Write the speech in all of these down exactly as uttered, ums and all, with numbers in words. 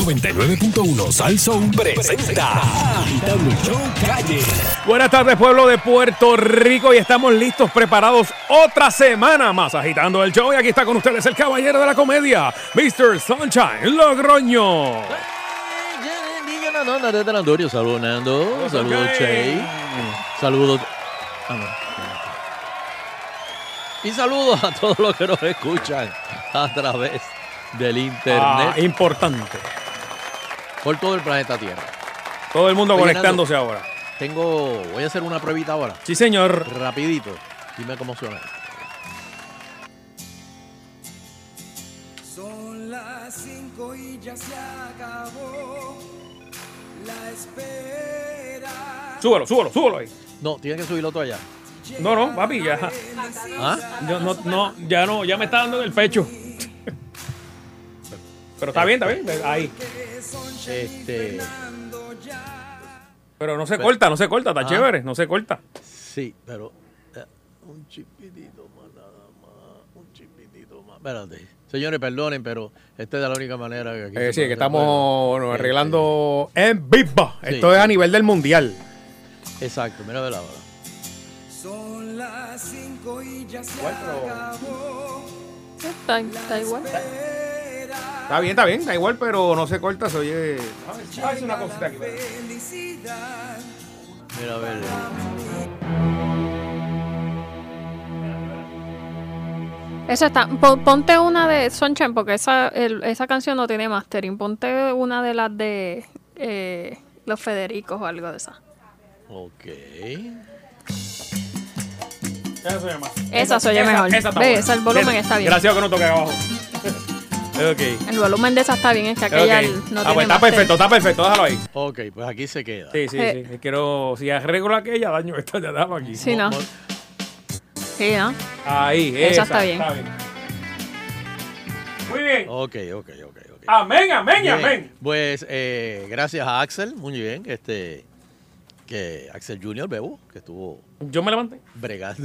noventa y nueve punto uno Sal Soul presenta Agitando el Show Calle. Buenas tardes, pueblo de Puerto Rico, y estamos listos, preparados otra semana más agitando el show. Y aquí está con ustedes el caballero de la comedia, mister Sunshine Logroño. Saludos, Nando. Saludos, Che. Saludos. Ah, no. Y saludos a todos los que nos escuchan a través del internet. Ah, importante. Por todo el planeta Tierra. Todo el mundo Oye, conectándose Nando, ahora. Tengo, voy a hacer una pruebita ahora. Sí, señor. Rapidito. Dime cómo suena. Son las cinco y ya se acabó la espera. Súbelo, súbelo, súbelo ahí. No, tiene que subirlo todo allá. No, no, papi, ya. ¿Ah? Yo, no, no, ya no, ya me está dando en el pecho. Pero está bien, está bien. Ahí. Este, Pero no se corta, no se corta, está Ah. chévere, no se corta. sí, pero eh, un chipitito más nada más, un chipitito más. Espérate. Señores, perdonen, pero esta es la única manera que aquí Eh, se sí, puede- que se estamos puede. bueno, Eh, arreglando en vivo. Sí, Esto es a sí. nivel del mundial. eh, Exacto, mira, ver ahora. Son las cinco y ya se Igual, pero- acabó Está, está igual. Está bien, está bien, está igual, pero no se corta, se oye. A ver, una cosita aquí. felicidad. Mira, a ver. Eso está. Pon- Ponte una de Sunshine, porque esa, el- esa canción no tiene mastering. Ponte una de las de eh, los Federicos o algo de esa. Ok. Esa se oye más. Esa se oye mejor. Esa está Ve, buena. esa, el volumen Bien, está bien. Gracias que no toque abajo. Ok. El volumen de esa está bien, es que aquella Ok. no Ah, tiene pues está mastering. perfecto, está perfecto, déjalo ahí. Ok, pues aquí se queda. Sí, sí, Eh. sí. Quiero, si arreglo aquella, daño esta, ya damos aquí. Sí, ¿no? Mo- Sí, ¿no? Ahí, Esa esa, está bien. Muy bien. Ok, ok, ok, ok. Amén, amén, Bien, amén. Pues eh, gracias a Axel, muy bien, este, que Axel junior, Bebo, que estuvo Yo me levanté. bregando.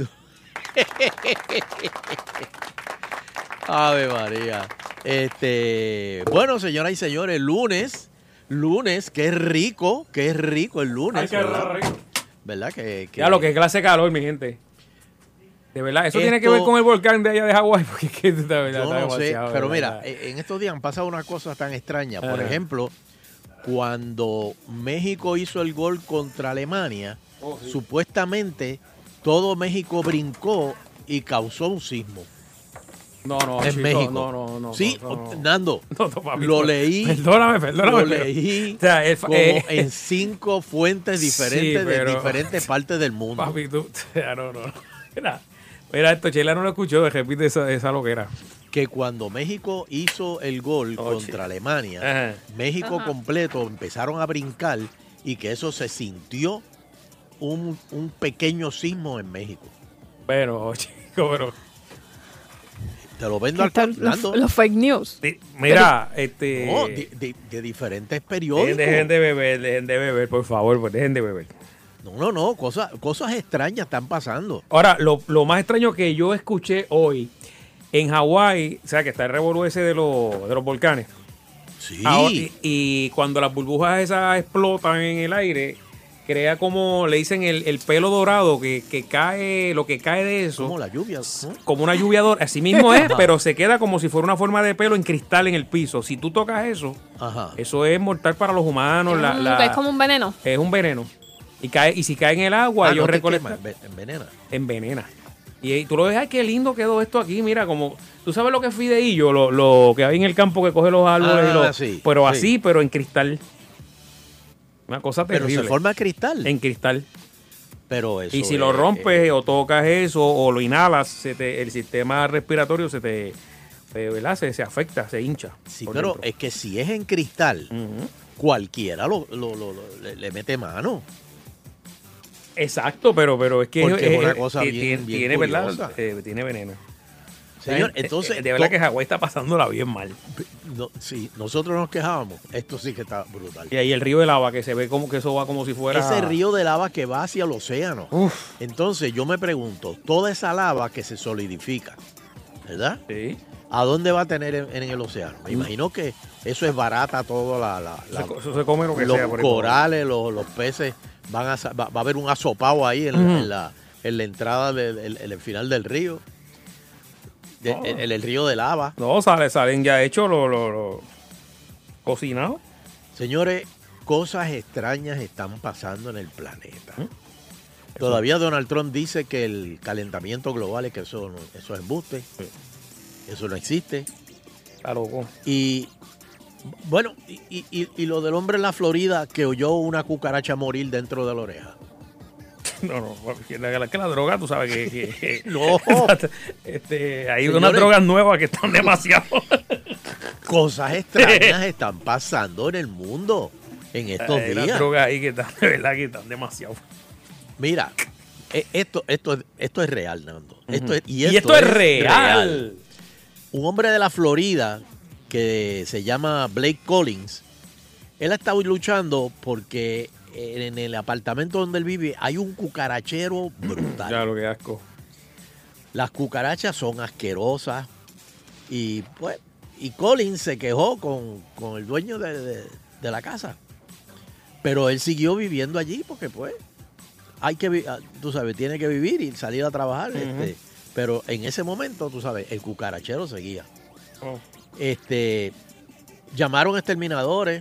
Ave María. Este, bueno, señoras y señores, lunes, lunes, qué rico, qué rico el lunes. Ay, qué ¿verdad? rico. ¿Verdad? Que, que- Ya lo que es clase de calor, mi gente. De verdad, eso tiene que Esto- ver con el volcán de allá de Hawái, porque es que de verdad, Yo está no sé, demasiado, pero de mira, verdad. eh, en estos días han pasado unas cosas tan extrañas. Por Ajá. ejemplo, cuando México hizo el gol contra Alemania, Oh, sí. supuestamente todo México brincó y causó un sismo No, no, en chico, México. No, no, no. Sí, no, no. Nando, No, no, papi, lo no. leí, Perdóname, perdóname. lo pero- leí O sea, el fa- como eh, en cinco fuentes Sí, diferentes pero- de diferentes partes del mundo. Papi, tú. O sea, no, no. no. Mira, mira esto, Chela no lo escuchó, repite esa, esa loquera. Que cuando México hizo el gol Oh, contra chico. Alemania, Ajá. México Ajá. completo empezaron a brincar y que eso se sintió un, un pequeño sismo en México. Pero, chico, pero. Te lo vendo al Están los, Nando. los fake news. di- Mira, este. No, de, de- de diferentes dejen, periódicos. dejen de beber, dejen de beber, por favor, pues dejen de beber. No, no, no, cosas, cosas extrañas están pasando. Ahora, lo, lo más extraño que yo escuché hoy en Hawái, o sea, que está el revolú ese de, los de los volcanes. Sí. Ahora, y, y cuando las burbujas esas explotan en el aire, crea como, le dicen el, el pelo dorado que, que cae, lo que cae de eso, como como, la lluvia. ¿no? una lluvia dorada. Así mismo es, pero se queda como si fuera una forma de pelo en cristal en el piso. Si tú tocas eso, Ajá. eso es mortal para los humanos. La, Mm, la- que es como un veneno. es un veneno. Y cae y si cae en el agua, Ah, ellos no te recolectan. quema, enve- envenena. Envenena. Y, y tú lo ves, ay, qué lindo quedó esto aquí, mira, como, tú sabes lo que es fideillo, lo, lo que hay en el campo que coge los árboles, Ah, y los, sí, pero sí. así, pero en cristal. Una cosa Pero terrible. se forma cristal. En cristal. Pero eso Y si es, lo rompes eh, o tocas eso o lo inhalas, se te- el sistema respiratorio se te, se, ¿verdad? se, se afecta, se hincha. sí, por pero dentro. es que si es en cristal, Ujú. cualquiera lo, lo- lo- lo- le, le mete mano. Exacto, pero, pero es que Porque es una eh, cosa eh, bien- tiene, bien tiene, ¿verdad? curiosa. Eh, tiene veneno. Señor, O sea, entonces, eh, de verdad to- que Hawái está pasándola bien mal. No, sí, nosotros nos quejábamos. Esto sí que está brutal. Y ahí el río de lava, que se ve como que eso va como si fuera... Ese río de lava que va hacia el océano. Uf. Entonces yo me pregunto, toda esa lava que se solidifica, ¿verdad? Sí. ¿A dónde va a tener en, en el océano? Me imagino que eso es barata todo la, la, la Eso se come lo que los sea. Por ahí por ahí. corales, los, los peces van a sa- va, va a haber un asopao ahí en, la- Ujú. en la en la entrada del en- en el final del río. De- Oh. en, en el río de lava. No, sale, salen ya hechos los lo, lo, cocinados. Señores, cosas extrañas están pasando en el planeta. ¿Mm? Todavía Donald Trump dice que el calentamiento global es que eso, no- eso es embuste. Sí. Eso no existe. Está loco. Y bueno, y, y- y- y lo del hombre en la Florida que oyó una cucaracha morir dentro de la oreja. No, no, que la, que la droga, tú sabes que, que- que- No. este, hay Señores. unas drogas nuevas que están demasiado. Cosas extrañas están pasando en el mundo en estos Hay unas días. drogas ahí que están, de verdad, que están demasiado. Mira, e- esto, esto, es- esto es real, Nando. Esto es, Y esto, es real. Un hombre de la Florida que se llama Blake Collins, él ha estado luchando porque en el apartamento donde él vive hay un cucarachero brutal. Ya, lo que asco. Las cucarachas son asquerosas y pues y Collins se quejó con, con el dueño de, de- de la casa. Pero él siguió viviendo allí porque pues hay que, vi- ah, tú sabes, tiene que vivir y salir a trabajar. Ujú. este, pero en ese momento, tú sabes, el cucarachero seguía. Oh. Este, llamaron exterminadores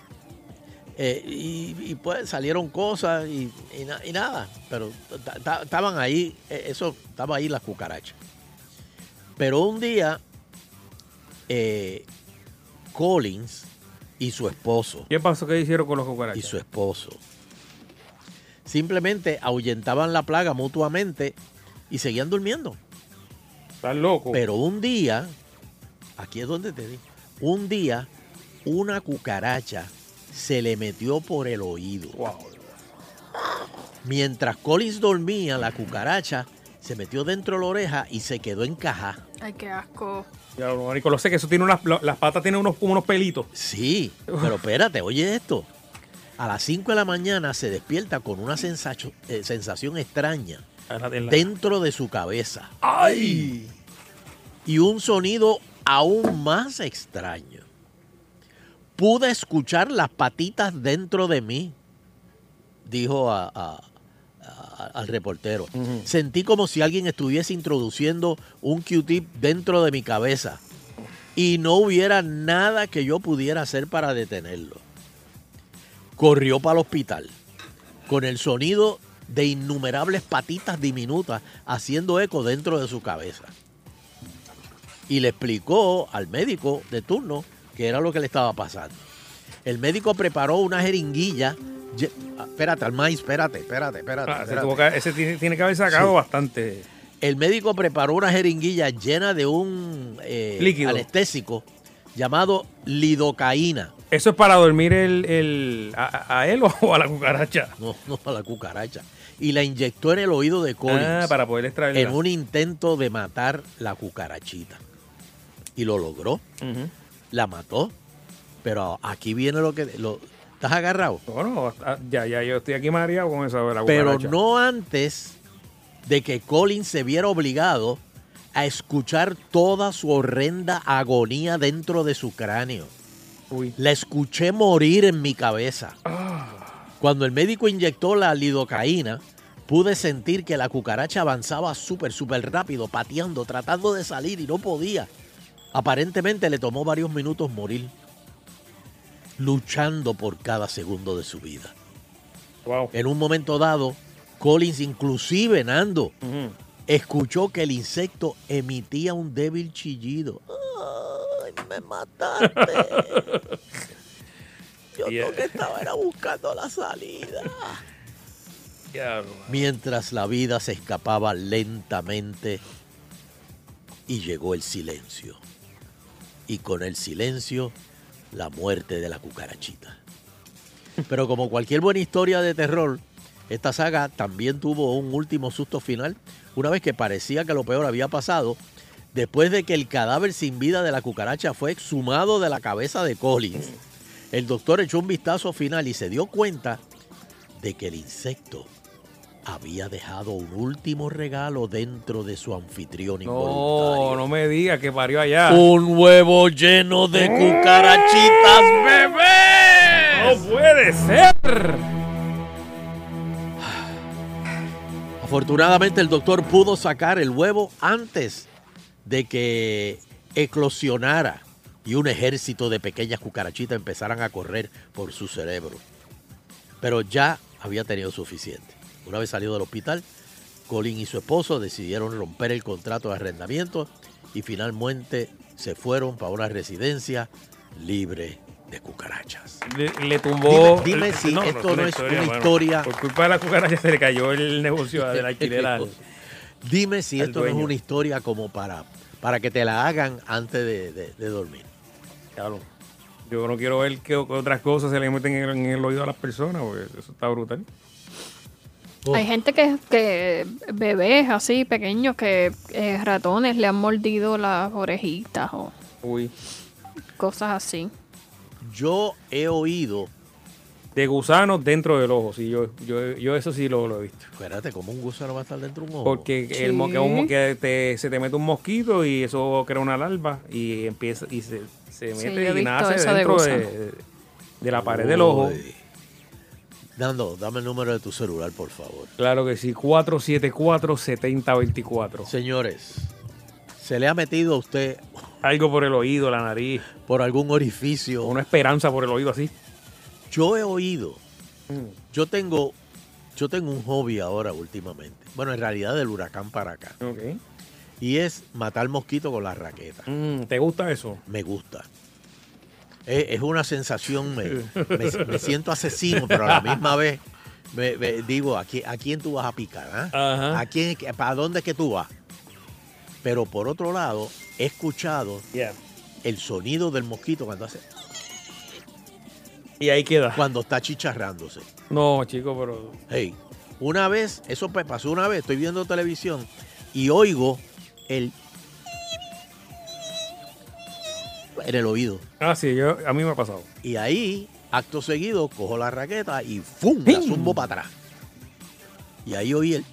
eh, y, y, pues salieron cosas y, y na- y nada, pero ta- ta- estaban ahí, eh, eso, estaba ahí las cucarachas. Pero un día, eh, Collins y su esposo, ¿Qué pasó? ¿Qué hicieron con los cucarachas? y su esposo simplemente ahuyentaban la plaga mutuamente y seguían durmiendo. Están locos. Pero un día, aquí es donde te digo, un día una cucaracha se le metió por el oído. Wow. Mientras Collins dormía, la cucaracha se metió dentro de la oreja y se quedó encajada. Ay, qué asco. Ya, marico, lo sé que eso tiene unas, lo- las patas tienen unos, como unos pelitos. Sí, pero espérate, oye esto. A las cinco de la mañana se despierta con una sensación, eh, sensación extraña En la- en la- dentro de su cabeza. ¡Ay! Y un sonido aún más extraño. Pude escuchar las patitas dentro de mí, dijo a- a- a- al reportero. Ujú. Sentí como si alguien estuviese introduciendo un Q-tip dentro de mi cabeza y no hubiera nada que yo pudiera hacer para detenerlo. Corrió para el hospital con el sonido de innumerables patitas diminutas haciendo eco dentro de su cabeza. Y le explicó al médico de turno qué era lo que le estaba pasando. El médico preparó una jeringuilla. lle- ah, Espérate, al maíz, espérate, espérate, espérate. Ah, ese, espérate. tuvo que- ese tiene, tiene que haber sacado Sí. bastante. El médico preparó una jeringuilla llena de un eh, Líquido. anestésico llamado lidocaína. ¿Eso es para dormir el, el- a, a él o a la cucaracha? No, no a la cucaracha. Y la inyectó en el oído de Collins Ah, para poder extraerla. en un intento de matar la cucarachita. Y lo logró. Ujú. La mató. Pero aquí viene lo que... Lo, ¿Estás agarrado? Bueno, ah, ya, ya, yo estoy aquí mareado con eso de la Pero cucaracha. no antes de que Collins se viera obligado a escuchar toda su horrenda agonía dentro de su cráneo. Uy. La escuché morir en mi cabeza. Cuando el médico inyectó la lidocaína, pude sentir que la cucaracha avanzaba súper, súper rápido, pateando, tratando de salir y no podía. Aparentemente le tomó varios minutos morir, luchando por cada segundo de su vida. Wow. En un momento dado, Collins, inclusive Nando, Ujú. escuchó que el insecto emitía un débil chillido. ¡Ay, me mataste! Yo Yeah. lo que estaba era buscando la salida. Ya, Mientras la vida se escapaba lentamente y llegó el silencio. Y con el silencio, la muerte de la cucarachita. Pero como cualquier buena historia de terror, esta saga también tuvo un último susto final, una vez que parecía que lo peor había pasado, después de que el cadáver sin vida de la cucaracha fue exhumado de la cabeza de Collins. El doctor echó un vistazo final y se dio cuenta de que el insecto había dejado un último regalo dentro de su anfitrión No, involuntario. no me digas que parió allá. Un huevo lleno de cucarachitas, bebé. ¡No puede ser! Afortunadamente el doctor pudo sacar el huevo antes de que eclosionara y un ejército de pequeñas cucarachitas empezaran a correr por su cerebro. Pero ya había tenido suficiente. Una vez salido del hospital, Colin y su esposo decidieron romper el contrato de arrendamiento y finalmente se fueron para una residencia libre de cucarachas. Le, le tumbó. Dime, dime si esto no es una historia. Por culpa de la cucaracha se le cayó el negocio del alquiler al- Dime si al esto no es dueño. una historia como para, para que te la hagan antes de, de- de dormir. Claro. Yo no quiero ver que otras cosas se le meten en el, en el oído a las personas, porque eso está brutal. Oh. Hay gente que, que bebés así pequeños que eh, ratones le han mordido las orejitas o Uy. cosas así. Yo he oído, De gusanos dentro del ojo, sí, yo, yo, yo eso sí lo, lo he visto. espérate, ¿cómo un gusano va a estar dentro de un ojo? Porque el mo- Sí. que un- que te- se te mete un mosquito y eso crea una larva y empieza y se, se Sí, mete yo he y visto nace eso de dentro de, gusano. de la pared del ojo. Uy. Dando, dame el número de tu celular, por favor. Claro que sí, cuatro siete cuatro, siete cero dos cuatro. Señores, ¿se le ha metido a usted Algo por el oído, la nariz, por algún orificio? una esperanza por el oído así. Yo he oído, Mm. yo tengo, yo tengo un hobby ahora últimamente. Bueno, en realidad del huracán para acá. Ok. Y es matar mosquitos con la raqueta. Mm, ¿te gusta eso? Me gusta. Es, es una sensación, me, me- me siento asesino, pero a la misma vez me, me digo, ¿a quién, ¿a quién tú vas a picar? ah? Ajá. ¿A quién, ¿Para dónde es que tú vas? Pero por otro lado, he escuchado Yeah. el sonido del mosquito cuando hace, Y ahí queda. cuando está chicharrándose. No, chico, pero... Hey, una vez, eso me pasó una vez, estoy viendo televisión y oigo el en el oído. Ah, sí, yo, a mí me ha pasado. Y ahí, acto seguido, cojo la raqueta y ¡fum! La zumbo para atrás. Y ahí oí el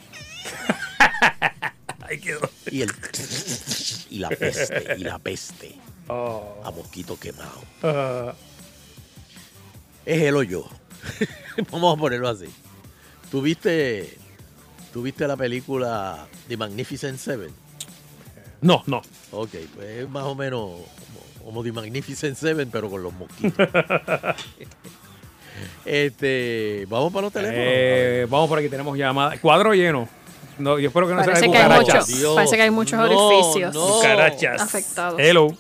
Ahí quedó. y el y la peste, y la peste Oh. a mosquito quemado. Ah, Es él o yo. Vamos a ponerlo así. ¿Tuviste, ¿Tuviste la película The Magnificent Seven? no, no. Ok, pues es más o menos como, como The Magnificent Seven, pero con los mosquitos. este, vamos para los teléfonos. Eh, vamos por aquí, tenemos llamada. Cuadro lleno. No, yo espero que no sea Parece de que, hay cucarachas. muchos, Dios, parece que hay muchos no, orificios no. Cucarachas. afectados. Hello.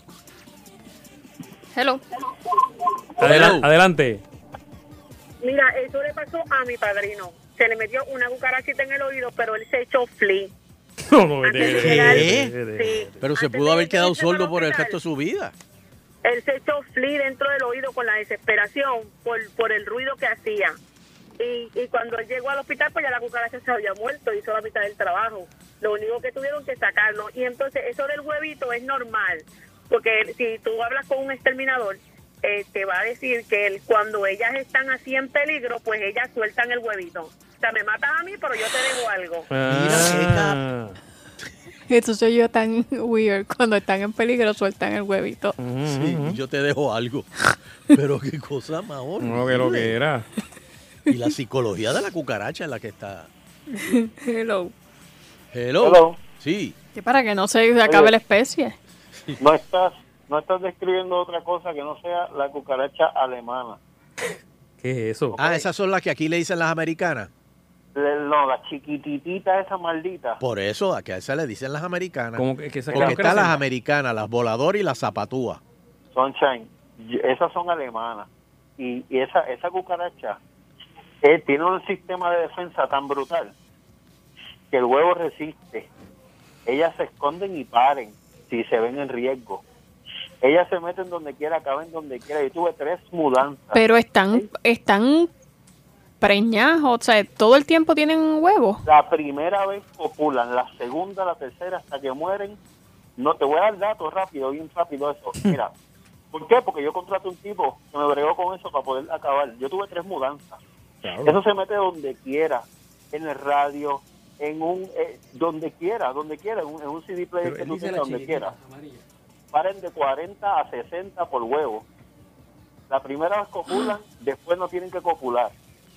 Hello. Adela- Hello. adelante. Mira, eso le pasó a mi padrino. Se le metió una cucarachita en el oído, pero él se echó flea. No, no, Antes vete, de vete, llegar- vete, vete, vete. Sí. Pero se Antes pudo de haber quedado irse para sordo el por el hospital, resto de su vida. Él se echó flea dentro del oído con la desesperación por, por el ruido que hacía. Y, y cuando él llegó al hospital, pues ya la cucaracha se había muerto, hizo la mitad del trabajo. Lo único que tuvieron que sacarlo. Y entonces eso del huevito es normal, porque si tú hablas con un exterminador, eh, te va a decir que él, cuando ellas están así en peligro, pues ellas sueltan el huevito. O sea, me matas a mí, pero yo te dejo algo. Ah. Esto soy yo tan weird. Cuando están en peligro sueltan el huevito. Sí, y yo te dejo algo. Pero qué cosa más horrible. No, que lo que era. Y la psicología de la cucaracha es la que está. Hello. Hello. Hello. Sí. Que para que no se acabe la especie. No estás, no estás describiendo otra cosa que no sea la cucaracha alemana. ¿Qué es eso? Ah, esas son las que aquí le dicen las americanas. Le- No, la chiquititita esa maldita. Por eso, a que a esas le dicen las americanas. Como que, que esa- Porque ¿qué están las hacen? americanas, las voladoras y las zapatúas. Sunshine. Y- Esas son alemanas. Y, y esa, esa cucaracha eh, tiene un sistema de defensa tan brutal que el huevo resiste. Ellas se esconden y paren si se ven en riesgo. Ellas se meten donde quiera, caben donde quiera. Yo tuve tres mudanzas. Pero están, están preñadas, o sea, todo el tiempo tienen huevos. La primera vez copulan, la segunda, la tercera, hasta que mueren. No, te voy a dar datos rápido, bien rápido eso. Mira, ¿por qué? Porque yo contraté un tipo que me bregó con eso para poder acabar. Yo tuve tres mudanzas. Claro. Eso se mete donde quiera. en el radio, en un eh, donde quiera, donde quiera, en un, en un C D player Pero que él tú dice tengas, la donde chiquitita, quiera. Paren de cuarenta a sesenta por huevo. La primera vez copulan, después no tienen que copular.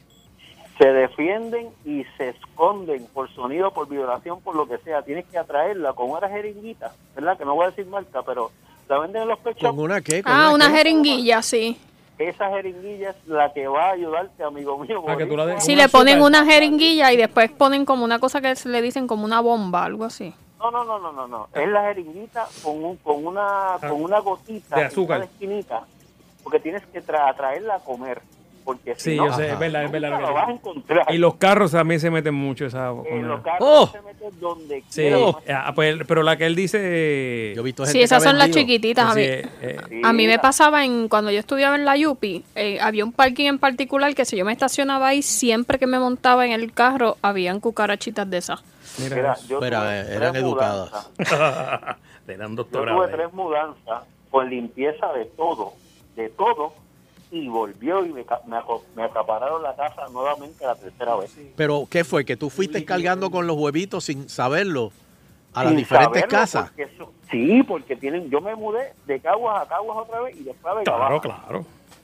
Se defienden y se esconden por sonido, por vibración, por lo que sea. Tienes que atraerla con una jeringuita, ¿verdad? Que no voy a decir marca, pero la venden en los pet shops. ¿Con una qué? ¿Con Ah, una qué? jeringuilla, sí. Esa jeringuilla es la que va a ayudarte, amigo mío. Ah, que tú la boricua. des- Sí, Un le ponen azúcar. una jeringuilla y después ponen como una cosa que se le dicen como una bomba, algo así. No, no, no, no, no, no. Es la jeringuita con, un, con, una, con una gotita De en azúcar. cada esquinita, porque tienes que tra atraerla a comer, porque si Sí, no, yo sé, es Ajá. verdad, es verdad. nunca lo que lo vas a dices. encontrar. Y los carros también se meten mucho esa En comida. los carros ¡Oh! se meten donde Sí, quiera. ah, pues, pero la que él dice... Yo he visto Sí, gente esas que ha son las vendido. chiquititas. A sí, mí, eh, Sí, a mí me la- pasaba en cuando yo estudiaba en la Yupi, eh, había un parking en particular que si yo me estacionaba ahí, siempre que me montaba en el carro, habían cucarachitas de esas. mira, Mira, eso. yo Pero, tuve eh, eran tres educadas. mudanzas. Le dan Yo doctorado. tuve ahí. tres mudanzas con limpieza de todo, de todo, y volvió y me, ca- me, aco- me acapararon la casa nuevamente la tercera vez. Pero, ¿qué fue? ¿Que tú fuiste cargando con los huevitos sin saberlo a las Sin diferentes saberlo, casas? porque eso- sí, porque tienen, yo me mudé de Caguas a Caguas otra vez y después a Vega Claro, Baja. claro.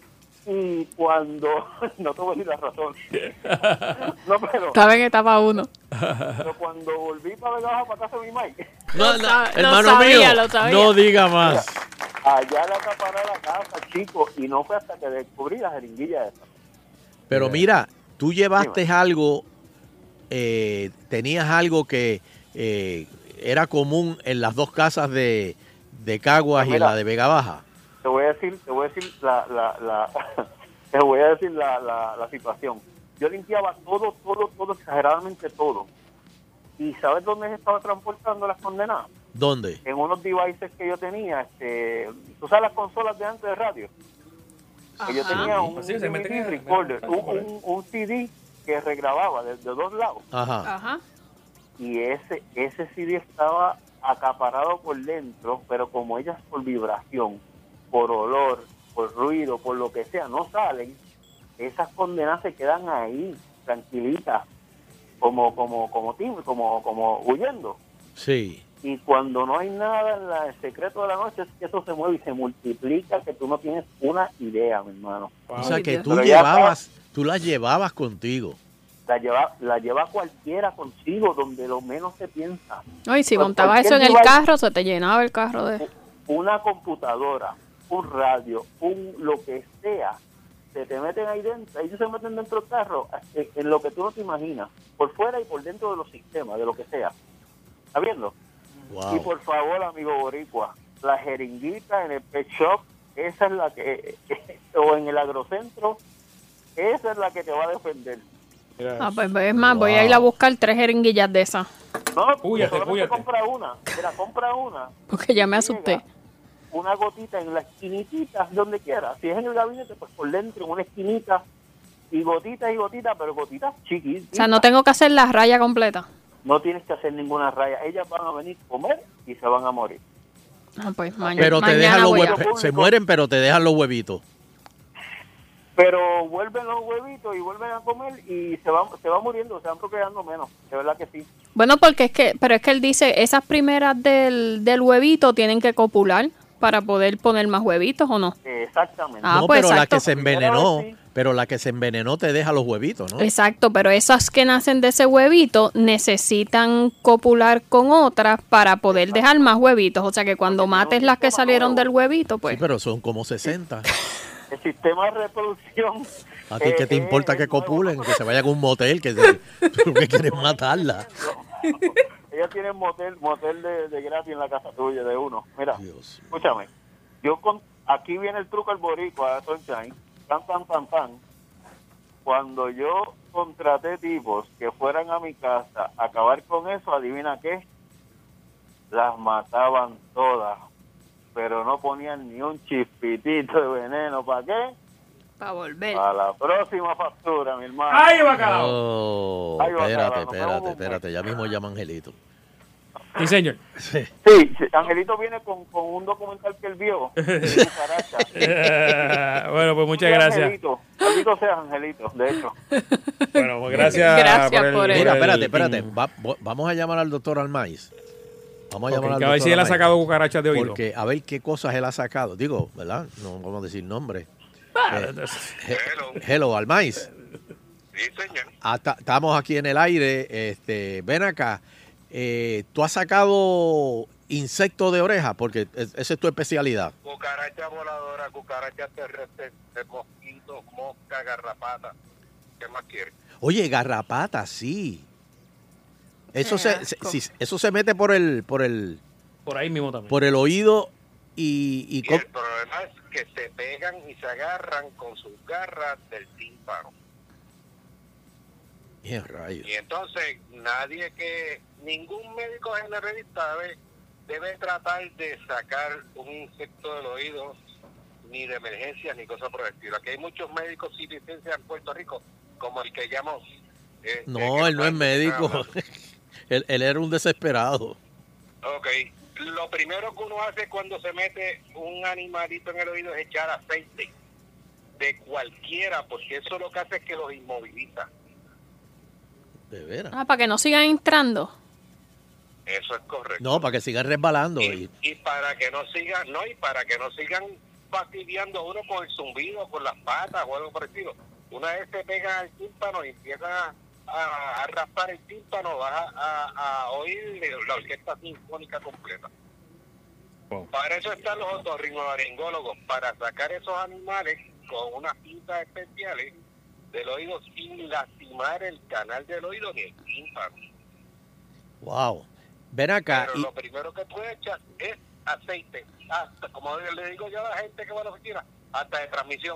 Y cuando, no te voy a decir la razón, no, pero, Estaba en etapa uno. pero cuando volví para Vega Baja, para casa de mi Mike, No, Lo no, sa- lo hermano sabía, mío, lo sabía. no diga más. allá le acaparé la casa, chico, y no fue hasta que descubrí la jeringuilla esa. Pero mira, tú llevaste algo, eh, tenías algo que eh, era común en las dos casas de, de Caguas y en Mira. la de Vega Baja. Te voy a decir, te voy a decir la, la, la te voy a decir la, la, la situación. Yo limpiaba todo, todo, todo, exageradamente todo. ¿Y sabes dónde se estaba transportando las condenadas? ¿Dónde? En unos devices que yo tenía, este, tú sabes las consolas de antes de radio. Que yo Ajá. tenía un, Sí, se meten en- D V D recorder, en- un, un, un C D que regrababa de, de dos lados. Ajá. Ajá. Y ese ese C D estaba acaparado por dentro, pero como ellas por vibración, por olor, por ruido, por lo que sea, no salen, esas condenas se quedan ahí, tranquilitas, como como como tim- como como huyendo. Sí. Y cuando no hay nada en la- el secreto de la noche, es que eso se mueve y se multiplica, que tú no tienes una idea, mi hermano. O sea Ay, que Dios. tú Pero ya llevabas, tú las llevabas contigo. La lleva, la lleva cualquiera consigo, donde lo menos se piensa. No, y si Pues montabas eso cualquier en el device- carro, se te llenaba el carro de... Una computadora, un radio, un lo que sea, se te meten ahí dentro, ellos se meten dentro del carro en, en lo que tú no te imaginas, por fuera y por dentro de los sistemas, de lo que sea. ¿Está viendo? Y Wow. por favor, amigo boricua, la jeringuita en el pet shop, esa es la que, o en el agrocentro, esa es la que te va a defender. Ah, pues es más, voy a ir a buscar tres jeringuillas de esas, No, Púyate, solamente púyate. compra una, mira, compra una. porque ya me asusté. Llega una gotita en la esquinitita, donde quiera. Si es en el gabinete, pues por dentro, en una esquinita, y gotitas y gotitas, pero gotitas chiquitas. O sea, no tengo que hacer la raya completa. No tienes que hacer ninguna raya. Ellas van a venir a comer y se van a morir. Ah, pues maña- Pero te mañana dejan los voy a... huevitos. Se mueren, pero te dejan los huevitos. Pero vuelven los huevitos y vuelven a comer y se van, se van muriendo, se van procreando menos. De verdad que sí. Bueno, porque es que, pero es que él dice, esas primeras del, del huevito tienen que copular para poder poner más huevitos, ¿o no? Exactamente. Ah, no, pues pero la exacto. que se envenenó, Primera vez sí. pero la que se envenenó te deja los huevitos, ¿no? Exacto, pero esas que nacen de ese huevito necesitan copular con otras para poder dejar más huevitos. O sea que cuando mates las que salieron del huevito, pues... Sí, pero son como sesenta. El sistema de reproducción. ¿A ti qué te eh, importa eh, que es nuevo. copulen? Que se vayan a un motel, que se, tú lo que quieres es matarla. Ellas tienen motel, motel de, de gratis en la casa tuya, de uno. Mira, Dios. escúchame. Yo con, aquí viene el truco al boricua, Sunshine. Tan, tan, tan, tan. Cuando yo contraté tipos que fueran a mi casa a acabar con eso, adivina qué, las mataban todas, pero no ponían ni un chispitito de veneno. ¿Para qué? Para volver. Para la próxima factura, mi hermano. ¡Ay, bacalao! Oh, Ay, bacalao, espérate, nos espérate, vemos. espérate. Ya mismo llama Angelito. Sí, señor. Sí. Sí, sí, Angelito viene con, con un documental que él vio. de cucaracha. bueno, pues muchas Sí, gracias. Angelito. Bendito sea Angelito, de hecho. Bueno, pues gracias. Gracias por el, por el- Mira, el- espérate, espérate. Va- vo- vamos a llamar al doctor Almaiz. Vamos a Ok, llamar al que a ver doctor si él ha Almaiz. sacado cucarachas de oído. Porque a ver qué cosas él ha sacado. Digo, ¿verdad? No vamos a decir nombre. Eh, he- hello, Almaiz. Sí, señor. Ah, ta- estamos aquí en el aire. Este, ven acá. Eh, ¿Tú has sacado insectos de oreja? Porque es- esa es tu especialidad. Cucaracha voladora, cucaracha terrestre, de mosquitos, mosca, garrapata. ¿Qué más quieres? Oye, garrapata, sí. Eso Qué se, se- asco. sí, eso se mete por el, por el, Por ahí mismo también. por el oído y, y Y co- el problema es que se pegan y se agarran con sus garras del tímpano. Bien, rayos. Y entonces nadie que, ningún médico generalista debe, debe tratar de sacar un insecto del oído, ni de emergencia, ni cosas por el estilo. Aquí hay muchos médicos sin licencia en Puerto Rico, como el que llamo... eh, No, que él no es médico. hablando. él, él era un desesperado. Ok, lo primero que uno hace cuando se mete un animalito en el oído es echar aceite de cualquiera, porque eso lo que hace es que los inmoviliza. De veras. Ah, para que no sigan entrando. Eso es correcto. No, para que sigan resbalando. y, Y, y para que no sigan, no, y para que no sigan fastidiando a uno con el zumbido, con las patas o algo por el estilo. Una vez se pegan al tímpano y empiezan a, a, a raspar el tímpano, vas a, a, a oír la orquesta sinfónica completa. Wow. Para eso están los otorrinolaringólogos, para sacar esos animales con unas pinzas especiales del oído sin lastimar el canal del oído ni el tímpano. wow. Ven acá. Pero Y, lo primero que tú echas es aceite, hasta, como le digo yo a la gente que va a la oficina, hasta de transmisión.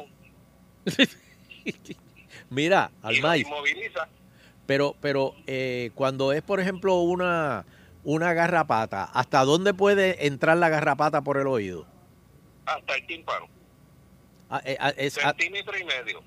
mira, Y lo Almaiz, inmoviliza pero, pero eh, cuando es, por ejemplo, una, una garrapata, ¿hasta dónde puede entrar la garrapata por el oído? hasta el tímpano, Ah, eh, ah, es- ah, centímetro y medio.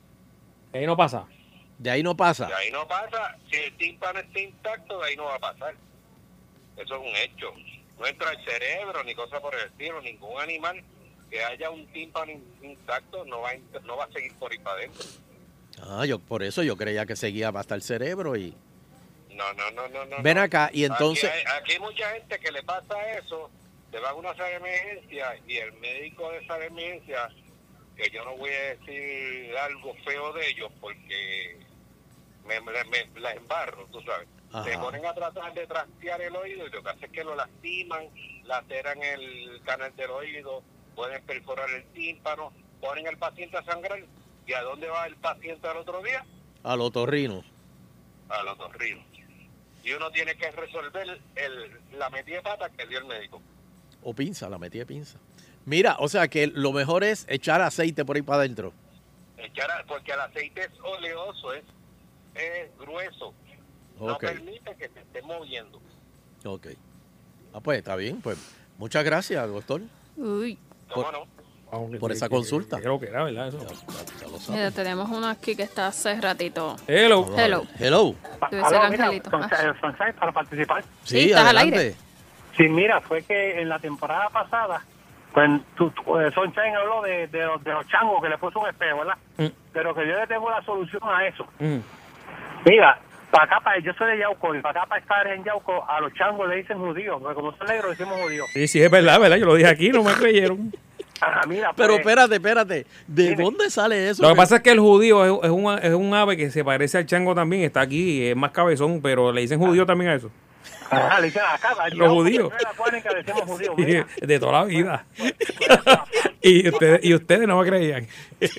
Ahí no pasa. de ahí no pasa. De ahí no pasa, si el tímpano está intacto, de ahí no va a pasar. Eso es un hecho. No entra el cerebro ni cosa por el estilo, ningún animal que haya un tímpano in- intacto no va a, int- no va a seguir por ahí para adentro. Ah, yo por eso yo creía que seguía hasta el cerebro y No, no, no, no, no. ven no. acá y entonces Aquí hay, aquí hay mucha gente que le pasa eso, te va a una sala de emergencia y el médico de esa emergencia, que yo no voy a decir algo feo de ellos porque me, me, me la embarro, tú sabes. Ajá. Se ponen a tratar de trastear el oído y lo que hace es que lo lastiman, laceran el canal del oído, pueden perforar el tímpano, ponen al paciente a sangrar. ¿Y a dónde va el paciente al otro día? al otorrino. Al otorrino. Y uno tiene que resolver el, la metida de pata que dio el médico. O pinza, la metí de pinza. Mira, o sea que lo mejor es echar aceite por ahí para adentro. Echar a- porque el aceite es oleoso, es, es grueso. No Ok, permite que se esté moviendo. ok. Ah, pues está bien, pues muchas gracias, doctor. Uy. ¿Cómo Por- no? Vamos, que- Por esa que- consulta. que Creo que era, ¿verdad? Eso. Ya, ya- ya lo Mira, sabes. tenemos uno aquí que está hace ratito. Hello. Hello. Hello. Debe ser Aló, mira, Angelito. son- Ah. son seis para participar. Sí, estás al aire. Sí, mira, fue que en la temporada pasada, pues tú, tú, eh, Sunshine habló de, de, los, de los changos que le puso un espejo, ¿verdad? Mm. Pero que yo le tengo la solución a eso. Mm. Mira, para acá, para, yo soy de Yauco, y para acá, para estar en Yauco, a los changos le dicen judíos, porque como son negros, decimos judíos. Sí, sí, es verdad, ¿verdad? Yo lo dije aquí, no me creyeron. Ajá, mira, Pero pues, espérate, espérate. ¿De Dime. dónde sale eso? Lo que pasa es que el judío es, es, un, es un ave que se parece al chango también, está aquí, es más cabezón, pero le dicen judío también a eso. ajá, le dicen acá, a Los Yauco, judíos. que no es la cuánica, le decimos judíos. Sí, mira. de toda la vida. y, ustedes, y ustedes no me creían.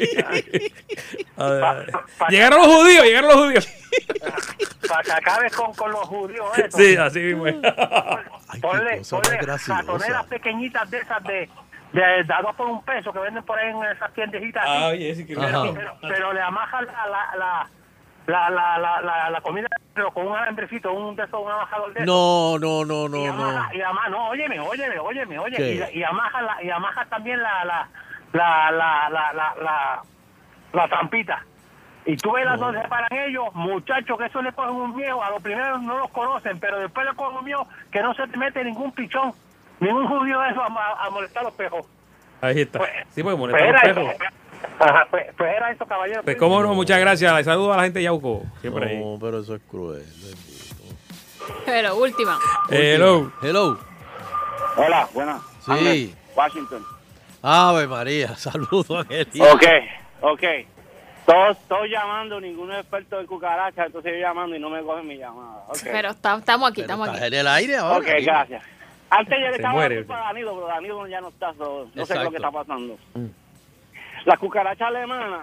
A ver, Pa- pa- llegaron los judíos, llegaron los judíos. Para que acabes con, con los judíos, eso. Sí, así mismo. es. Ay, qué Ponle, cosa ponle más graciosa. ratoneras pequeñitas de esas de, de, de a dos por un peso que venden por ahí en esas tiendecitas. así. Ah, oye, sí que Ajá. pero, pero le amajan la, la, la, la, la, la, la, la comida pero con un alambrecito, un de esos, un amajador de esos. No, no, no, y no, no. amaja, y amaja, no, óyeme, óyeme, óyeme, óyeme. ¿Qué? Y, y amaja la, y amaja también la, la, la, la, la, la, la, la trampita. Y tú ves las dos se paran ellos, muchachos, que eso le cogen un miedo, a los primeros no los conocen, pero después le cogen un miedo que no se te mete ningún pichón, ningún judío de eso a, a- a molestar a los pejos. Ahí está. Pues, Sí, porque molestar a los Espera, perros. Ajá, pues, pues era eso, caballero. Pues cómo no, muchas gracias. Saludos a la gente de Yauco. Siempre ahí. No, pero eso es cruel. bendito. Pero última. Hello. Hello. Hola, buenas. Sí. Andrés, Washington. Ave María, saludos, Angelina. Ok, ok. Todos, todos llamando, ninguno es experto en cucarachas, entonces yo llamando y no me cogen mi llamada. Okay. Pero está- estamos aquí, Pero estamos aquí. estás en el aire ahora. Ok, dime. gracias. Antes yo le Se estaba muere. dando para Danilo, pero Danilo ya no está, so- no sé Exacto. lo que está pasando. Mm. La cucaracha alemana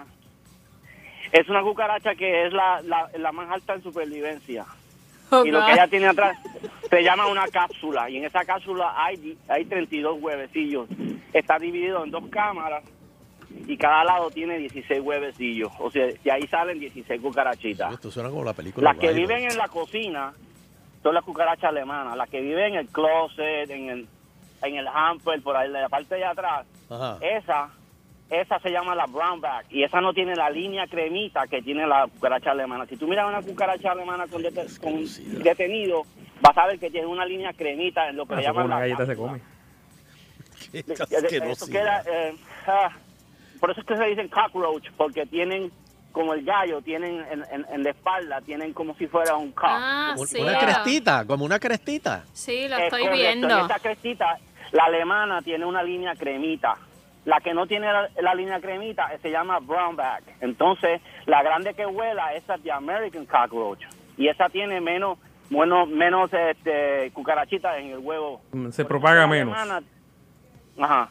es una cucaracha que es la, la, la más alta en supervivencia. Oh, Y lo God. que ella tiene atrás se llama una cápsula. Y en esa cápsula hay, hay treinta y dos huevecillos. Está dividido en dos cámaras y cada lado tiene dieciséis huevecillos. O sea, de ahí salen dieciséis cucarachitas. Esto suena como la película. Las que Rivals. viven en la cocina son las cucarachas alemanas. Las que viven en el closet, en el, en el hamper, por ahí, en la parte de atrás. Ajá. Esa, esa se llama la brownback. Y esa no tiene la línea cremita que tiene la cucaracha alemana. Si tú miras una cucaracha alemana con, dete- con detenido, vas a ver que tiene una línea cremita en lo que Ah, le eso con llaman una la galleta se cápsula. come. Qué De- de- asquerosidad. eso queda, eh, ah, por eso es que se dicen cockroach, porque tienen, como el gallo, tienen en, en- en la espalda, tienen como si fuera un cock. Ah, Un- sí. Una crestita, como una crestita. Sí, lo Es estoy correcto. viendo. En esa crestita, la alemana tiene una línea cremita. La que no tiene la, la línea cremita eh, se llama brownback. Entonces, la grande que vuela, esa es de American cockroach. Y esa tiene menos, bueno, menos este, cucarachitas en el huevo. Mm, Se Por propaga eso la menos. alemana- ajá.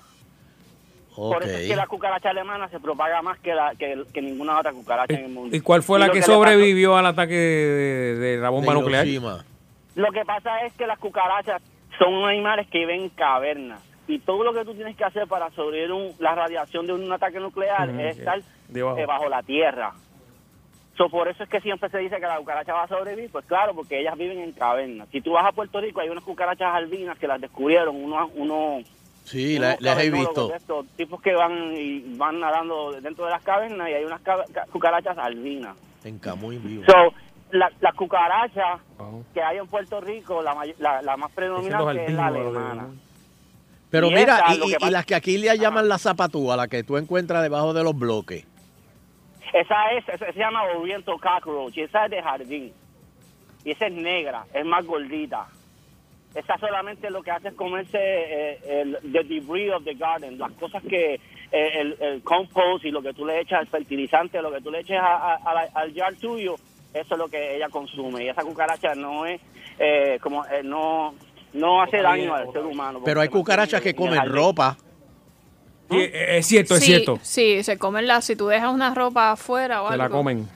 Por Ok. eso es que la cucaracha alemana se propaga más que, la, que, que ninguna otra cucaracha en el mundo. ¿Y cuál fue Y la lo que le pasó- sobrevivió al ataque de, de la bomba De nuclear? Hiroshima. Lo que pasa es que las cucarachas son animales que viven en cavernas. Y todo lo que tú tienes que hacer para sobrevivir un- la radiación de un ataque nuclear Ujú, es sí. estar Debajo. eh, bajo la tierra. So, por eso es que siempre se dice que la cucaracha va a sobrevivir. Pues claro, porque ellas viven en cavernas. Si tú vas a Puerto Rico, hay unas cucarachas albinas que las descubrieron unos... unos Sí, unos la- las he cavernólogos visto. de estos tipos que van y van nadando dentro de las cavernas y hay unas ca- ca- cucarachas albinas. En Camuy vivo. So, la, la cucaracha Oh. que hay en Puerto Rico, la, may- la, la más predominante es la alemana. Pero y mira, esa, y, lo que y- y pasa- las que aquí le llaman la zapatúa, la que tú encuentras debajo de los bloques. Esa es, esa se llama Oriental Cockroach, y esa es de jardín. Y esa es negra, es más gordita. Esa solamente lo que hace es comerse eh, el the debris of the garden, las cosas que eh, el, el compost y lo que tú le echas, el fertilizante, lo que tú le eches a- a- a la- al jar tuyo, eso es lo que ella consume. Y esa cucaracha no es eh, como eh, no no hace daño al ser humano. Pero hay porque cucarachas que en el comen jardín. ropa. Sí, es cierto, es sí, cierto. Sí, se comen la, si tú dejas una ropa afuera o Se algo. la comen.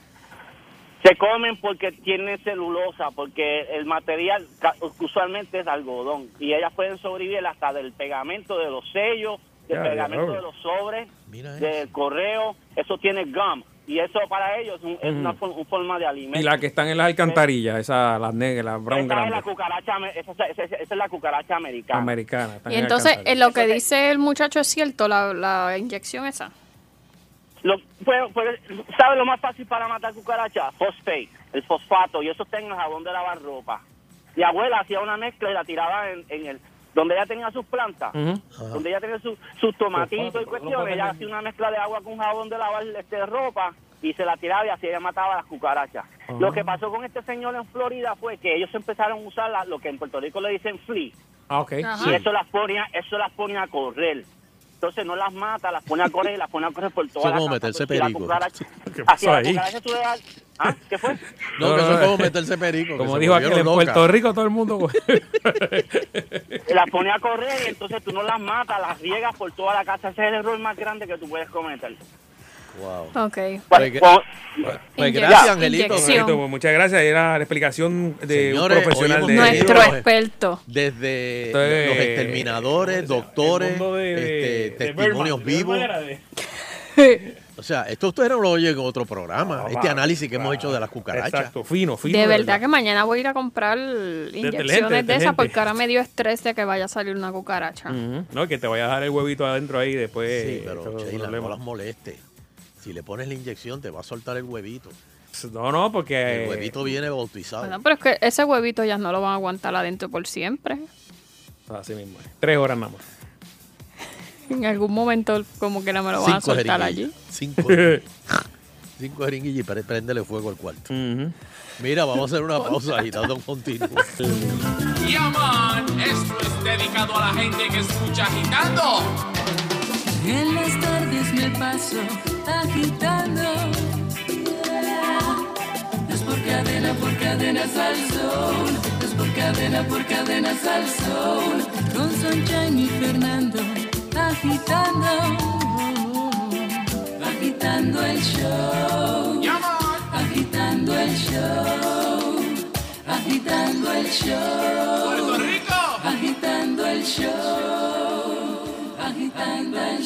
Se comen porque tienen celulosa, porque el material ca- usualmente es algodón y ellas pueden sobrevivir hasta del pegamento de los sellos, del Ya, pegamento ya, de los sobres, Mira eso. del correo, eso tiene gum y eso para ellos es, un- es una, for- una forma de alimento. Y las que están en las alcantarillas, esas, las negras, las brown esa, es la grandes, cucaracha, ame- esa, esa- esa- esa es la cucaracha americana. americanas. están Y en entonces, alcantarillas. en lo que dice el muchacho es cierto, la, la inyección esa. Lo, pues, pues, ¿sabe lo más fácil para matar cucarachas? Fosfate, el fosfato, y eso está en el jabón de lavar ropa. Mi abuela hacía una mezcla y la tiraba en, en el donde ella tenía sus plantas, Ujú. donde ella tenía su- sus tomatitos y cuestiones, ella hacía una mezcla de agua con jabón de lavar este, ropa y se la tiraba y así ella mataba a las cucarachas. Lo que pasó con este señor en Florida fue que ellos empezaron a usar la- lo que en Puerto Rico le dicen flea, Ah, ok. Ajá. y eso las ponía, eso las ponía a correr. Entonces no las mata, las pone a correr y las pone a correr por toda Eso la es como casa. meterse Entonces, si la perico. cucaracha- ¿Qué pasó hacia la ahí? cucaracha tú le das- ¿Ah? ¿Qué fue? No, No, que no, eso es no. como meterse perico. que Como se dijo aquel, en volvieron Puerto locas. Rico todo el mundo... Las pone a correr y entonces tú no las matas, las riegas por toda la casa. Ese es el error más grande que tú puedes cometer. Wow. Ok. Pues, que- Pues, pues Inyec- gracias, Angelito. inyección. Angelito, pues, muchas gracias. Era la explicación de Señores, un profesional hoy de... hemos Nuestro tenido- experto. Desde Entonces, los exterminadores, doctores, el mundo de- de- este, de testimonios Birdman, de vivos. Birdman era de- O sea, esto ustedes no lo oyen en otro programa. No, este va, análisis que hemos va. hecho de las cucarachas. Exacto, fino, fino. De verdad que mañana voy a ir a comprar inyecciones detergente, de esas detergente. porque ahora me dio estrés de que vaya a salir una cucaracha. Ujú. No, que te vaya a dejar el huevito adentro ahí después. Sí, pero eso es un Sheila, problema. no las moleste. Si le pones la inyección, te va a soltar el huevito. No, no, porque... El huevito viene bautizado. Bueno, pero es que ese huevito ya no lo van a aguantar adentro por siempre. Así mismo. es. Tres horas nada más. En algún momento como que no me lo van a Cinco soltar jeringuillas. allí. Cinco jeringuillas. Cinco jeringuillas y pre- préndele fuego al cuarto. Ujú. Mira, vamos a hacer una pausa agitando un continuo. Yaman, esto es dedicado a la gente que escucha agitando. En las tardes me paso agitando. Es por cadena, por cadenas al sol. Es por cadena, por cadenas al sol. Con Sunshine y Fernando agitando. Agitando el show. Agitando el show. Agitando el show. Puerto Rico. Agitando el show. Agitando el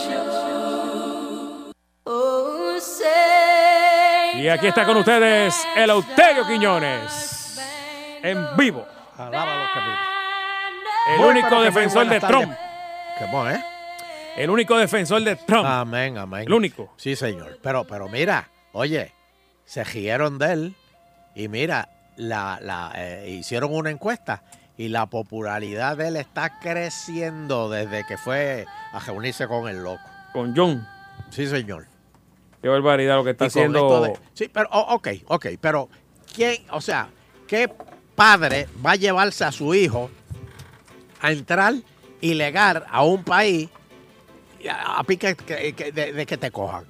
show. Oh, say. Y aquí está con ustedes el Eleuterio Quiñones. En vivo. Alaba los caminos. El Muy, único pero que muy defensor de buenas tardes. Trump. ¿Cómo es? El único defensor de Trump. Amén, amén. El único. Sí, señor. Pero, pero mira, oye, se rieron de él y mira, la, la, eh, hicieron una encuesta y la popularidad de él está creciendo desde que fue a reunirse con el loco. Con John. Sí, señor. Qué barbaridad lo que está Y con haciendo. esto de- sí, pero, oh, ok, ok, pero ¿quién, o sea, qué padre va a llevarse a su hijo a entrar ilegal a un país y a, a pique que- que- de, de que te cojan?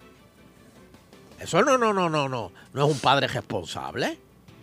Eso no, no, no, no, no, no es un padre responsable.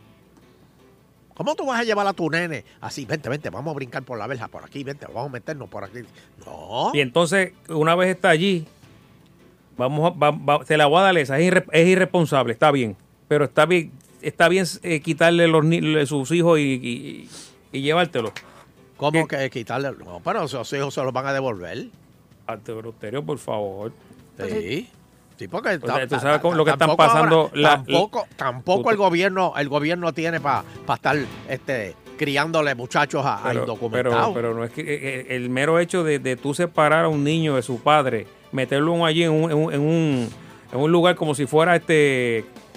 ¿Cómo tú vas a llevar a tu nene así? Vente, vente, vamos a brincar por la verja, por aquí, vente, vamos a meternos por aquí. No. Y entonces, una vez está allí, vamos a, va- va- se la voy a dar esa. Es, irre- es irresponsable, está bien. Pero está bien, está bien eh, quitarle los ni- sus hijos y, y, y llevártelos. ¿Cómo que quitarle? No, pero esos hijos se los van a devolver. Ante Eleuterio, por favor. Sí. Sí, porque O sea, tú sabes cómo- lo que están tampoco pasando. ahora- la- tampoco tampoco tú- el gobierno el gobierno tiene para estar este criándole muchachos a, a pero, indocumentados. pero, pero no es que eh, el mero hecho de, de tú separar a un niño de su padre, meterlo allí en un, en un, en un, en un lugar como si fuera este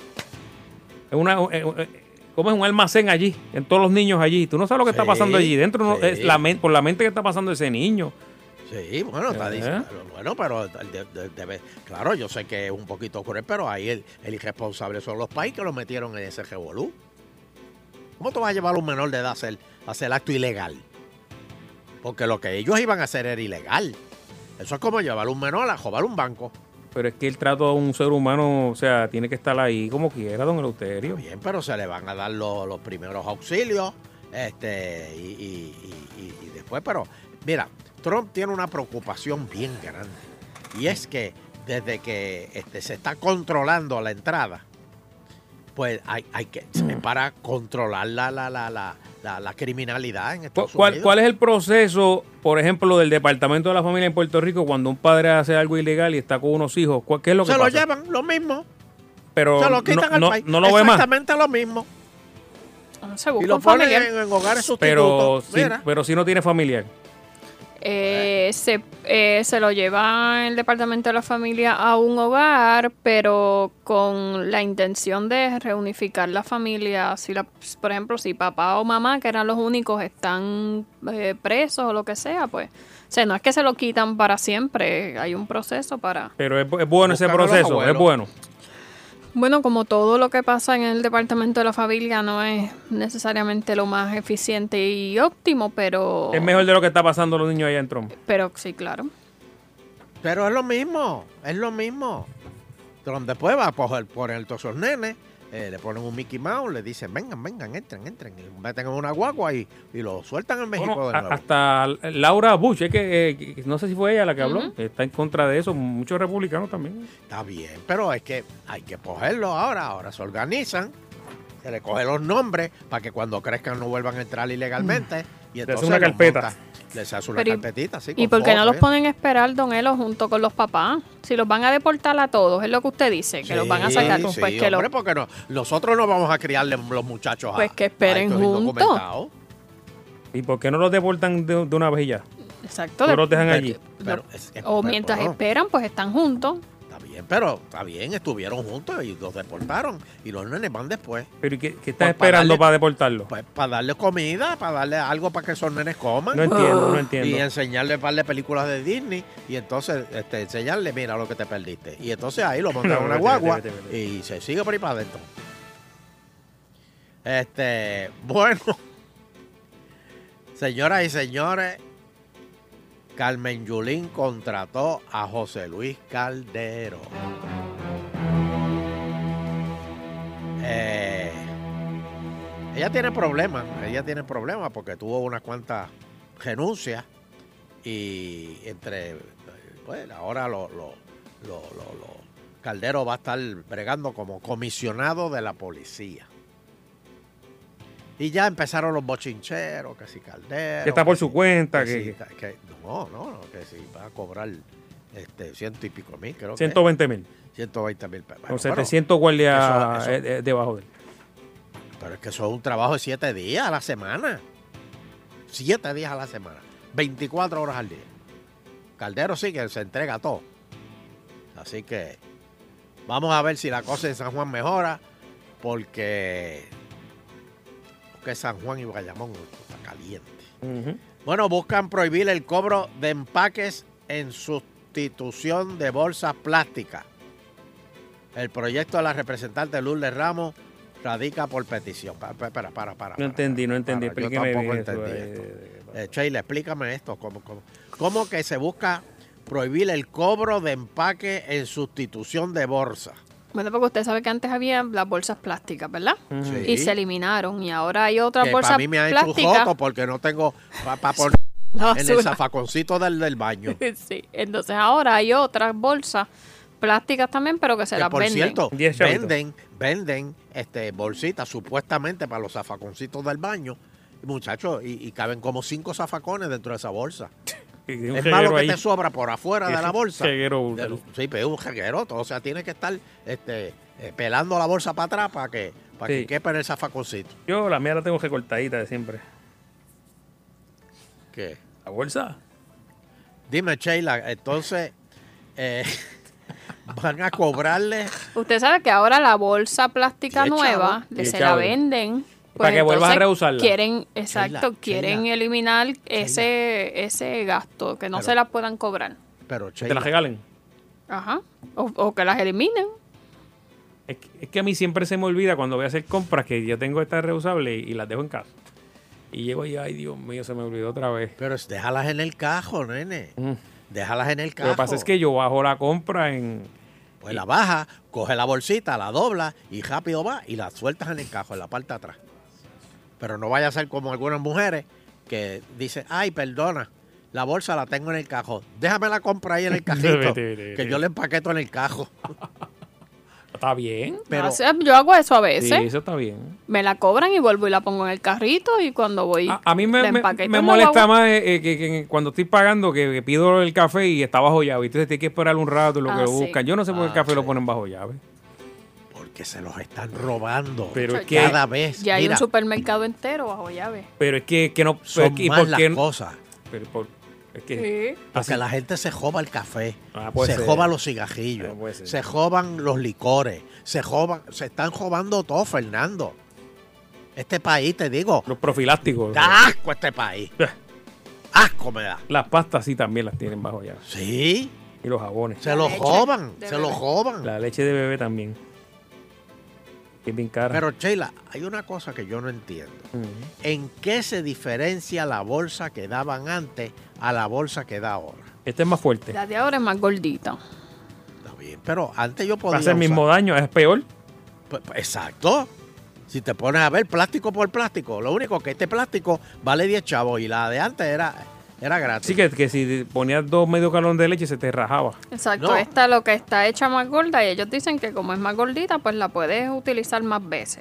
en una en- en- como es un almacén allí, en todos los niños allí. Tú no sabes lo que está Sí, pasando allí dentro, no, sí. es la men- por la mente que está pasando ese niño. Sí, bueno, está ¿Eh? diciendo, bueno, pero de- de- debe- claro, yo sé que es un poquito cruel, pero ahí el, el irresponsable son los países que lo metieron en ese revolú. ¿Cómo tú vas a llevar a un menor de edad a hacer, a hacer acto ilegal? Porque lo que ellos iban a hacer era ilegal. Eso es como llevar a un menor a robar un banco. Pero es que el trato a un ser humano, o sea, tiene que estar ahí como quiera, don Eleuterio. Bien, pero se le van a dar los, los primeros auxilios, este, y, y- y- y- y después, pero mira, Trump tiene una preocupación bien grande. Y es que desde que este, se está controlando la entrada, pues hay, hay que para controlar la, la, la, la, la, la criminalidad en Estados ¿Cuál, Unidos. ¿Cuál es el proceso, por ejemplo, del Departamento de la Familia en Puerto Rico cuando un padre hace algo ilegal y está con unos hijos? ¿Cuál- ¿Qué es lo que Se pasa? lo llevan, lo mismo. Pero se lo quitan no, al no- país. no lo ve más. Exactamente lo mismo. Se Y busca lo un ponen familiar. en, en hogares Pero sustitutos. si, Mira. pero si no tiene familiar. Eh, se, eh, se lo lleva el Departamento de la Familia a un hogar, pero con la intención de reunificar la familia. Si la, por ejemplo, si papá o mamá, que eran los únicos, están eh, presos o lo que sea, pues, o sea, no es que se lo quitan para siempre, hay un proceso para... Pero es, es bueno ese Buscan a los proceso, es abuelos. bueno. Bueno, como todo lo que pasa en el Departamento de la Familia no es necesariamente lo más eficiente y óptimo, pero... Es mejor de lo que está pasando a los niños allá en Trump. Pero sí, claro. Pero es lo mismo, es lo mismo. Trump después va a poner, poner todos esos nenes, eh, le ponen un Mickey Mouse, le dicen, vengan, vengan, entren, entren, y lo meten en una guagua y, y lo sueltan en México Bueno, de a- nuevo. hasta Laura Bush, es que, eh, que- no sé si fue ella la que habló, Ujú. está en contra de eso, muchos republicanos también. Está bien, pero es que hay que cogerlo ahora, ahora se organizan, se le cogen los nombres para que cuando crezcan no vuelvan a entrar ilegalmente. Y Le entonces hace una los carpeta. monta- Les hace una Pero y- carpetita, sí. ¿Y con por qué no fotos, los ¿eh? ponen a esperar, don Elo, junto con los papás? Si los van a deportar a todos, es lo que usted dice, que los van a sacar. Sí, Pues sí, que, lo- hombre, porque no, nosotros no vamos a criarle los muchachos a Pues que esperen a estos juntos. indocumentados. ¿Y por qué no los deportan de, de una vez y ya? Exacto. No de- los dejan de- allí. lo- Pero es- es- o pero- mientras bueno, esperan, pues están juntos. está bien, bien, pero está bien, estuvieron juntos y los deportaron. Y los nenes van después. ¿Pero y qué, qué estás Pues para esperando darle- para deportarlo? Pues para darle comida, para darle algo para que esos nenes coman. No entiendo, no entiendo. Y enseñarle par de películas de Disney. Y entonces este, enseñarle, mira lo que te perdiste. Y entonces ahí lo montan en No, una vete, guagua vete, vete, vete. y se sigue por ahí para adentro. Este, bueno. Señoras y señores, Carmen Yulín contrató a José Luis Caldero. Eh, ella tiene problemas, ella tiene problemas porque tuvo unas cuantas renuncias y entre, pues ahora lo, lo, lo, lo- lo- Caldero va a estar bregando como comisionado de la policía. Y ya empezaron los bochincheros, que si Caldero. Que está por que su si- cuenta, que que- si- que- no, no, no, que si va a cobrar este ciento y pico mil, creo que. ciento veinte mil. ciento veinte mil pesos. Con Bueno, setecientos guardias eso- eso- eh, eh, debajo de él. Pero es que eso es un trabajo de siete días a la semana. Siete días a la semana. veinticuatro horas al día. Caldero sí que se entrega todo. Así que vamos a ver si la cosa en San Juan mejora. Porque, porque San Juan y Bayamón está caliente. Bueno, buscan prohibir el cobro de empaques en sustitución de bolsas plásticas. El proyecto de la representante Lourdes Ramos radica por petición. Pa- pa- Para, para, para. No entendí, no entendí. para, yo Explíqueme tampoco bien eso, entendí eh, esto. Eh, Sheila, explícame esto. ¿Cómo, cómo, cómo que se busca prohibir el cobro de empaque en sustitución de bolsa? Bueno, porque usted sabe que antes había las bolsas plásticas, ¿verdad? Sí. Y se eliminaron. Y ahora hay otras Que bolsas para mí me ha hecho un plásticas. joto porque no tengo para poner La en el basura. zafaconcito del, del baño. Sí, entonces ahora hay otras bolsas plásticas también, pero que se Que las por venden. cierto, Diez chavitos. venden, venden este, bolsitas supuestamente para los zafaconcitos del baño. Muchachos, y, y caben como cinco zafacones dentro de esa bolsa. Y un Es malo reguero que ahí. te sobra por afuera de Es la un bolsa. reguero De- brutal. Sí, pero es un regueroto. O sea, tiene que estar este, eh, pelando la bolsa para atrás para que, para Sí. que quepa en el zafaconcito. Yo la mía la tengo recortadita de siempre. ¿Qué? ¿La bolsa? Dime, Sheila, entonces eh, van a cobrarle. Usted sabe que ahora la bolsa plástica Diez nueva chavos. le Diez se chavos. la venden. Para que vuelvas a entonces reusarla. Quieren, exacto, Sheila, quieren Sheila. eliminar ese ese gasto, que no Pero- se la puedan cobrar. Pero, Que te Sheila, la regalen. Ajá. O, o que las eliminen. Es que, es que a mí siempre se me olvida cuando voy a hacer compras que yo tengo estas reusables y, y las dejo en casa. Y llego y, ay, Dios mío, se me olvidó otra vez. pero déjalas en el cajo, nene. Mm. Déjalas en el Lo cajo. que pasa es que yo bajo la compra en... Pues la baja, coge la bolsita, la dobla y rápido va y la sueltas en el cajo, en la parte de atrás. Pero no vaya a ser como algunas mujeres que dicen, ay, perdona, la bolsa la tengo en el cajo. Déjame la compra ahí en el cajito, Vete, vete, que vete. yo le empaqueto en el cajo. Está bien. Pero, O sea, yo hago eso a Sí, veces. eso está bien. Me la cobran y vuelvo y la pongo en el carrito y cuando voy A, a mí me, la me, empaqueto me en la molesta guagua. más eh, eh, que, que cuando estoy pagando que, que pido el café y está bajo llave. Entonces tienes que esperar un rato lo Ah, que sí. buscan. Yo no sé por qué el Ah, café sí. lo ponen bajo llave. porque se los están robando. Pero es Ya- que, cada vez. Ya hay Mira, un supermercado entero bajo llave. pero es que, que no... son ¿y más por las qué no? cosas. Pero por- es que... Sí. Porque así- la gente se joba el café, Ah, puede se ser. joba los cigarrillos, Ah, puede ser. se joban los licores, se joban, se están jobando todo, Fernando. Este país, te digo, Los profilácticos. da asco este país. Asco me da. Las pastas sí también las tienen bajo llave. Sí, Y los jabones. se La lo leche joban, de se lo bebé. joban. La leche de bebé también. Que es bien cara. Pero Sheila, hay una cosa que yo no entiendo. Ujú. ¿En qué se diferencia la bolsa que daban antes a la bolsa que da ahora? Este es más fuerte. La de ahora es más gordita. Está bien, pero antes yo podía Hace el usar- mismo daño, es peor. Pues, pues, exacto. Si te pones a ver plástico por plástico, lo único que este plástico vale diez chavos y la de antes era, era gratis. Así que, que si ponías dos medio galón de leche se te rajaba. Exacto, No. esta lo que está hecha más gorda y ellos dicen que como es más gordita, pues la puedes utilizar más veces.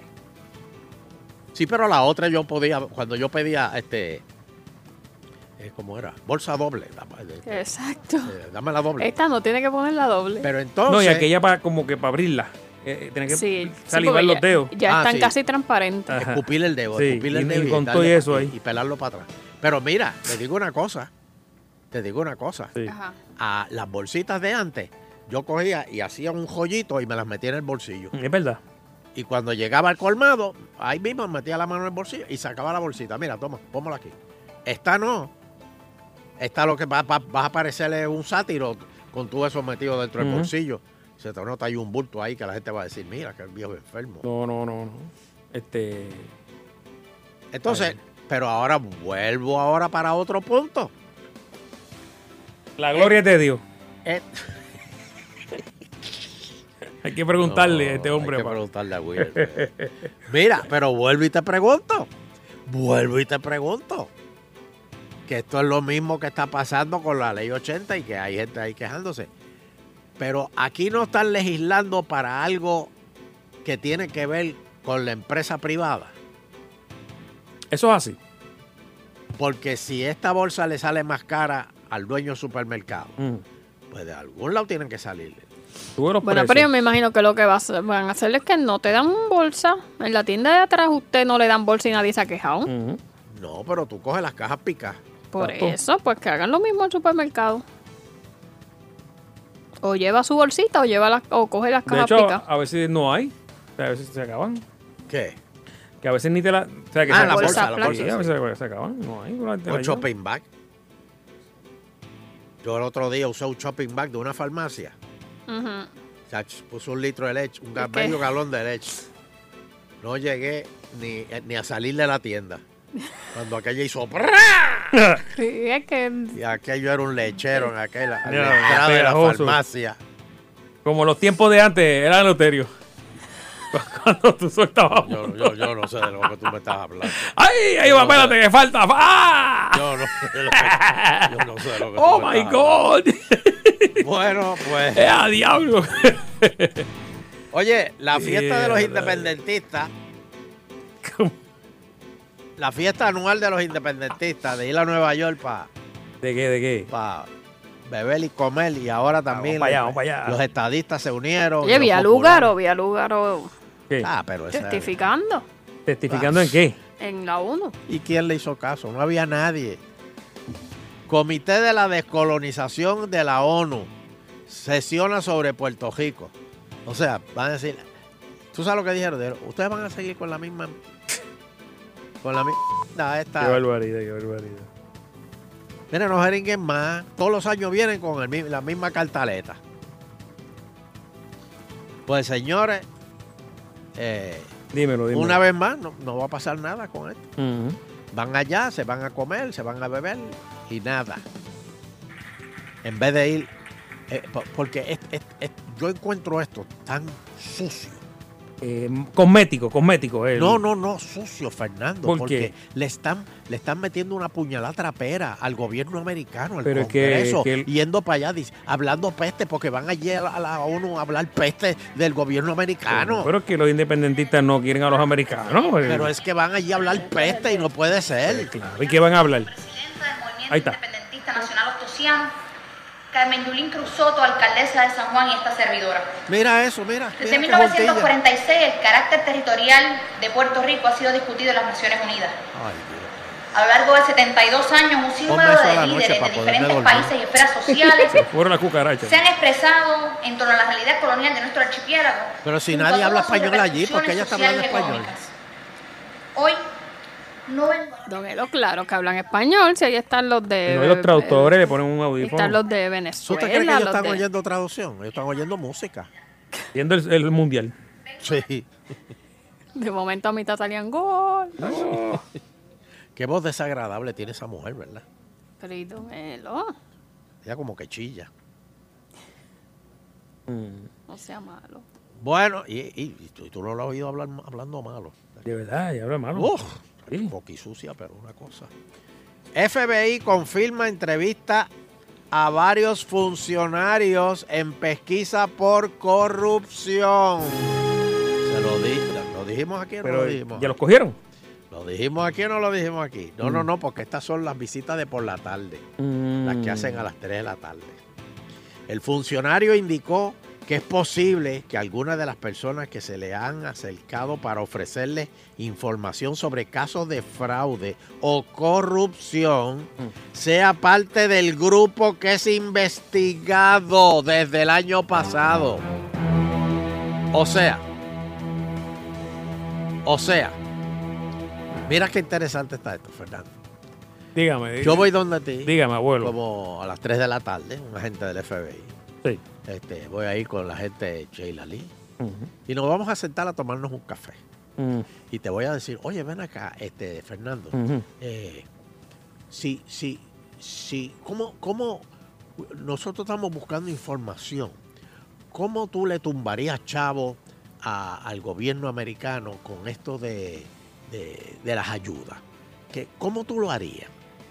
Sí, pero la otra yo podía, cuando yo pedía, este, eh, ¿cómo era? Bolsa doble. Dame, eh, Exacto. eh, dame la doble. Esta no tiene que ponerla doble. Pero entonces, No, y aquella para como que para abrirla. Eh, eh, tiene que Sí, sí, salivar porque los ya- dedos. Ya Ah, están sí. casi transparentes. Ajá. escupirle el dedo, Sí, escupirle el y- dedo y con darle- todo y eso ahí. y pelarlo para atrás. Pero mira, te digo una cosa, te digo una cosa. Sí. Ajá. A las bolsitas de antes, yo cogía y hacía un joyito y me las metía en el bolsillo. Es verdad. Y cuando llegaba al colmado, ahí mismo metía la mano en el bolsillo y sacaba la bolsita. Mira, toma, póngala aquí. Esta no. Esta lo que va, va, va a parecerle un sátiro con todo eso metido dentro del Ujú. bolsillo. Se te nota ahí un bulto ahí que la gente va a decir, mira, que el viejo enfermo. No, no, no, no. Este. Entonces, Ay. pero ahora vuelvo ahora para otro punto. La gloria es de Dios. Eh, Hay que preguntarle no, a este hombre. Hay que pa. preguntarle a Will. Mira, pero vuelvo y te pregunto. Vuelvo y te pregunto. Que esto es lo mismo que está pasando con la ley ochenta y que hay gente ahí quejándose. Pero aquí no están legislando para algo que tiene que ver con la empresa privada. Eso es así. Porque si esta bolsa le sale más cara al dueño del supermercado, Mm. pues de algún lado tienen que salir. Sube los Bueno, precios. pero yo me imagino que lo que va a hacer- van a hacer es que no te dan bolsa. En la tienda de atrás usted no le dan bolsa y nadie se ha quejado. Ujú. No, pero tú coges las cajas picas. Por Exacto. eso, pues que hagan lo mismo en el supermercado. O lleva su bolsita o lleva las, o coge las De cajas hecho, picas. a veces no hay. O sea, a veces se acaban. ¿Qué? Que a veces ni te la. O sea, que Ah, se, la se- bolsa, la sí, bolsa, a sí. veces se acaban. No hay. no te la Un llevan. shopping bag. Yo el otro día usé un shopping bag de una farmacia. Ujú. Chach, puso un litro de leche, un ga- qué? medio galón de leche. No llegué ni, ni a salir de la tienda. Cuando aquella hizo ¡prá! Sí, es que Y aquello era un lechero en aquella en Mira, la entrada de la pegajoso. farmacia. Como los tiempos de antes, era Loterio. Cuando tú soltabas. Yo, yo, yo no sé de lo que tú me estás hablando. ¡Ay! Ahí va, espérate, que falta. ¡Ah! Yo no sé de lo que, yo no sé de lo que tú ¡Oh, me my estás God! hablando. Bueno, pues. ¡Eh, a diablo! Oye, la fiesta de los Mierda. independentistas, ¿Cómo? la fiesta anual de los independentistas, de ir a Nueva York para ¿De qué? ¿De qué? pa beber y comer, y ahora también Vamos para allá, los, vamos para allá. los estadistas se unieron. Oye, los Villalúgaro, populares. Villalúgaro ¿Qué? Ah, pero esa- testificando ¿Testificando en qué? en la ONU. ¿Y quién le hizo caso? No había nadie. Comité de la Descolonización de la ONU sesiona sobre Puerto Rico. O sea, van a decir, ¿tú sabes lo que dijeron? Dijeron, ustedes van a seguir con la misma, con la misma, Qué esta. barbaridad, qué barbaridad. Miren, no jeringuen más. Todos los años vienen con el mi- la misma cartaleta. Pues señores, eh, Dímelo, dímelo. una vez más, no, no va a pasar nada con esto. Ujú. Van allá, se van a comer, se van a beber y nada. En vez de ir, eh, po- porque es- es- es- yo encuentro esto tan sucio. Eh, cosmético, cosmético. el- No, no, no, sucio, Fernando. ¿Por porque qué? le están, le están metiendo una puñalada trapera al gobierno americano, al Pero es que- Congreso, que el- yendo para allá, dic- hablando peste, porque van allí a la, a la ONU a hablar peste del gobierno americano. Pero es que los independentistas no quieren a los americanos. pues. Pero es que van allí a hablar peste y no puede ser. Claro, ¿y qué van a hablar? Presidenta del Movimiento Ahí está. Independentista Nacional Ostosiano, Carmen Yulín Cruz Soto, alcaldesa de San Juan y esta servidora. Mira eso, mira. Desde mira mil qué novecientos juntilla. cuarenta y seis el carácter territorial de Puerto Rico ha sido discutido en las Naciones Unidas. Ay, Dios. A lo largo de setenta y dos años, un Ponme sinnúmero eso a la de noche líderes para de poderme diferentes dormir. países y esferas sociales Fueron las cucarachas. se han expresado en torno a la realidad colonial de nuestro archipiélago. Pero si junto nadie a habla todas sus español allí, ¿por qué ella repercusiones está hablando sociales y español? económicas. Hoy no vengo a Don Elo, claro que hablan español. Si ahí están los de. No, y los traductores le ponen un eh, audífono. Están los de ¿Tú Venezuela. te crees que ellos los están de- oyendo traducción? Ellos están oyendo música. Viendo el, el mundial. Sí. De momento a mitad salían gol. Qué voz desagradable tiene esa mujer, ¿verdad? Pero y Don Elo, Ella como que chilla. no sea malo. Bueno, y, y- y tú, tú no lo has oído hablar, hablando malo. De verdad, y habla malo. Uf, Sí. poquisucia, pero una cosa. F B I confirma entrevista a varios funcionarios en pesquisa por corrupción. Se lo, di, lo dijimos aquí o no Pero lo dijimos. ya los cogieron. ¿Lo dijimos aquí o no lo dijimos aquí? No, no, Mm. no, porque estas son las visitas de por la tarde, Mm. las que hacen a las tres de la tarde. El funcionario indicó que es posible que algunas de las personas que se le han acercado para ofrecerles información sobre casos de fraude o corrupción sea parte del grupo que es investigado desde el año pasado. O sea, o sea, mira qué interesante está esto, Fernando. Dígame, dígame. Yo voy donde ti. Dígame, abuelo. Como a las tres de la tarde, un agente del F B I. Sí. Este, voy a ir con la gente de Sheila Lee. Uh-huh. Y nos vamos a sentar a tomarnos un café. Uh-huh. Y te voy a decir, oye, ven acá, este, Fernando. Uh-huh. Eh, si, si, si, ¿cómo, cómo nosotros estamos buscando información? ¿Cómo tú le tumbarías chavo a, al gobierno americano con esto de, de, de las ayudas? ¿Qué, ¿Cómo tú lo harías?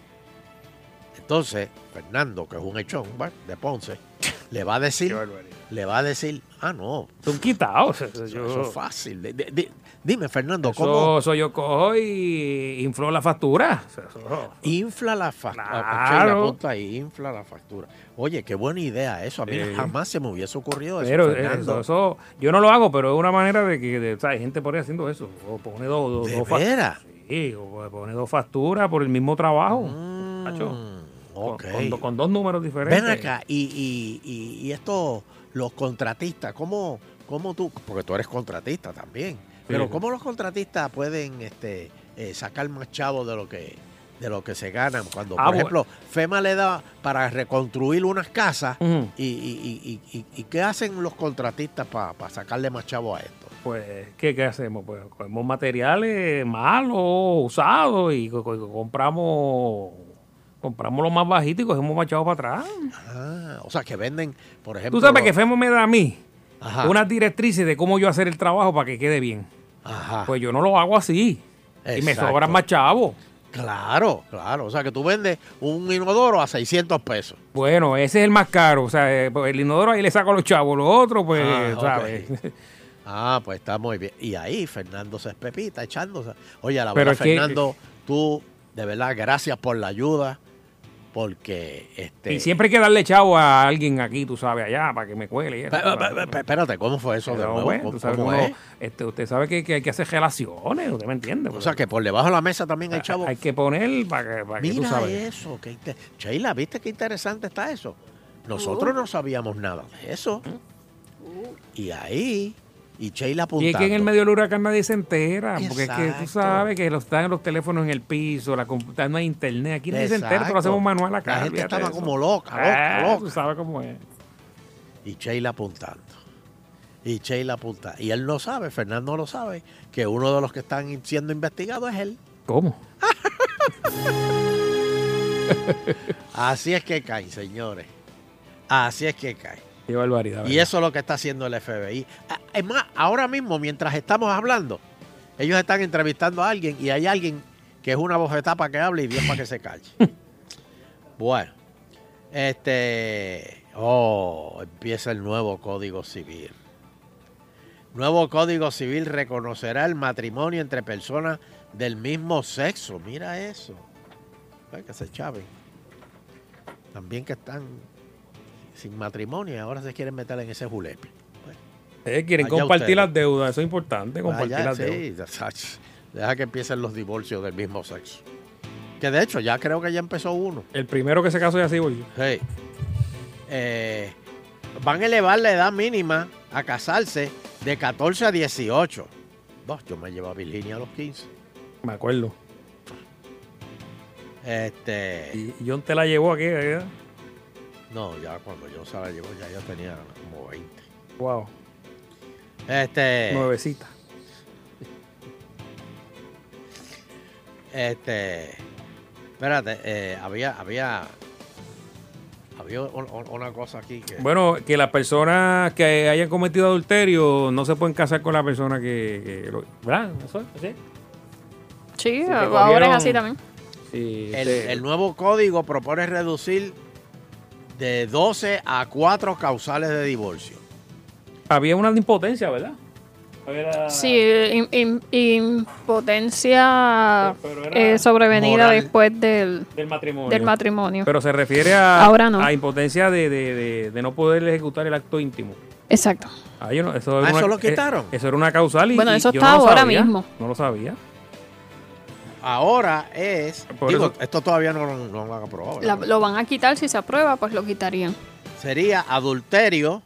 Entonces, Fernando, que es un echón, ¿va? De Ponce, le va a decir, le va a decir, ah, no. Son quitados. Eso, yo, eso es fácil. D- d- dime, Fernando, eso, ¿cómo? Eso yo cojo y inflo la factura. Eso, infla la factura. Claro. Apunta ahí, infla la factura. Oye, qué buena idea eso. A mí Sí. jamás se me hubiese ocurrido eso, Pero Fernando. eso, eso, yo no lo hago, pero es una manera de que de, o sea, hay gente por ahí haciendo eso. O pone dos, dos, ¿De dos fa- veras? Sí, o pone dos facturas por el mismo trabajo. Mm, Macho. ok. Con, con, con dos números diferentes. Ven acá, y, y, y, y estos, los contratistas, ¿cómo, cómo tú? Porque tú eres contratista también. Pero Sí. ¿cómo los contratistas pueden este, eh, sacar más chavos de lo que de lo que se ganan? Cuando, Ah, por bueno. ejemplo, FEMA le da para reconstruir unas casas, Ujú. y, y, y, y, y ¿qué hacen los contratistas para sacarle más chavos a esto? Pues, ¿qué, qué hacemos? Pues cogemos materiales malos, usados, y co- co- compramos compramos lo más bajito y cogemos más chavos para atrás. Ah, o sea, que venden, por ejemplo... Tú sabes los- que FEMA me da a mí Ajá. unas directrices de cómo yo hacer el trabajo para que quede bien. Ajá. Pues yo no lo hago así. Y me Exacto. sobran más chavos. Claro, claro. O sea, que tú vendes un inodoro a seiscientos pesos. Bueno, ese es el más caro. O sea, eh, pues el inodoro ahí le saco los chavos. Los otros, pues, Ah, ¿sabes? ok. Ah, pues está muy bien. Y ahí Fernando se espepita echándose. Oye, a la Pero verdad, es que- Fernando, tú, de verdad, gracias por la ayuda, porque este. Y siempre hay que darle chavo a alguien aquí, tú sabes, allá, para que me cuele. y eso, Pe- pe- ¿sabes? pe- Espérate, ¿cómo fue eso de Pero, nuevo? bueno, ¿Cómo, tú sabes cómo que uno- es? este, usted sabe que, que hay que hacer relaciones, usted me entiende. O sea, que por debajo de la mesa también hay chavos. Hay que poner para que, para que tú Mira sabes. eso, qué inte- Sheila, ¿viste qué interesante está eso? Nosotros no sabíamos nada de eso. Y ahí, y Sheila Y apuntando. es que en el medio del huracán nadie se entera, porque es que tú Exacto. sabes que los, están los teléfonos en el piso, la computadora, no hay internet, aquí nadie se entera, Exacto. todo lo hacemos manual acá. La gente olvídate estaba de eso. como loca, loca, Ah, loca. Tú sabes cómo es. Y Sheila apuntando. Y Sheila apunta. Y él no sabe, Fernando lo sabe, que uno de los que están siendo investigados es él. ¿Cómo? Así es que caen, señores. Así es que caen. Qué barbaridad. Y ¿verdad? eso es lo que está haciendo el F B I. Ah, Es más, ahora mismo, mientras estamos hablando, ellos están entrevistando a alguien y hay alguien que es una bofetada para que hable y Dios para que se calle. Bueno, este... Oh, empieza el nuevo Código Civil. Nuevo Código Civil reconocerá el matrimonio entre personas del mismo sexo. Mira eso. Ay, que se chaven. También que están sin matrimonio y ahora se quieren meter en ese julepe. Eh, quieren allá compartir ustedes. las deudas, eso es importante, compartir Allá, las sí, deudas. sach, deja que empiecen los divorcios del mismo sexo. Que de hecho ya creo que ya empezó uno. El primero que se casó ya se divorció. Sí. Eh, van a elevar la edad mínima a casarse de catorce a dieciocho. Dos, yo me llevo a Virginia a los quince. Me acuerdo. Este. Y John te la llevó aquí, ¿verdad? No, ya cuando yo se la llevo ya yo tenía como veinte. Wow. Este. Nuevecita. Este. Espérate, eh, había, había. Había un- un- una cosa aquí que. Bueno, que las personas que hayan cometido adulterio no se pueden casar con la persona que... que lo- ¿Verdad? ¿Eso es? ¿Sí? Sí, que ahora cogieron- es así también. Sí, El, este- el nuevo código propone reducir de doce a cuatro causales de divorcio. Había una de impotencia, ¿verdad? Era... Sí, im- im- impotencia Pero- pero era eh, sobrevenida moral. después del, del matrimonio. del matrimonio. Pero se refiere a, Ahora no. a impotencia de, de, de, de no poder ejecutar el acto íntimo. Exacto. Ah, yo no- eso, Ah, era ¿eso una- lo quitaron? eh, eso era una causal y Bueno, y eso yo está no lo ahora sabía, mismo. No lo sabía. Ahora es. Por digo, eso- esto todavía no, lo- no lo han aprobado. La- ¿verdad? lo van a quitar si se aprueba, pues lo quitarían. Sería adulterio,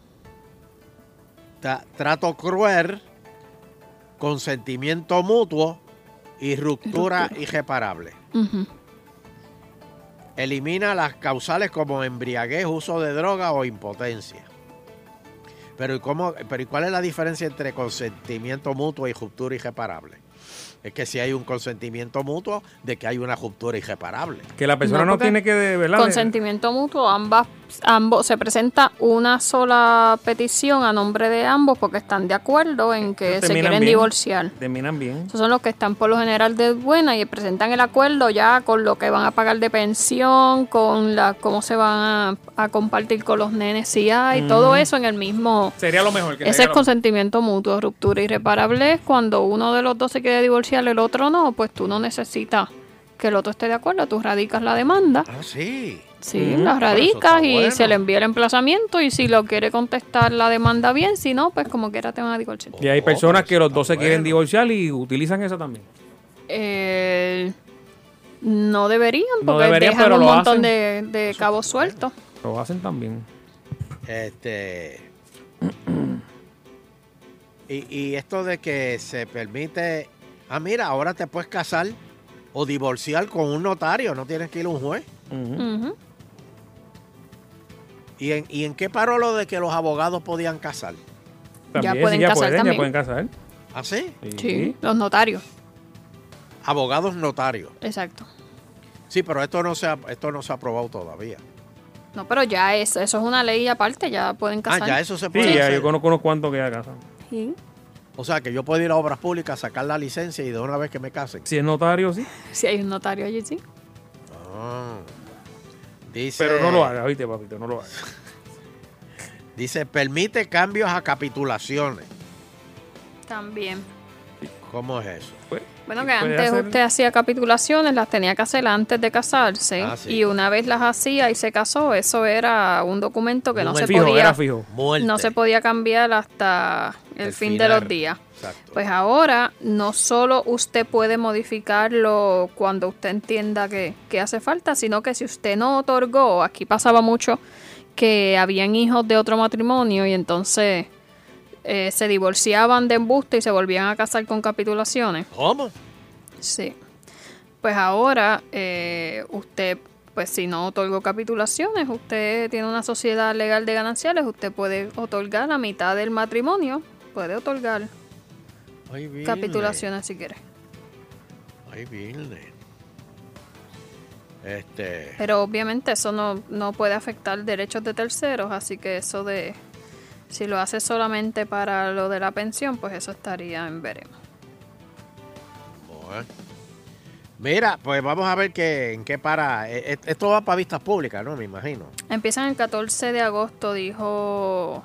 tra- trato cruel, consentimiento mutuo y ruptura irreparable. Ujú. Elimina las causales como embriaguez, uso de droga o impotencia. Pero ¿y cómo, pero ¿y cuál es la diferencia entre consentimiento mutuo y ruptura irreparable? Es que si hay un consentimiento mutuo, de que hay una ruptura irreparable. Que la persona No, no, porque tiene que, de verdad. Consentimiento mutuo, ambas, ambos, se presenta una sola petición a nombre de ambos porque están de acuerdo en que se terminan quieren bien. divorciar. Terminan bien. Esos son los que están por lo general de buena y presentan el acuerdo ya con lo que van a pagar de pensión, con la cómo se van a, a compartir con los nenes si hay, Ujú. todo eso en el mismo. Sería lo mejor. Que Ese sería es lo- consentimiento mutuo. Ruptura irreparable es cuando uno de los dos se quiere divorciar, el otro no, pues tú no necesitas que el otro esté de acuerdo, tú radicas la demanda. Ah, sí. Sí, Ujú. la Pero eso radicas está y bueno. se le envía el emplazamiento y si lo quiere contestar la demanda bien, si no, pues como quiera te van a divorciar. Y hay Oh, personas pero que los está dos se quieren bueno. divorciar y utilizan eso también. Eh, no deberían No porque deberían, dejan pero un lo montón hacen. de, de cabos sueltos. Lo hacen también. Este. y, y esto de que se permite. Ah, mira, ahora te puedes casar o divorciar con un notario, no tienes que ir a un juez. Ujú. Ujú. ¿Y en, ¿Y en qué paró lo de que los abogados podían casar? También, pueden sí, ya casar pueden, también. ya pueden casar. ¿Ah, sí? Sí, los notarios, Abogados notarios. exacto. Sí, pero esto no se ha, esto no se ha aprobado todavía. No, pero ya es, eso es una ley aparte, ya pueden casar. Ah, ya eso se Sí, puede ya, hacer. yo conozco unos cuantos que ya casan. Sí. O sea, que yo puedo ir a obras públicas, sacar la licencia y de una vez que me casen. Si es notario, sí. Si hay un notario allí, sí. Ah. Dice, Pero no lo haga, ¿viste, papito? No lo haga. Dice, permite cambios a capitulaciones. También. ¿Cómo es eso? Pues, Bueno, y que puede antes hacer- usted hacía capitulaciones, las tenía que hacer antes de casarse. Ah, sí. Y una vez las hacía y se casó, eso era un documento que no Un se fijo, podía era fijo. Muerte. no se podía cambiar hasta el, El fin final. de los días. Exacto. Pues ahora no solo usted puede modificarlo cuando usted entienda que, que hace falta, sino que si usted no otorgó, aquí pasaba mucho que habían hijos de otro matrimonio y entonces eh, se divorciaban de embuste y se volvían a casar con capitulaciones. ¿Cómo? Sí. Pues ahora eh, usted, pues si no otorgó capitulaciones, usted tiene una sociedad legal de gananciales, usted puede otorgar la mitad del matrimonio, puede otorgar Ay, Virne. capitulaciones si quiere. Ay, Virne. Este. Pero obviamente eso no, no puede afectar derechos de terceros, así que eso de, si lo hace solamente para lo de la pensión, pues eso estaría en veremos. Bueno. Mira, pues vamos a ver qué, en qué para. E- e- Esto va para vistas públicas, ¿no? Me imagino. Empiezan el catorce de agosto, dijo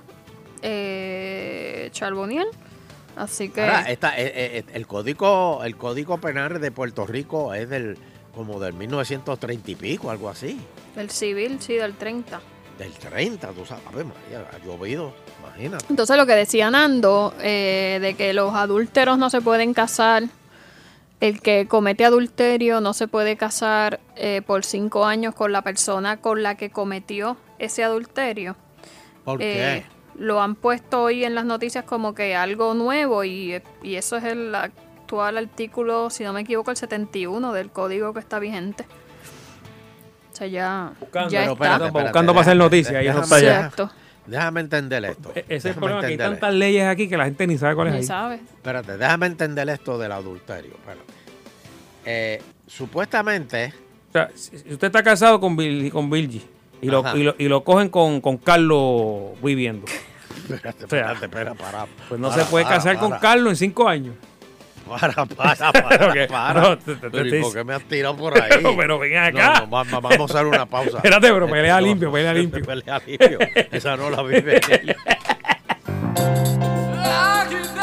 eh, Charbonnier. Así que Ahora, esta, eh, eh, el código, el código penal de Puerto Rico es del como del mil novecientos treinta y pico, algo así. el civil, sí, del treinta. Del treinta, tú sabes, Ave María, ha llovido, imagínate. Entonces lo que decía Nando, eh, de que los adúlteros no se pueden casar, el que comete adulterio no se puede casar eh, por cinco años con la persona con la que cometió ese adulterio. ¿Por Eh, qué? lo han puesto hoy en las noticias como que algo nuevo y, y eso es el actual artículo, si no me equivoco, el setenta y uno del código que está vigente. O sea, ya, Buscando, ya pero está. espérate, buscando para hacer noticias y eso está allá. Exacto. Déjame entender esto. E- Ese es el Déjame problema, que hay entender tantas leyes aquí que la gente ni sabe cuál es Ni ahí. sabe. Espérate, déjame entender esto del adulterio. Espérate. Eh, supuestamente, O sea, si si usted está casado con Bill, con Bilgi y lo, Ajá. y, lo, y lo cogen con, con Carlos viviendo, espérate, O sea, espérate, espera, para. pues no para, se puede para, casar con para. Carlos en cinco años. Para, para, para, Ok, para. no, te- te- Pero, te- ¿y por qué me has tirado por ahí? Pero, pero ven acá. No, no, va- va- vamos a hacer una pausa. Espérate, pero Este, pelea no, limpio, no, pelea limpio. Pelea limpio. Esa no la vive. Aquí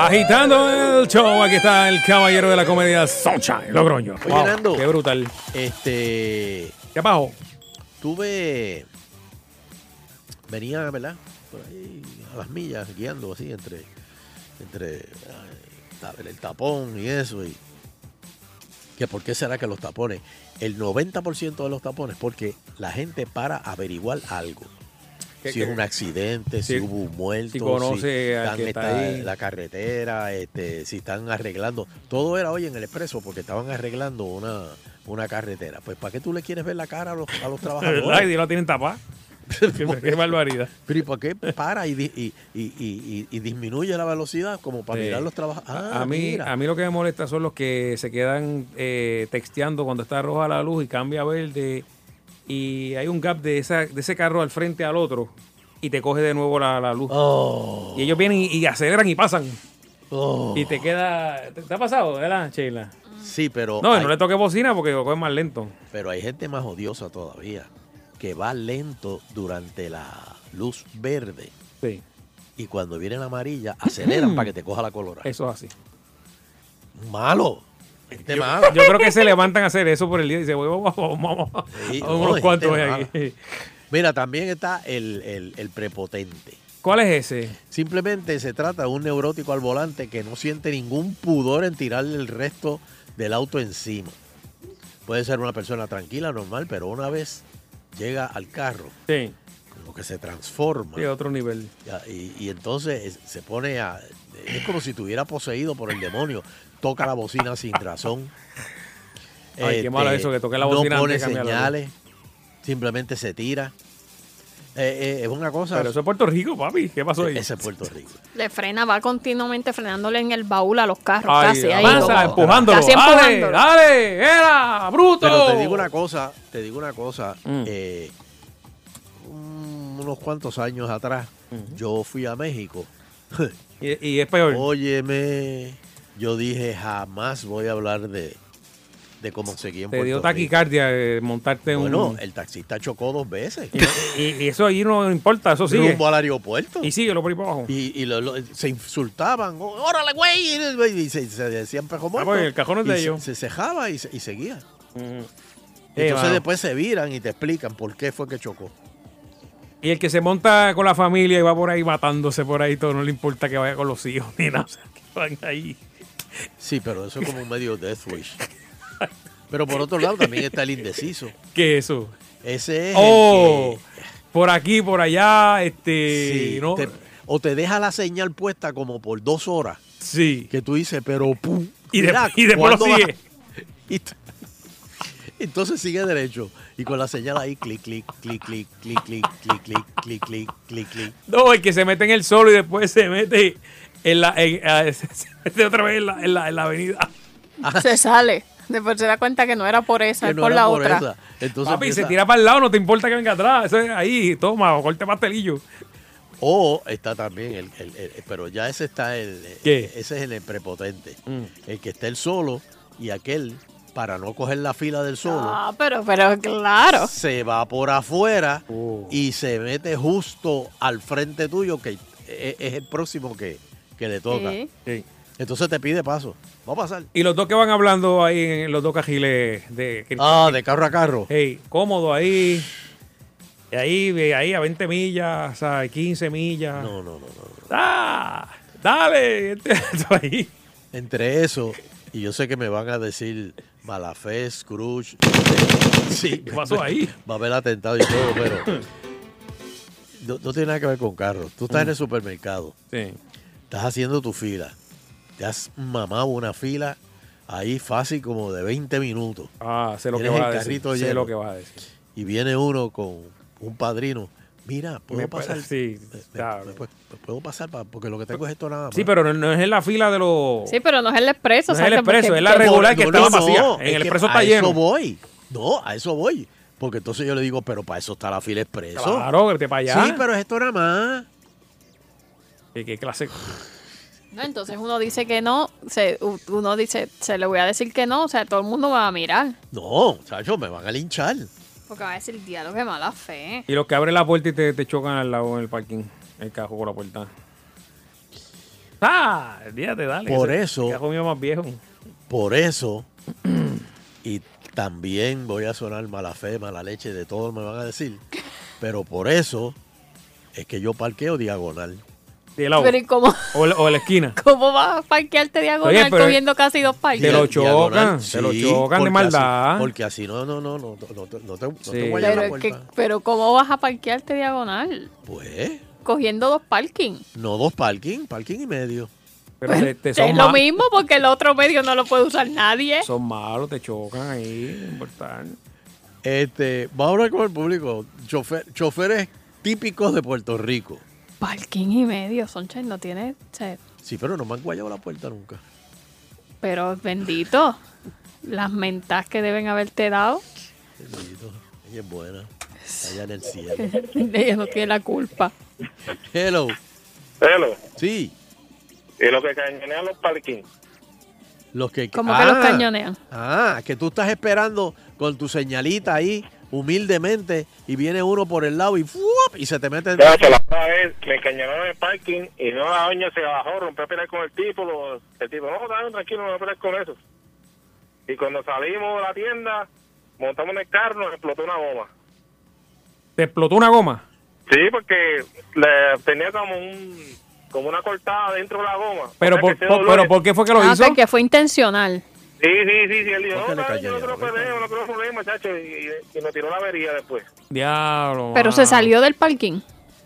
Agitando el show, aquí está el caballero de la comedia Sunshine Logroño. Oye, Wow, Nando, qué brutal. Este. ¿Qué pasó? Tuve. Venía, ¿verdad? Por ahí a las millas, guiando así entre. Entre ay, el tapón y eso. Y, que ¿por qué será que los tapones? El noventa por ciento de los tapones, porque la gente para averiguar algo. ¿Qué, Si qué? es un accidente, Sí. si hubo un muerto, Si conoce si al están que está esta- ahí. la carretera, este, si están arreglando. Todo era hoy en el expreso porque estaban arreglando una, una carretera. Pues ¿para qué tú le quieres ver la cara a los, a los ¿Verdad? trabajadores? Y no tienen tapada. qué, qué barbaridad. Pero ¿y por qué para y, di- y, y, y- y- y disminuye la velocidad como para Sí. mirar los trabajadores? Ah, a, mí, mira. a mí lo que me molesta son los que se quedan eh, texteando cuando está roja la luz y cambia a verde y hay un gap de, esa, de ese carro al frente al otro y te coge de nuevo la, la luz. Oh. Y ellos vienen y, y aceleran y pasan. Oh. Y te queda... ¿Te, te ha pasado, verdad, Sheila? Sí, pero No, y hay, no le toque bocina porque lo coge más lento. pero hay gente más odiosa todavía que va lento durante la luz verde Sí, y cuando viene la amarilla aceleran para que te coja la colorada. eso es así. Malo. Gente Yo, mala. yo creo que se levantan a hacer eso por el día y dicen, vamos, vamos, vamos, Sí, vamos no, unos hay cuantos gente ahí. mala. Mira, también está el, el- el prepotente. ¿Cuál es ese? Simplemente se trata de un neurótico al volante que no siente ningún pudor en tirarle el resto del auto encima. Puede ser una persona tranquila, normal, pero una vez llega al carro, Sí, como que se transforma. sí, otro nivel. Ya, Y, y entonces es- se pone a... Es como si estuviera poseído por el demonio. Toca la bocina sin razón. Ay, qué malo eso, que toque la bocina No antes pone de cambiar la señales. Simplemente se tira. Eh, eh, es una cosa... Pero eso es Puerto Rico, papi. ¿Qué pasó ahí? Ese es Puerto Rico. Le frena, va continuamente frenándole en el baúl a los carros, Ay, casi. ahí avanza, lo- empujándolo. Casi Dale, empujándolo. dale, era, bruto. Pero te digo una cosa, te digo una cosa. Mm. eh, un- unos cuantos años atrás, yo fui a México. Y, y es peor. Óyeme, yo dije, jamás voy a hablar de, de cómo seguí en Te Puerto dio Rico. taquicardia eh, montarte en Bueno, un... el taxista chocó dos veces. Y, y- y eso allí no importa, eso sigue. Rumbo al aeropuerto. Y sigue lo por ahí para abajo. Y, y lo- lo- se insultaban. "Ó- ¡Órale, güey! Y se, se decían pejo muerto. pues, el cajón es de Y se- ellos. Se cejaba y, se- y seguía. Ujú. Y Eh, entonces mano. después se viran y te explican por qué fue que chocó. Y el que se monta con la familia y va por ahí matándose por ahí, todo no le importa que vaya con los hijos ni nada. O sea, que van ahí. Sí, pero eso es como un medio death wish. Pero por otro lado también está el indeciso. ¿Qué es eso? Ese es Oh, el por aquí, por allá, que este... sí, ¿no? te- o te deja la señal puesta como por dos horas. Sí. Que tú dices, pero pum. Y, de- mira, y después lo ¿cuándo sigue. va? Y t- entonces sigue derecho. Y con la señal ahí, clic, clic, clic, clic, clic, clic, clic, clic, clic, clic, clic, clic. No, el que se mete en el solo y después se mete en la... en- a- se mete otra vez en la, en la, en la avenida. Se sale. Después se da cuenta que no era por esa, Que es no por era la por otra. esa. Entonces Papi, se empieza- tira para el lado, no te importa que venga atrás. Eso es ahí, toma, corte pastelillo. O está también, el, el- el- pero ya ese está el... ¿Qué? Ese es el prepotente. Mm. El que está el solo y aquel, para no coger la fila del solo, Ah, pero, pero claro. se va por afuera Oh. y se mete justo al frente tuyo, que es, es el próximo que, que le toca. Sí. Sí. Entonces te pide paso. Va a pasar. Y los dos que van hablando ahí en los dos cajiles de... Ah, de carro a carro. Hey, cómodo ahí. Y ahí, ahí a veinte millas, o sea, quince millas. No, no, no, no. ¡Ah! ¡Dale! Esto ahí. Entre eso, y yo sé que me van a decir Malafé, Scrooge. Sí, ¿Qué pasó ahí? Va a haber atentado y todo, pero no, no tiene nada que ver con carros. Tú estás en el supermercado, Sí. estás haciendo tu fila, te has mamado una fila ahí fácil como de veinte minutos. Ah, sé lo que Tienes vas a el decir. carrito Sé lleno. lo que vas a decir. Y viene uno con un padrino. Mira, ¿puedo Me pasar? puede- sí, Me- claro. me- me- me ¿Puedo pasar? pa- Porque lo que tengo es esto nada más. Sí, pero no, no es en la fila de los... Sí, pero no es el expreso. No es el exacto, expreso, porque- es la porque- regular que No, estaba no, vacía. no, En es el que expreso a está lleno. eso voy. No, a eso voy. Porque entonces yo le digo, pero para eso está la fila expreso. Claro, vete para allá. Sí, pero es esto nada más. ¿Qué, qué clase? No, entonces uno dice que no, se, u- uno dice, se le voy a decir que no, o sea, todo el mundo va a mirar. No, chacho, me van a linchar. Porque va a decir, diálogo, qué mala fe. Y los que abren la puerta y te, te chocan al lado en el parking. El carro por la puerta. Ah, fíjate, dale. Por ese eso- cajón mío más viejo. Por eso, y también voy a sonar mala fe, mala leche, de todo me van a decir, pero por eso es que yo parqueo diagonal. De lado. Pero ¿y cómo, O, la- o la esquina. cómo vas a parquearte diagonal Oye, pero- cogiendo casi dos parques? Te lo Diagonal, chocan, te lo sí, chocan de porque maldad. así- porque así no, no, no, no, no, no te, no te, no Sí. te guayas Pero, la es que- puerta. pero ¿cómo vas a parquearte diagonal? Pues, Cogiendo dos parking. no dos parking, parking y medio. Pero te, te Es son, lo ma- mismo porque el otro medio no lo puede usar nadie. son malos, te chocan ahí. no importa. Este, vamos a hablar con el público. Chofer, choferes típicos de Puerto Rico. Parking y medio, Sunshine no tiene... se- Sí, pero no me han guayado la puerta nunca. Pero bendito, las mentas que deben haberte dado, Bendito, ella es buena. Allá en el cielo. ella no tiene la culpa. Hello. Hello. Sí. Y lo que cañonean los parking. Los que, Como que los cañonean. Ah, que tú estás esperando con tu señalita ahí, humildemente, y viene uno por el lado y ¡fuop! Y se te mete en... Ya, se la otra vez me cañonaron en el parking y no, la doña se bajó, rompió a pelear con el tipo. Lo, el tipo, no, dale, tranquilo, no voy a pelear con eso. Y cuando salimos de la tienda, montamos en el carro, nos explotó una goma. ¿Te explotó una goma? Sí, porque le tenía como un como una cortada dentro de la goma. Pero, O sea, por, que ese por- dolor pero es- ¿por qué fue que lo Ah, hizo? ok, que fue intencional. Sí, sí, sí, sí. Él dijo, ¿Por qué no, le dale, yo no cayeron? quiero pelea, no quiero problema, chacho. Y, y nos tiró la avería después. Diablo. Pero mano. se salió del parking.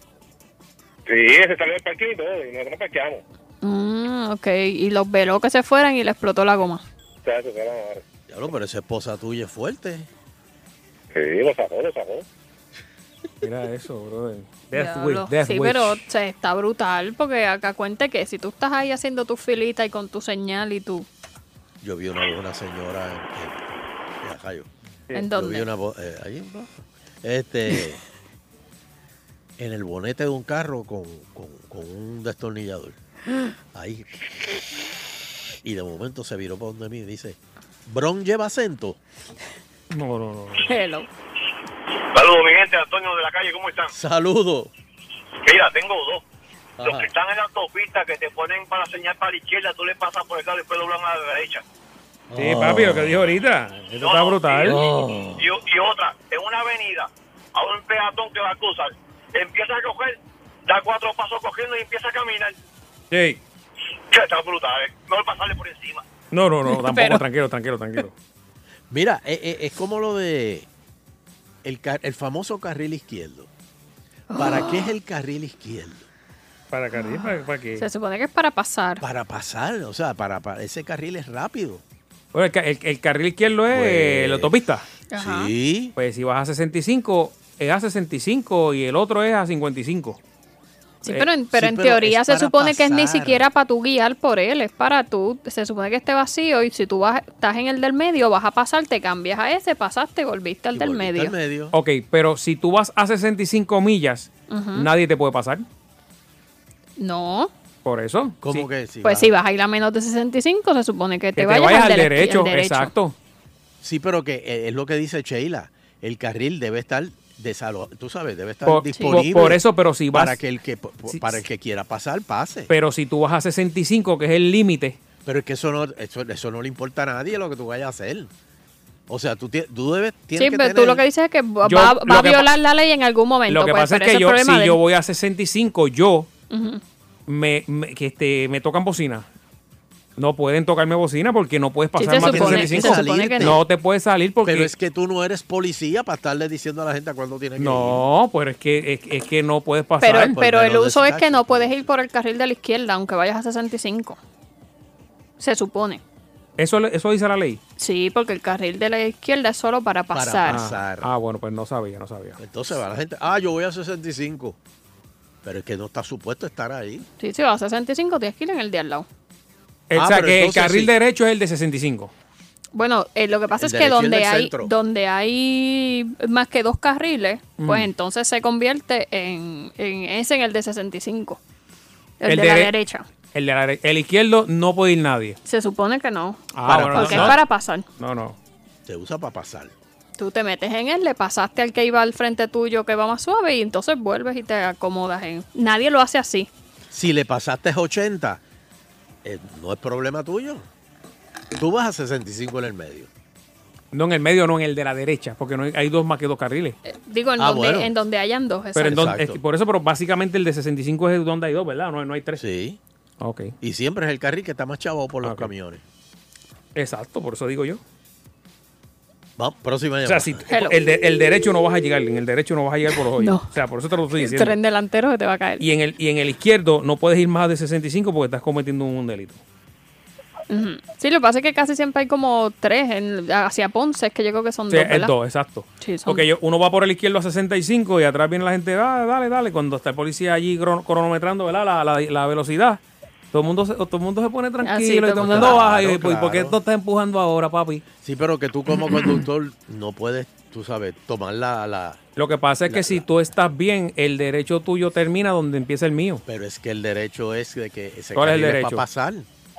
Sí, se salió del parking y todo, y nosotros parqueamos. Mm, ok, y los veló que se fueran y le explotó la goma. Chacho, se la madre. Diablo, pero esa esposa tuya es fuerte. Sí, lo sacó, lo sacó. Mira eso, brother. Death Diablo. wish, death Sí, wish. pero se está brutal porque acá cuente que si tú estás ahí haciendo tu filita y con tu señal y tú... Yo vi una, una señora en, en, en Ajayo. ¿En Yo dónde? vi una bo- eh, ahí en Baja. Este, en el bonete de un carro con, con, con un destornillador. Ahí. Y de momento se viró para donde mí y dice, ¿Bron lleva acento? No, no, no. Hello. Saludos, mi gente, Antonio de la calle, ¿cómo están? Saludos. Mira, tengo dos. Los Ajá. que están en la autopista que te ponen para señal para la izquierda, tú le pasas por el carro y después doblan a la derecha. Sí, papi, lo que dijo ahorita. Esto está brutal. Y, y otra, en una avenida, a un peatón que va a cruzar, empieza a coger, da cuatro pasos cogiendo y empieza a caminar. Sí. Que está brutal, ¿eh? Mejor pasarle por encima. No, no, no, tampoco. Pero- Tranquilo, tranquilo, tranquilo. Mira, eh, eh, es como lo de el, ca- el famoso carril izquierdo. ¿Para qué es el carril izquierdo? ¿Para carril? ¿Para, para qué? Se supone que es para pasar. Para pasar, o sea, para, para ese carril es rápido. Bueno, el, ca- el- el carril izquierdo es Pues, la autopista. Ajá. Sí. Pues si vas a sesenta y cinco, es a sesenta y cinco y el otro es a cincuenta y cinco. Sí, Eh, pero en, pero sí, en pero teoría es se para supone que es ni pasar. siquiera para tú guiar por él, es para tú, se supone que esté vacío y si tú vas, estás en el del medio, vas a pasar, te cambias a ese, pasaste, volviste al Y del volviste medio. al medio. Ok, pero si tú vas a sesenta y cinco millas, Ujú. nadie te puede pasar. No, Por eso. ¿Cómo Sí. que sí? pues va? si vas a ir a menos de sesenta y cinco, se supone que te, Que te vayas, vayas al, al del- derecho, al derecho. exacto. Sí, pero que eh, es lo que dice Sheila. El carril debe estar desalo, tú sabes, debe estar Por, disponible. por- por eso, pero si vas. para que el que po- Sí, para el sí. que quiera pasar pase. Pero si tú vas a sesenta y cinco, que es el límite. Pero es que eso no eso, eso no le importa a nadie lo que tú vayas a hacer. O sea, tú, tie- tú debes tienes Sí, que pero tener, tú lo que dices es que va, Yo- va lo a que violar la ley en algún momento. Lo que pues, pasa es pero que ese yo, problema si de yo él. voy a sesenta y cinco, yo Ujú. me, me- que este, me tocan bocina. No pueden tocarme bocina porque no puedes pasar se más de supone- sesenta y cinco. se supone que no. No te puedes salir porque. pero es que tú no eres policía para estarle diciendo a la gente a cuándo tiene que ir. No, pero es que, es, es que no puedes pasar. Pero, por pero el menos de uso es ese que no puedes ir por el carril de la izquierda, aunque vayas a sesenta y cinco. Se supone. Eso, eso dice la ley. Sí, porque el carril de la izquierda es solo para Para pasar. pasar. Ah, bueno, pues no sabía, no sabía. Entonces va la gente, ah, yo voy a sesenta y cinco. Pero es que no está supuesto estar ahí. Sí, si vas a sesenta y cinco, tienes que ir en el de al lado. El- Ah, o sea, pero que el entonces carril sí. derecho es el de sesenta y cinco. Bueno, eh, lo que pasa El es que derecho y el donde del hay, centro. donde hay más que dos carriles, pues Mm. entonces se convierte en, en ese en el de sesenta y cinco. El, El de la dere- derecha. El, de la dere- el izquierdo no puede ir nadie. Se supone que no. Ah, Para bueno, Porque no, es no. para pasar. No, no. Se usa para pasar. Tú te metes en él, le pasaste al que iba al frente tuyo que va más suave y entonces vuelves y te acomodas en... Nadie lo hace así. Si le pasaste ochenta, eh, no es problema tuyo. Tú vas a sesenta y cinco en el medio. No, en el medio, no, en el de la derecha, porque no hay, hay dos más que dos carriles. Digo, en, Ah, donde, bueno. en donde hayan dos. Pero en exacto. donde, es- por eso, pero básicamente el de sesenta y cinco es donde hay dos, ¿verdad? No, no hay tres. Sí. Ok. Y siempre es el carril que está más chavo por los Ok. camiones. Exacto, por eso digo yo. Vamos, próxima O llamada. sea, si el, de- el derecho no vas a llegar, en el derecho no vas a llegar por los hoyos. No. O sea, por eso te lo estoy El diciendo. tren delantero se te va a caer. Y en el y en el izquierdo no puedes ir más de sesenta y cinco porque estás cometiendo un delito. Ujú. Sí, lo que pasa es que casi siempre hay como tres en, hacia Ponce, es que yo creo que son Sí, dos, es ¿verdad? dos, exacto. Sí, son Porque yo- uno va por el izquierdo a sesenta y cinco y atrás viene la gente, ah, dale, dale. Cuando está el policía allí crono- cronometrando, ¿verdad? La, la, la velocidad. Todo el mundo se, todo el mundo se pone tranquilo Ah, sí, y todo todo el el mundo mundo- baja. Y, Claro, pues, ¿por qué claro. tú estás empujando ahora, papi? Sí, pero que tú como conductor no puedes, tú sabes, tomar la... la Lo que pasa es que La- si tú estás bien, el derecho tuyo termina donde empieza el mío. pero es que el derecho es de que ese ¿Cuál es el carril es derecho? para pasar.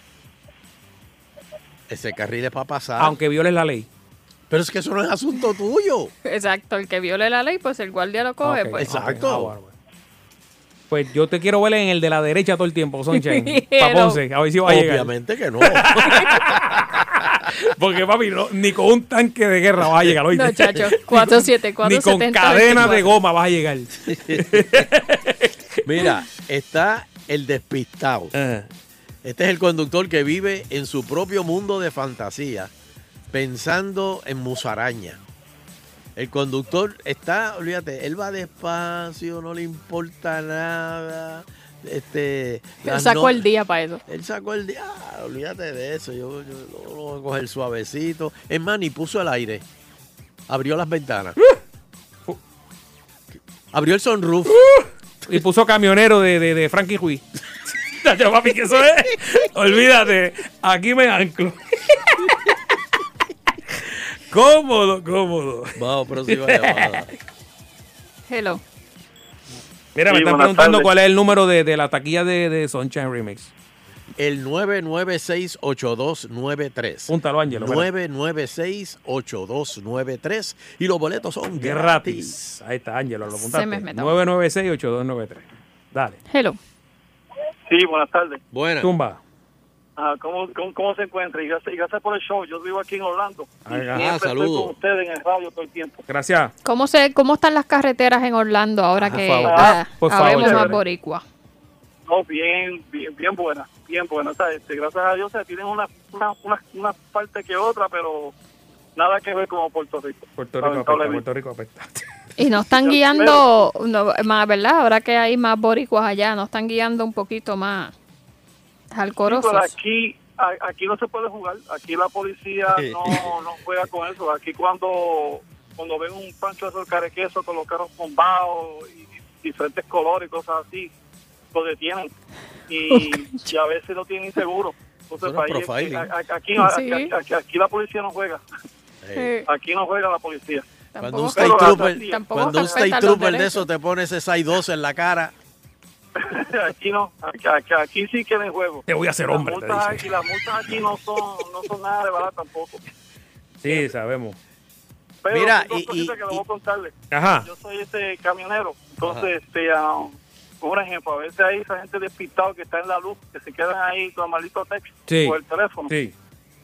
Ese carril es para pasar. Aunque violes la ley. Pero es que eso no es asunto tuyo. Exacto, el que viole la ley, pues el guardia lo coge. Ok, pues. Exacto. ok, ah, bueno, bueno. Pues yo te quiero ver en el de la derecha todo el tiempo, Sunshine. Pero- Pa' Ponce, a ver si va a llegar. Obviamente que no. Porque, papi, no, ni con un tanque de guerra vas a llegar, ¿oíste? No, chacho, cuatro siete cuatro Ni con setenta, cadena de veinticuatro. goma vas a llegar. Mira, está el despistado. Ajá. Este es el conductor que vive en su propio mundo de fantasía, pensando en musaraña. El conductor está, olvídate, él va despacio, no le importa nada. Este, Él las sacó no- el día para eso. Él sacó el día, ah, olvídate de eso, yo, yo lo voy a coger suavecito. Es más, ni puso el aire. Abrió las ventanas. Abrió el sunroof. Y puso camionero de, de, de Frankie Ruiz. Chacho, papi, que eso es. Olvídate, aquí me anclo. Cómodo, cómodo. Vamos, próxima llamada. Hello. Mira, me Sí, están buenas preguntando tardes. cuál es el número de, de la taquilla de, de Sunshine Remix. El nueve nueve seis, ocho dos nueve tres. Púntalo, Ángelo. espera. nueve nueve seis, ocho dos nueve tres. Y los boletos son gratis. Gratis. Ahí está, Ángelo, lo Se me apuntaste. metió. nueve nueve seis, ocho dos nueve tres. Dale. Hello. Sí, buenas tardes. Buena. Tumba. Ah, ¿cómo, cómo, cómo se encuentra? Y gracias, y gracias por el show. Yo vivo aquí en Orlando. Y Ajá, siempre estoy saludos. con ustedes en el radio todo el tiempo. Gracias. ¿Cómo, se, ¿Cómo están las carreteras en Orlando ahora Por que favor. ah, Por favor, habemos más chévere. boricua? No, bien, bien, bien buena, bien buena. O sea, este, gracias a Dios se tienen una, una, una, una parte que otra, pero nada que ver como Puerto Rico. Puerto Rico apesta, Lamentablemente. Puerto Rico apesta. Y no están Yo guiando, no, más, ¿verdad? Ahora que hay más boricuas allá, no están guiando un poquito más Sí, alcorosos. pero aquí, a- aquí no se puede jugar. Aquí la policía no, no juega con eso. Aquí cuando cuando ven un pancho de carequeso con los carros bombados y diferentes colores y cosas así, lo detienen. Y, y a veces no tienen seguro. Entonces, Eso no es ahí- profiling. a- a- aquí, Sí. aquí, aquí- aquí la policía no juega. Eh, Aquí no juega la policía. Cuando Tampoco- un state pero- trooper, tampoco cuando un respetan state los trooper de derechos. eso te pone ese seis doce en la cara. Aquí no, aquí, aquí, aquí sí queda en juego. Te voy a hacer Las hombre, te multas dice. aquí, las multas aquí no son, no son nada de barato tampoco. Sí, sabemos. Pero Mira, dos y- cositas y- que le voy y- a contarle. Ajá. Yo soy este camionero, entonces, este, ah, por ejemplo, a veces hay esa gente despistada que está en la luz, que se quedan ahí con el maldito texto Sí. o el teléfono. Sí.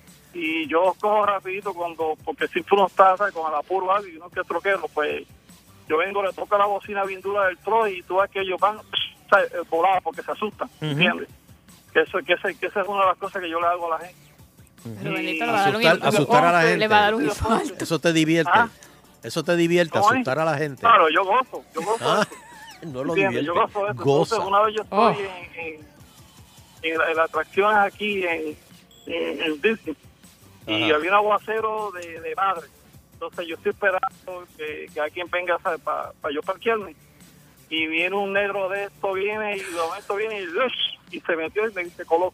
Y yo cojo rapidito cuando, porque si uno está, ¿sabes?, con el apuro algo y uno que es troquero, pues yo vengo, le toca la bocina bien dura del tro y tú ves que ellos van, ¿sabes?, volados porque se asustan, Ujú. ¿entiendes? Que eso, que, ese- que esa es una de las cosas que yo le hago a la gente. Pero Y- Benito le va a dar un Asustar, infarto. asustar a la gente. Le va a dar un infarto. Eso te divierte. Ah. Eso te divierte, ¿Cómo es? asustar a la gente. Claro, yo gozo, yo gozo. Ah, eso. no lo ¿Entiendes? divierte. Yo gozo de eso. Goza. Entonces, una vez yo estoy Oh. en, en, en, la- en las atracciones aquí en, en, en Disney y Ajá. había un aguacero de, de madre. Entonces yo estoy esperando que, que alguien venga para yo parquearme. Y viene un negro de esto, viene y de momento viene y, ¡ush! Y se metió y me se coló.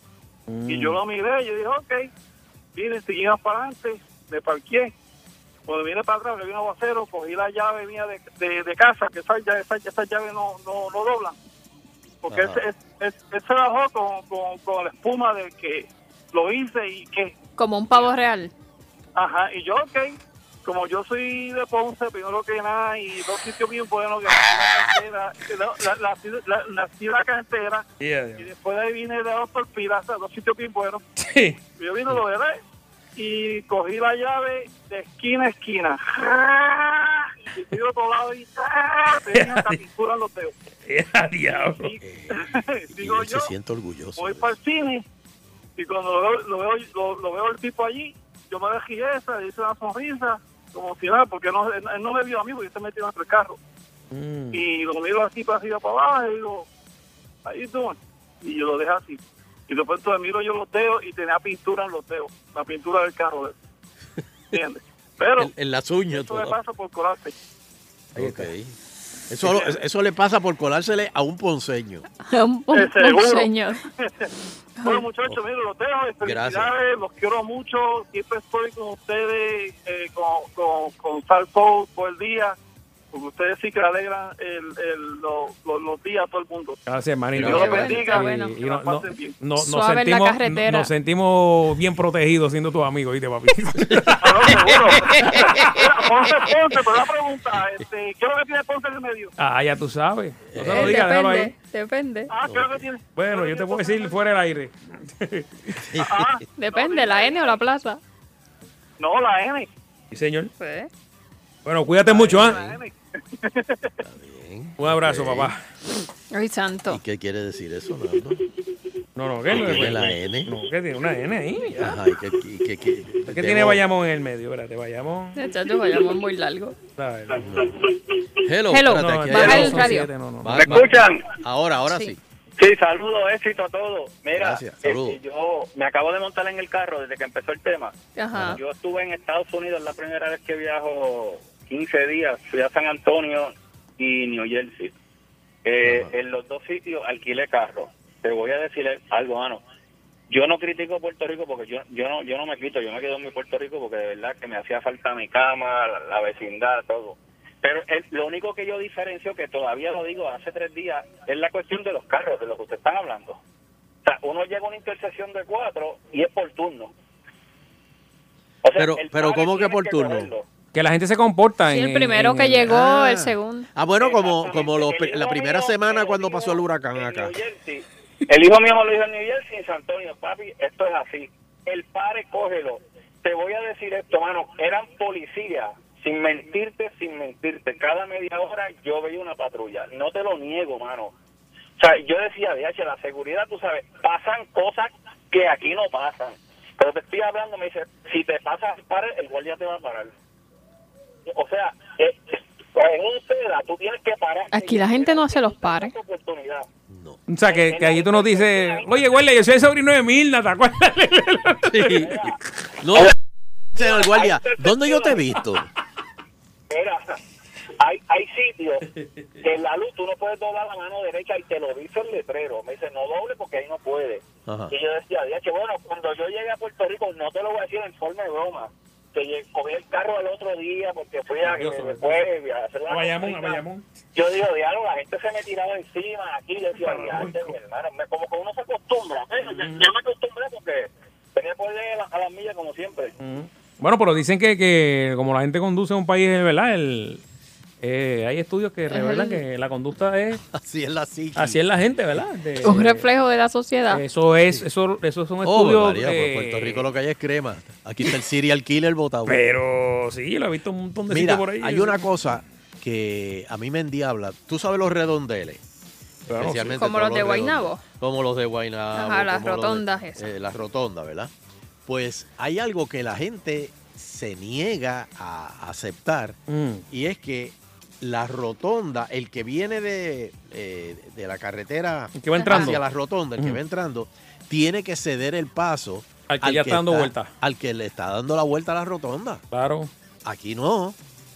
Y yo lo miré y yo dije, ok. Vine, seguimos para adelante, me parqué. Cuando vine para atrás, le vi un aguacero, cogí la llave mía de, de, de casa, que esas llave, esa, esa llave no, no, no doblan. Porque Ajá. ese, ese, ese, él se bajó con, con, con la espuma del que lo hice y que, Como un pavo real. ajá, y yo, ok, como yo soy de Ponce, primero que nada, y dos sitios bien buenos, que la, la, la, la, nací en la cantera, Yeah, yeah. y después de ahí vine de Doctor Pilaza, dos sitios bien buenos. Sí. Yo vine, lo veré, y cogí la llave de esquina a esquina. Y fui de otro lado y tenía hasta pintura en los dedos. Yeah, diablo. Y, Y digo él yo, se siente orgulloso. voy para el cine, y cuando lo veo, lo veo, lo, lo veo el tipo allí, yo me dejé esa, le hice una sonrisa, como si nada, porque no, él, él no me vio a mí, porque yo se metió entre el carro. Mm. Y lo miro así para arriba, para abajo, y digo, ahí tú. Y yo lo dejé así. Y después entonces miro yo los dedos y tenía pintura en los dedos, la pintura del carro de él. ¿Entiendes? Pero En, en las uñas. eso me todo. pasa por colarse. Ok. Eso, lo- eso le pasa por colársele a un ponceño. un, un, Eh, seguro. un señor. Bueno, muchachos, miren, los dejo. Felicidades, Gracias. los quiero mucho. Siempre estoy con ustedes, eh, con, con, con Sal Soul por el día. Porque ustedes sí que alegran el, el, los, los, los días a todo el mundo. Gracias, hermanito. Dios los Y- bendiga. bueno. y Que no- la no- pasen bien. no- nos, Suave en la sentimos, carretera. nos sentimos bien protegidos siendo tus amigos, ¿viste, papi? Ah, no, seguro. Mira, Ponce, Ponce, pero una pregunta. Este, ¿Qué es lo que tiene Ponce en el medio? Ah, ya tú sabes. No se Eh, lo digas, déjalo ahí. depende, depende. Ah, ¿qué es lo que tiene? Bueno, yo te puedo decir fuera del aire. Ah, Depende, la N o la plaza. no, la N. Sí, señor. Pues, Bueno, cuídate mucho, ¿ah? La N. Bien. Un abrazo, Ok. papá. ay, ¿Y santo. qué quiere decir eso, Nando? No, no, ¿qué? ¿Qué tiene la N? No, ¿qué tiene? Una N ahí. ya. Ajá, ¿y qué, y qué- qué- ¿Qué debo- tiene Bayamón en el medio? Espérate, Bayamón. Chacho, vayamos muy largo. ¿sabes? Hello, Hello. espérate, No, aquí ya baja hay no el son radio. siete, no, no. Va- ¿Me va- escuchan? Ahora, ahora sí. Sí. Sí, saludos, éxito a todos. Mira, Gracias, este, saludos. yo me acabo de montar en el carro desde que empezó el tema. Ajá. Yo estuve en Estados Unidos la primera vez que viajo quince días. Fui a San Antonio y New Jersey. Eh, en los dos sitios alquilé carro. Te voy a decir algo, mano. Yo no critico Puerto Rico porque yo yo no yo no me quito, yo me quedo en mi Puerto Rico porque de verdad que me hacía falta mi cama, la, la vecindad, todo. Pero el- lo único que yo diferencio, que todavía lo digo hace tres días, es la cuestión de los carros, de lo que ustedes están hablando. O sea, uno llega a una intersección de cuatro y es por turno. O sea, Pero, el pero padre ¿cómo que tiene por turno? cogerlo. Que la gente se comporta. Sí, en- el primero en- que en- llegó, Ah. el segundo. Ah, bueno, como, Exactamente. como los, El pri- hijo la primera mío semana me lo cuando dijo pasó el huracán en acá. New Jersey. El hijo mío me lo dijo en New Jersey, en San Antonio. Papi, esto es así. El padre, cógelo. Te voy a decir esto, mano. Eran policías. Sin mentirte, sin mentirte. Cada media hora yo veía una patrulla. No te lo niego, mano. O sea, yo decía, D H, la seguridad, tú sabes, pasan cosas que aquí no pasan. Pero te estoy hablando, me dice, si te pasas el padre, el guardia te va a parar. O sea, eh, en un seda tú tienes que parar. Aquí la gente no hace los pares. Oportunidad. No. O sea, que, que allí tú nos dices, oye, güey, yo soy el sobrino de Milna, ¿te acuerdas? Sí. No, señor guardia, ¿dónde yo te he visto? Mira, hay, hay sitios que en la luz tú no puedes doblar la mano derecha y te lo dice el letrero. Me dice, no doble porque ahí no puede. Ajá. Y yo decía, que bueno, cuando yo llegué a Puerto Rico, no te lo voy a decir en forma de broma, que lle- cogí el carro el otro día porque fui a, Dios, que Dios. después a hacer la A Bayamón, a cosita. Bayamón. Yo digo, diálogo, la gente se me tiraba encima aquí, yo decía, "Diante, mi hermano", me- como que uno se acostumbra. ¿eh? Yo, yo me acostumbré porque tenía que ir a, la- a las millas como siempre. Bueno, pero dicen que, que como la gente conduce a un país, ¿verdad? El, eh, hay estudios que revelan que la conducta es... Así es la psiqui. Así es la gente, ¿verdad? De- Un reflejo de la sociedad. Eso es, eso, eso son Oh, estudios... María, por eh, Puerto Rico lo que hay es crema. Aquí está el serial killer botado. Pero sí, lo he visto un montón de Mira, sitios por ahí. hay una cosa que a mí me endiabla. Tú sabes los redondeles. Claro, Especialmente Como todos los de redondeles. Guaynabo. Como los de Guaynabo. Ajá, las como los de- rotondas esas. eh, las rotondas, ¿verdad? Pues hay algo que la gente se niega a aceptar Mm. y es que la rotonda, el que viene de, eh, de la carretera El que va entrando. hacia la rotonda, el que Ujú. va entrando, tiene que ceder el paso Al que ya está dando vuelta. Al que le está dando la vuelta a la rotonda. Claro. Aquí no.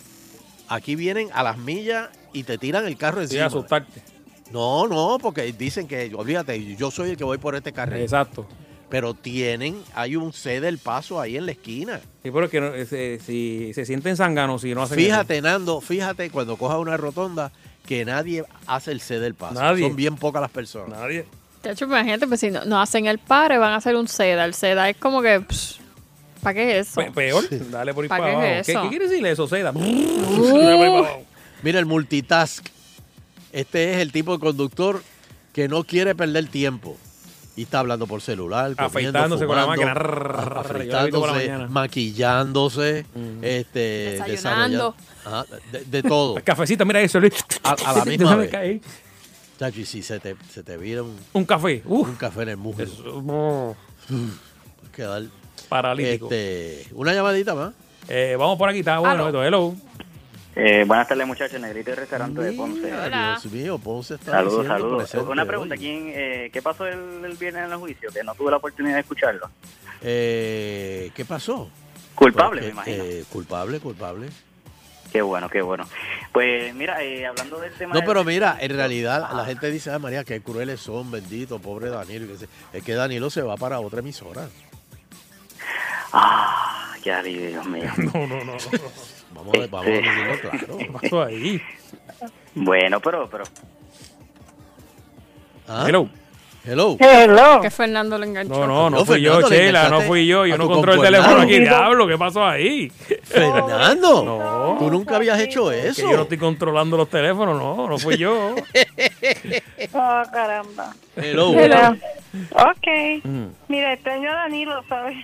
Aquí vienen a las millas y te tiran el carro Sí, encima. asustarte. No, no, porque dicen que, olvídate, yo soy el que voy por este carril. Exacto. Pero tienen, hay un cede el paso ahí en la esquina. Sí, pero es que no- se- si se sienten zánganos si no hacen Fíjate, Nando, fíjate cuando cojas una rotonda que nadie hace el cede el paso. Nadie. Son bien pocas las personas. eso. Nadie. De hecho, imagínate, pues si no, no hacen el pare, van a hacer un seda. El seda es como que... pss, ¿Para qué es eso? Pe- peor, dale por ahí ¿Para para qué abajo. es ¿Qué, eso? qué quiere decir eso, Seda? Mira, el multitask. Este es el tipo de conductor que no quiere perder tiempo. Y está hablando por celular, comiendo, Afeitándose con la fumando, máquina. a- Yo la he visto por la afeitándose, mañana. maquillándose, este, Desayunando. desarrollando- ajá, de, de todo. Cafecito, mira eso. A, a la misma Déjame vez. caer. Chacho, y si se te, se te vira un, Un café. Uf. un café en el muslo. Eso, no. Puedes quedar Paralítico. Este, una llamadita más. Eh, vamos por aquí, está bueno esto. Hello. Eh, buenas tardes, muchachos. Negrito y restaurante de Ponce. Dios mío, Ponce está Saludos, diciendo saludos. presente Una pregunta, hoy. ¿quién, eh, ¿qué pasó el, el viernes en el juicio? Que no tuve la oportunidad de escucharlo. Eh, ¿Qué pasó? Culpable, Porque, me imagino. eh, culpable, culpable. Qué bueno, qué bueno. Pues mira, eh, hablando del tema... No, del- pero mira, en realidad la gente dice, ah, María, qué crueles son, bendito, pobre Danilo. y que se- Es que Danilo se va para otra emisora. Ah, qué alivio, Dios mío. No, no, no. Vamos, a- vamos a Este- decirlo claro. ¿Qué pasó ahí? Bueno, pero... pero Ah, Hello. Hello. Hello. Que Fernando le enganchó. No, no, no No, fui yo, Fernando, le Chela, no enganchaste fui yo. Yo a no tu controlo el concuernado. teléfono aquí. Diablo, ¿qué pasó ahí? Fernando, No. tú nunca habías hecho Que eso. yo no estoy controlando los teléfonos, no, no fui yo. Oh, caramba. Hello. Pero, ok. Mm. Mira, extraño a Danilo, ¿sabes?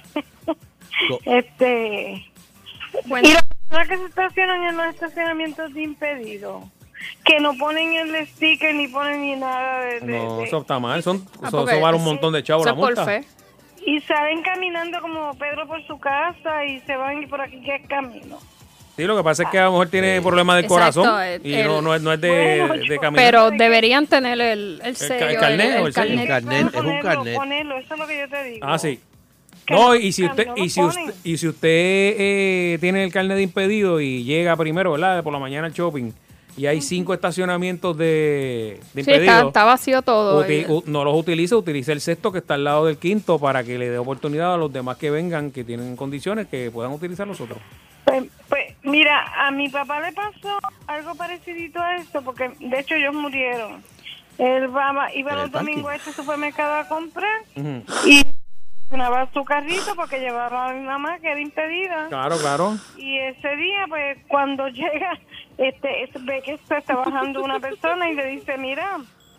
Co- este. Bueno. Y las personas que se estacionan en los estacionamientos de impedido, que no ponen el sticker ni ponen ni nada de. de- No, de- eso está mal. Son, Ah, eso, porque eso vale un sí, montón de chavos eso la es por multa. fe. Y salen caminando como Pedro por su casa y se van y por aquí que es camino. Sí, lo que pasa es que a lo mejor tiene problemas del Exacto, corazón el- y el- no, no es, no es de, Bueno, de yo- caminar. Pero deberían tener el, el ca- sello, el carnet o el sello. El carnet, es un Ponerlo, carnet. ponerlo, eso es lo que yo te digo. Ah, sí. Que No, no y si buscan, usted, no y lo si ponen. usted, y si usted eh, tiene el carnet de impedido y llega primero, ¿verdad? Por la mañana al shopping y hay cinco estacionamientos de, de Sí, está, impedidos. está vacío todo. Uti- y- u- no los utilice, utilice el sexto que está al lado del quinto para que le dé oportunidad a los demás que vengan, que tienen condiciones, que puedan utilizar los otros. Pues, pues, mira, a mi papá le pasó algo parecidito a esto, porque de hecho ellos murieron. Él va, iba ¿En los el parking? domingos a este supermercado a comprar Ujú. y llenaba su carrito porque llevaba a mi mamá que era impedida. Claro, claro. Y ese día, pues, cuando llega, este, es- ve que se está bajando una persona y le dice, mira,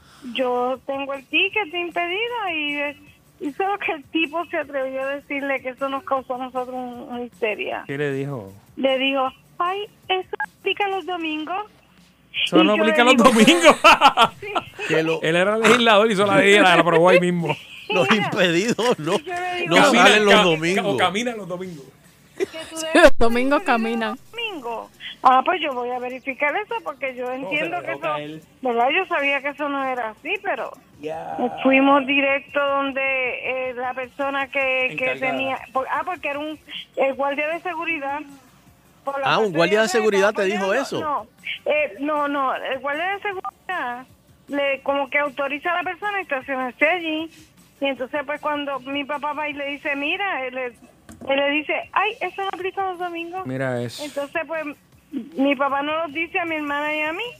yo tengo el ticket de impedida y, eh, y solo que el tipo se atrevió a decirle que eso nos causó a nosotros un- una histeria. ¿Qué le dijo? Le dijo, ay, ¿eso aplica los domingos? Eso Y no yo aplica le los digo, domingos. Que lo- Él era legislador y hizo la ley, la aprobó ahí mismo. los impedidos no, yo le digo, no Camina- salen los ca- domingos. O camina los domingos. que tú Los debes domingos ir caminan. los domingos. Ah, pues yo voy a verificar eso porque yo entiendo se que le toca a eso, él. ¿verdad? Yo sabía que eso no era así, pero fuimos directo donde eh, la persona que, que Encargada. tenía, por- ah, porque era un el guardia de seguridad. Por la Ah, un parte guardia de atrás, seguridad estaba te dijo poniendo- eso. No, eh, no, no, el guardia de seguridad le como que autoriza a la persona a estacionarse allí. Y entonces, pues, cuando mi papá va y le dice, mira, él, le- él le dice, ay, eso no aplica los domingos. Mira eso. Entonces, pues, mi papá nos lo dice a mi hermana y a mí.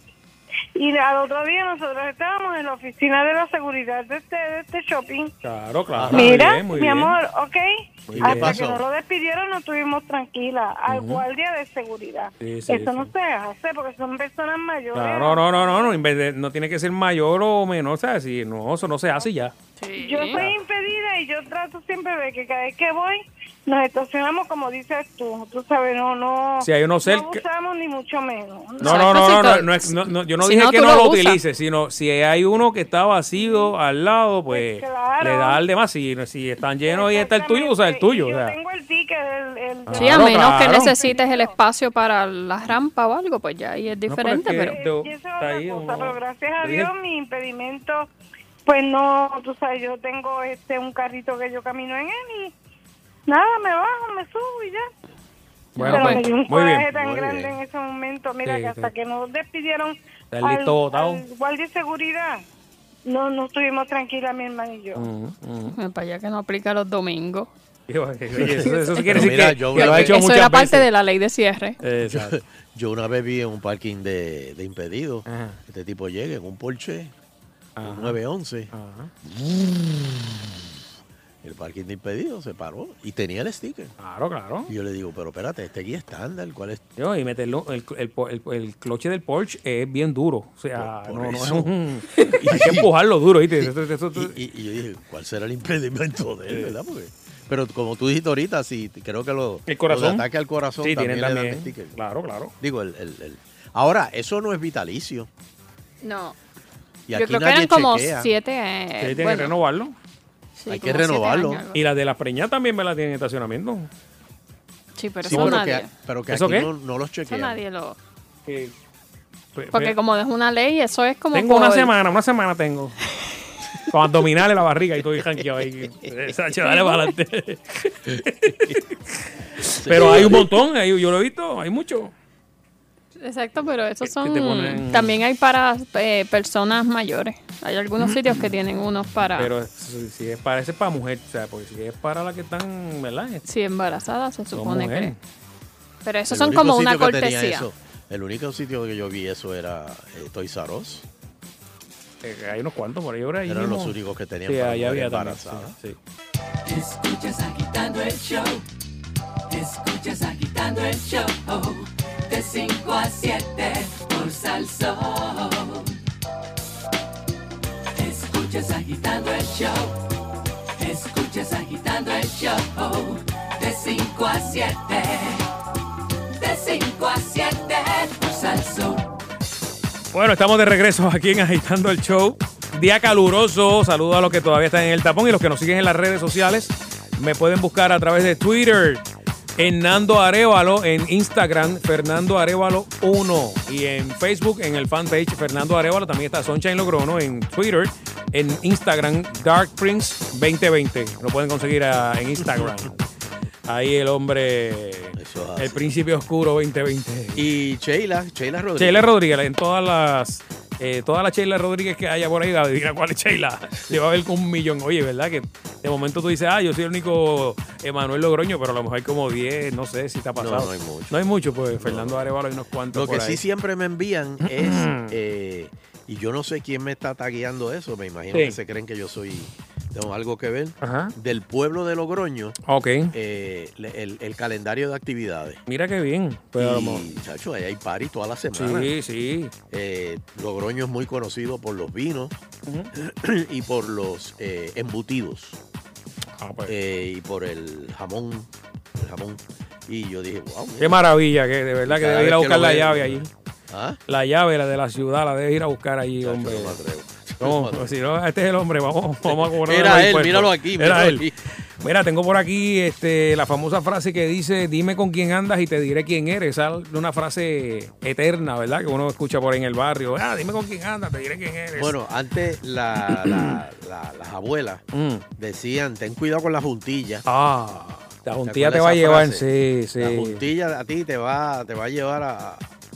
Y al otro día nosotros estábamos en la oficina de la seguridad de este, de este shopping. Claro, claro. Mira, muy bien, muy mi bien. amor, ok. Muy bien. Hasta ¿Qué que pasó? no lo despidieron, no estuvimos tranquilas. Al Ujú. guardia de seguridad. Sí, sí, Eso no sí. se hace porque son personas mayores. Claro, no, no, no, no, en vez de- no tiene que ser mayor o menor, ¿sabes? Si no, eso no se hace y ya. Yo soy impedida y yo trato siempre de que cada vez que voy nos estacionamos como dices tú. Tú sabes, no, no. Si hay uno No cerca- abusamos ni mucho menos. No, no, no, no, no, no es- no, no, yo no Si dije no, que tú no lo lo usas. utilice, sino si hay uno que está vacío al lado, pues, Pues claro. le da al demás. Si, si están llenos y está el tuyo, usa el tuyo. Yo O sea. tengo el ticket, el, el- Sí, a Claro, menos que claro. necesites el espacio para la rampa o algo, pues ya ahí es diferente, pero es pero... que- Y eso es Está otra ahí, cosa, uno- pero gracias a le dije- Dios mi impedimento, pues no, tú sabes, yo tengo este un carrito que yo camino en él y nada, me bajo, me subo y ya. Bueno, pero pues, me dio un muy coraje bien. tan muy grande bien. en ese momento, mira Sí, que hasta sí. que nos despidieron Está el al, listo botado. al guardia de seguridad, no, no estuvimos tranquilas mi hermana y yo. Ujú, ujú. Para allá que no aplica los domingos. Oye, eso, eso sí quiere Pero decir mira, que, yo que lo una ha vez- hecho Eso muchas era parte veces. de la ley de cierre. Exacto. Yo una vez vi en un parking de, de impedidos, Ajá. este tipo llega en un Porsche, Ajá. un nueve once, Ajá. El parking de impedido se paró y tenía el sticker. Claro, claro. Y yo le digo, pero espérate, este guía estándar, ¿cuál es? Yo, y meterlo, el, el, el, el cloche del Porsche es bien duro. O sea, Por- no, por no es eso. un. Hay que empujarlo duro, ¿viste? Eso- eso- eso- Y, y- y yo dije, ¿cuál será el impedimento de él, verdad? Porque, pero como tú dijiste ahorita, sí, creo que lo, El corazón. lo de ataque al corazón Sí, también, tienen le dan también. sticker. Claro, claro. Digo, el, el, el- ahora, eso no es vitalicio. No. Y Yo aquí creo que nadie eran como chequea. siete. eh, Sí, tienen bueno, que renovarlo. sí, Hay que como siete renovarlo. años, algo. Y las de la preña también me la tienen en estacionamiento. Sí, pero Sí, eso pero nadie. que, pero que ¿Eso aquí qué? no, no los Eso chequean. nadie lo. Que- Porque como es una ley, eso es como. Tengo por- una semana, una semana tengo. Con abdominales la barriga y estoy janqueado ahí. Sacho, dale para adelante. Pero hay un montón, hay- yo lo he visto, hay mucho. Exacto, pero esos Que son. te ponen- También hay para eh, personas mayores. Hay algunos sitios que tienen unos para. Pero si, si es para, ese es para mujer, o sea, porque si es para la que están, ¿verdad? Si embarazadas, se Son supone que. mujeres. Pero esos El son único como una sitio que tenía cortesía. eso- el único sitio que yo vi eso era eh, Toys R Us. Eh, hay unos cuantos por ahí, ahora ahí Eran mismo. los únicos que tenían Sí, para ahí había mujeres también, embarazadas. sí, Escuchas agitando el show. Escuchas agitando el show. De cinco a siete por Salsón. Escuchas agitando el show. Escuchas agitando el show. De cinco a siete. De cinco a siete por Salsón. Bueno, estamos de regreso aquí en Agitando el Show. Día caluroso. Saludos a los que todavía están en el tapón y los que nos siguen en las redes sociales. Me pueden buscar a través de Twitter, Hernando Arévalo, en Instagram, Fernando Arévalo uno. Y en Facebook, en el fanpage Fernando Arévalo, también está Sunshine Logrono. En Twitter, en Instagram, Dark Prince veinte veinte. Lo pueden conseguir a- en Instagram. Ahí el hombre, Eso es así. el príncipe oscuro veinte veinte. Y Sheila, Sheila Rodríguez. Sheila Rodríguez, en todas las eh, todas las Sheila Rodríguez que haya por ahí, adivina cuál es Sheila. Le va a ver con un millón. Oye, ¿verdad? Que de momento tú dices, ah, yo soy el único Emanuel Logroño, pero a lo mejor hay como diez, no sé si te ha pasado. No, no hay mucho. No hay mucho, pues Fernando Arévalo hay unos cuantos Lo que por sí ahí. siempre me envían es, eh, y yo no sé quién me está tagueando eso, me imagino Sí. que se creen que yo soy, tengo algo que ver, Ajá. del pueblo de Logroño, Ok. eh, le- el, el calendario de actividades. Mira qué bien. Pues a lo mejor- Y, chacho, ahí hay party toda la semana. Sí, sí. Eh, Logroño es muy conocido por los vinos y por los eh, embutidos. Ah, pues. Eh, y por el jamón, el jamón. Y yo dije, wow. mira. Qué maravilla, que de verdad que Cada debe ir a vez que buscar lo la veo, llave ¿no? allí. ¿Ah? La llave, la de la ciudad, la debe ir a buscar allí, Chacho, hombre. no me atrevo. No, si no, este es el hombre, vamos, vamos a cobrar. Era los él, impuestos. míralo aquí, Era míralo él. aquí. Mira, tengo por aquí este, la famosa frase que dice, dime con quién andas y te diré quién eres. Esa es una frase eterna, ¿verdad? Que uno escucha por ahí en el barrio. Ah, dime con quién andas, te diré quién eres. Bueno, antes la, la- la- las abuelas Mm. decían, ten cuidado con la juntilla. Ah, la ¿Te juntilla acuerdas te va a esa llevar, frase? sí, sí. La juntilla a ti te va, te va a llevar a,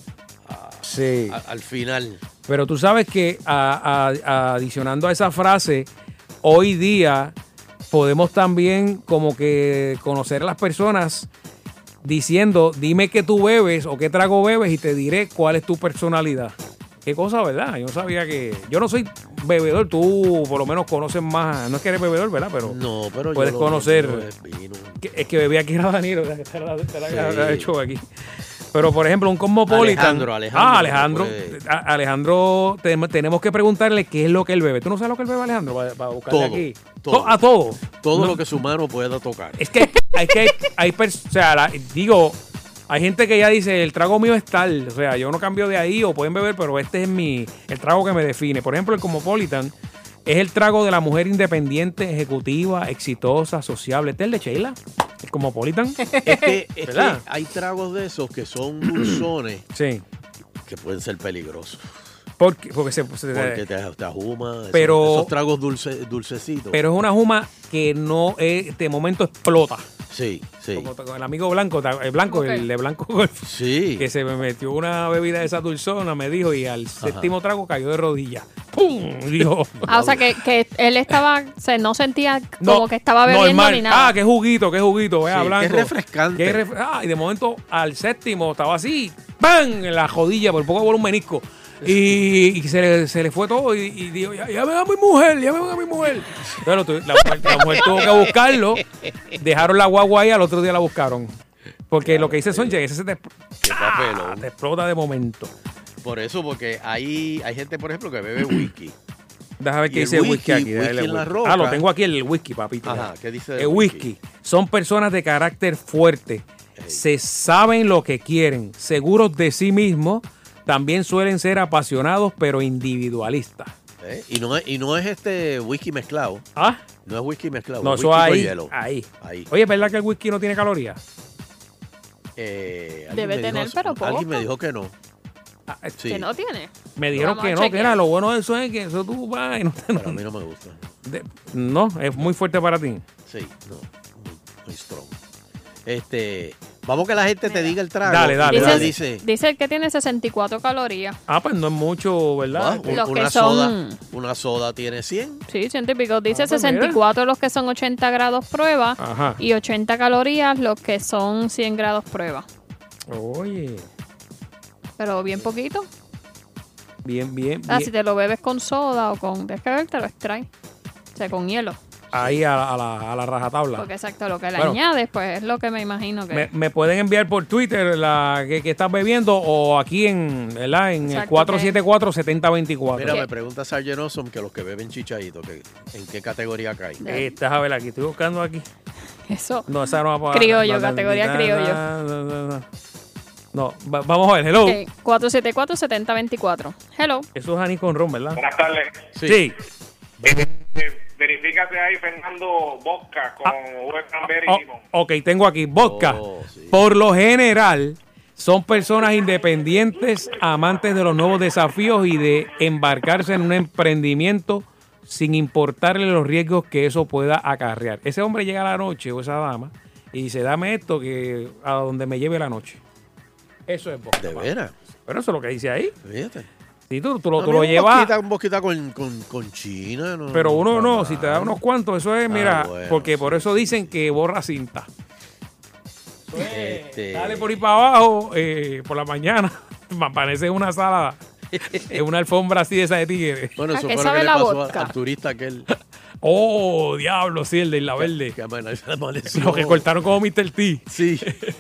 Sí. a- al final. Pero tú sabes que a- a- adicionando a esa frase, hoy día podemos también como que conocer a las personas diciendo, dime qué tú bebes o qué trago bebes y te diré cuál es tu personalidad. Qué cosa, ¿verdad? Yo no sabía que... Yo no soy bebedor, tú por lo menos conoces más... No es que eres bebedor, ¿verdad? Pero No, pero yo puedes lo conocer... mío es vino. que- es que bebía aquí era Danilo, ¿verdad? Que te la, te la- Sí. te la he hecho aquí. Pero, por ejemplo, un Cosmopolitan... Alejandro, Alejandro, Ah, Alejandro. pues. A- Alejandro, te- tenemos que preguntarle qué es lo que él bebe. ¿Tú no sabes lo que él bebe, Alejandro? Para, para buscarle Todo, aquí. todo. To- A todo. Todo No, lo que su mano pueda tocar. Es que hay que... Hay, pers- o sea, la- digo... Hay gente que ya dice, el trago mío es tal, o sea, yo no cambio de ahí o pueden beber, pero este es mi el trago que me define. Por ejemplo, el Cosmopolitan es el trago de la mujer independiente, ejecutiva, exitosa, sociable. ¿Este es el de Sheila? El Cosmopolitan. Es que, es que ¿Verdad? hay tragos de esos que son dulzones Sí. que pueden ser peligrosos. Porque, porque se, se- Porque te, te ajuma. esos- Pero- Esos tragos dulce, dulcecitos. pero es una juma que no es, de momento explota. Sí, sí. Como con el amigo Blanco, el Blanco, Ok. el de Blanco Golf, Sí. que se me metió una bebida de esa dulzona, me dijo, y al séptimo trago cayó de rodillas. ¡Pum! Dijo. Ah, o sea que, que él estaba, se no sentía No, como que estaba bebiendo normal. ni nada. Ah, qué juguito, qué juguito, vea, Sí, Blanco. qué refrescante. Qué ref- ah, y de momento al séptimo estaba así, ¡bam! En la jodilla, por poco por un menisco. Y, y se, le, se le fue todo y, y dijo, ya, llamen a mi mujer, llamen a mi mujer. Entonces, la, mujer, la mujer tuvo que buscarlo, dejaron la guagua ahí, al otro día la buscaron. Porque claro, lo que dice Sonche, ese se te, ah, te explota de momento. Por eso, porque hay, hay gente, por ejemplo, que bebe whisky. Déjame ver qué dice el whisky, whisky aquí. Whisky en la roca. Ah, lo tengo aquí el whisky, papito. Ajá, ¿qué dice el whisky? whisky? Son personas de carácter fuerte. Hey. Se saben lo que quieren, seguros de sí mismos. También suelen ser apasionados, pero individualistas. ¿Eh? Y, no es, y no es este whisky mezclado. ¿Ah? No es whisky mezclado. No, es eso whisky ahí, con hielo. ahí. Ahí. Oye, ¿es verdad que el whisky no tiene calorías? Eh, Debe tener, dijo, pero poco. Alguien me dijo que no. Ah, sí. ¿Que no tiene? Me dijeron que no, que era lo bueno de eso es que eso tú vas y no te... Pero a mí no me gusta. De, no, es muy fuerte para ti. Sí, no, muy, muy strong. Este... Vamos que la gente te diga el trago. Dale, dale, dice, dale. Dice, dice que tiene sesenta y cuatro calorías. Ah, pues no es mucho, ¿verdad? Wow, los una, que soda, son... una soda tiene cien. Sí, ciento y pico. Dice ah, pues sesenta y cuatro mira. Los que son ochenta grados prueba. Ajá. Y ochenta calorías los que son cien grados prueba. Oye. Pero bien poquito. Bien, bien, Ah, bien. si te lo bebes con soda o con... Tienes que beber, te lo extraes. O sea, con hielo. Ahí a, a, la, a la rajatabla. Porque exacto, lo que le bueno, añades, pues es lo que me imagino que... Me, me pueden enviar por Twitter la que, que estás bebiendo o aquí en, ¿verdad? En exacto, el cuatro siete cuatro, siete cero dos cuatro. Mira, me pregunta Sargent Awesome que los que beben chichadito, que, ¿en qué categoría cae? Eh, estás a ver aquí, estoy buscando aquí. Eso. No, esa no va a criollo, categoría criollo. No, no, no. No, va, vamos a ver, hello. Okay. cuatro siete cuatro, siete cero dos cuatro. Hello. Eso es Aní con ron, ¿verdad? Buenas tardes. Sí. sí. Eh, eh, verifícate ahí, Fernando, vodka con ah. cranberry oh, y limón. Ok, tengo aquí vodka. Oh, sí. Por lo general, son personas independientes, amantes de los nuevos desafíos y de embarcarse en un emprendimiento sin importarle los riesgos que eso pueda acarrear. Ese hombre llega a la noche, o esa dama, y dice, dame esto que a donde me lleve la noche. Eso es vodka. ¿De veras? Pero eso es lo que dice ahí. Fíjate. Si tú, tú lo, tú no, lo un llevas. Boquita, un boquita con, con, con China. No, pero uno no, no si te da unos cuantos, eso es, mira, ah, bueno, porque sí, por eso sí. dicen que borra cinta. Este... Dale por ahí para abajo, eh, por la mañana, me aparece una sala, en una alfombra así de esa de tigre. Bueno, eso fue lo que le pasó al, al turista aquel. Oh, diablo, sí, el de la verde. Que amaneció. Lo que cortaron como mister T. Sí.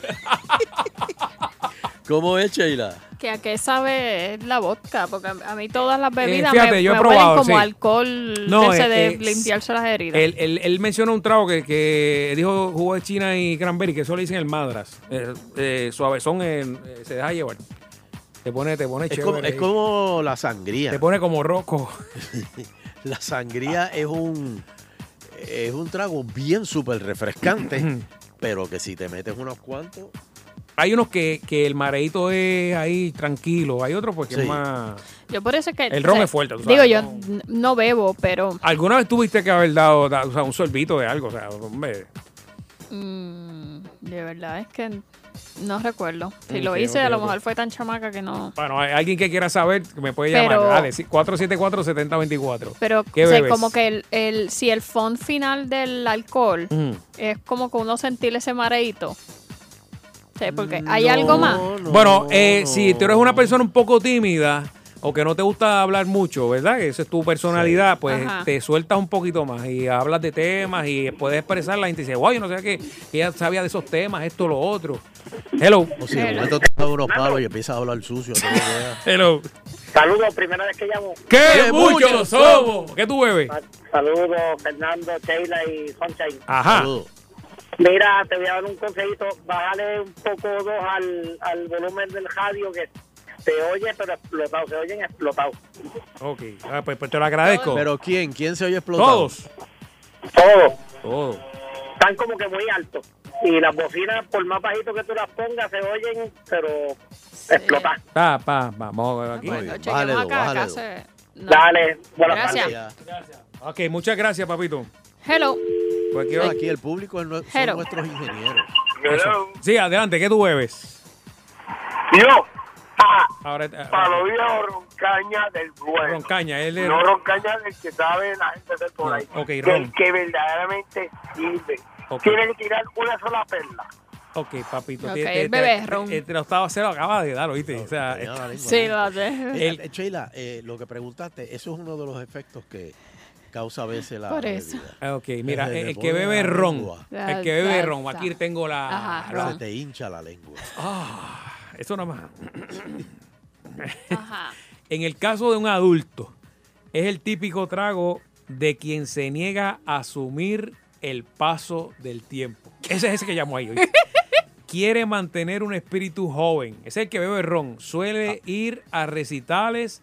¿Cómo es, Sheila? Que a qué sabe la vodka, porque a mí todas las bebidas eh, fíjate, me, yo he me probado, huelen como sí. alcohol no, de, ese eh, de eh, limpiarse las heridas. Él, él, él mencionó un trago que, que dijo jugo de China y cranberry, que eso le dicen el madras. Eh, eh, suavezón eh, se deja llevar. Te pone, te pone es chévere. Como, es como la sangría. Te pone como roco. La sangría es un es un trago bien súper refrescante, pero que si te metes unos cuantos... Hay unos que, que el mareíto es ahí tranquilo, hay otros porque sí. es más... Yo por eso es que... El ron o sea, es fuerte, tú digo, sabes, yo no, no bebo, pero... ¿Alguna vez tuviste que haber dado da, o sea, un sorbito de algo? O sea, hombre... Mm, de verdad es que no recuerdo. Si okay, lo hice, okay, a lo okay. mejor fue tan chamaca que no... Bueno, hay alguien que quiera saber, me puede pero, llamar. Dale, cuatro siete cuatro, siete cero dos cuatro. Pero ¿Qué o sea, bebes? como que el, el, si el fondo final del alcohol mm. es como que uno sentir ese mareíto. Sí, porque hay no, algo más. No, bueno, eh, no. si tú eres una persona un poco tímida o que no te gusta hablar mucho, ¿verdad? Que esa es tu personalidad, sí. pues Ajá. te sueltas un poquito más y hablas de temas y puedes expresar. La gente dice, wow, yo no sé qué, que ella sabía de esos temas, esto, lo otro. Hello. O si de momento te das unos palos y empiezas a hablar sucio. Hello. Saludos, primera vez que llamo. ¡Qué, ¡Qué muchos mucho somos! ¿Qué tú bebes? Saludos, Fernando, Sheila y Sunshine. Ajá. Saludos. Mira, te voy a dar un consejito. Bájale un poco dos al, al volumen del radio que se oye, pero explotado. Se oyen explotados. Ok, ah, pues, pues te lo agradezco. ¿Pero quién? ¿Quién se oye explotado? Todos. Todos. Todos. Están como que muy altos. Y las bocinas, por más bajito que tú las pongas, se oyen, pero sí. explotan. Pa, pa, vamos aquí. Bueno, bájale dos, bájale dos. No. Dale, buenas gracias. tardes. Gracias. Ok, muchas gracias, papito. Hello. Cualquier no, aquí el público son Hello. nuestros ingenieros. Hello. Sí, adelante, ¿qué tú bebes? Yo, ah, ahora, ahora, palo viejo roncaña del bueno. Roncaña, él es... No roncaña del que sabe la gente de por ahí. No, okay, del que verdaderamente sirve. Okay. Tiene que tirar una sola perla. Ok, papito. Ok, te, te, el bebé te- ron. te- te lo estaba, se lo acaba de dar, ¿oíste? O sea, Tenía la lengua Sí, ahí. lo hace. Eh, eh, Sheila, eh, lo que preguntaste, eso es uno de los efectos que causa a veces la Por eso. bebida. Ah, ok, mira, Se el, te el que pone bebe la ron, lengua. el que bebe Salsa. ron, aquí tengo la... Ajá, la- Se te hincha la lengua. Ah, eso nada más. Ajá. En el caso de un adulto, es el típico trago de quien se niega a asumir el paso del tiempo. Ese es ese que llamo ahí. ¿oíste? Quiere mantener un espíritu joven. Es el que bebe ron. Suele ir a recitales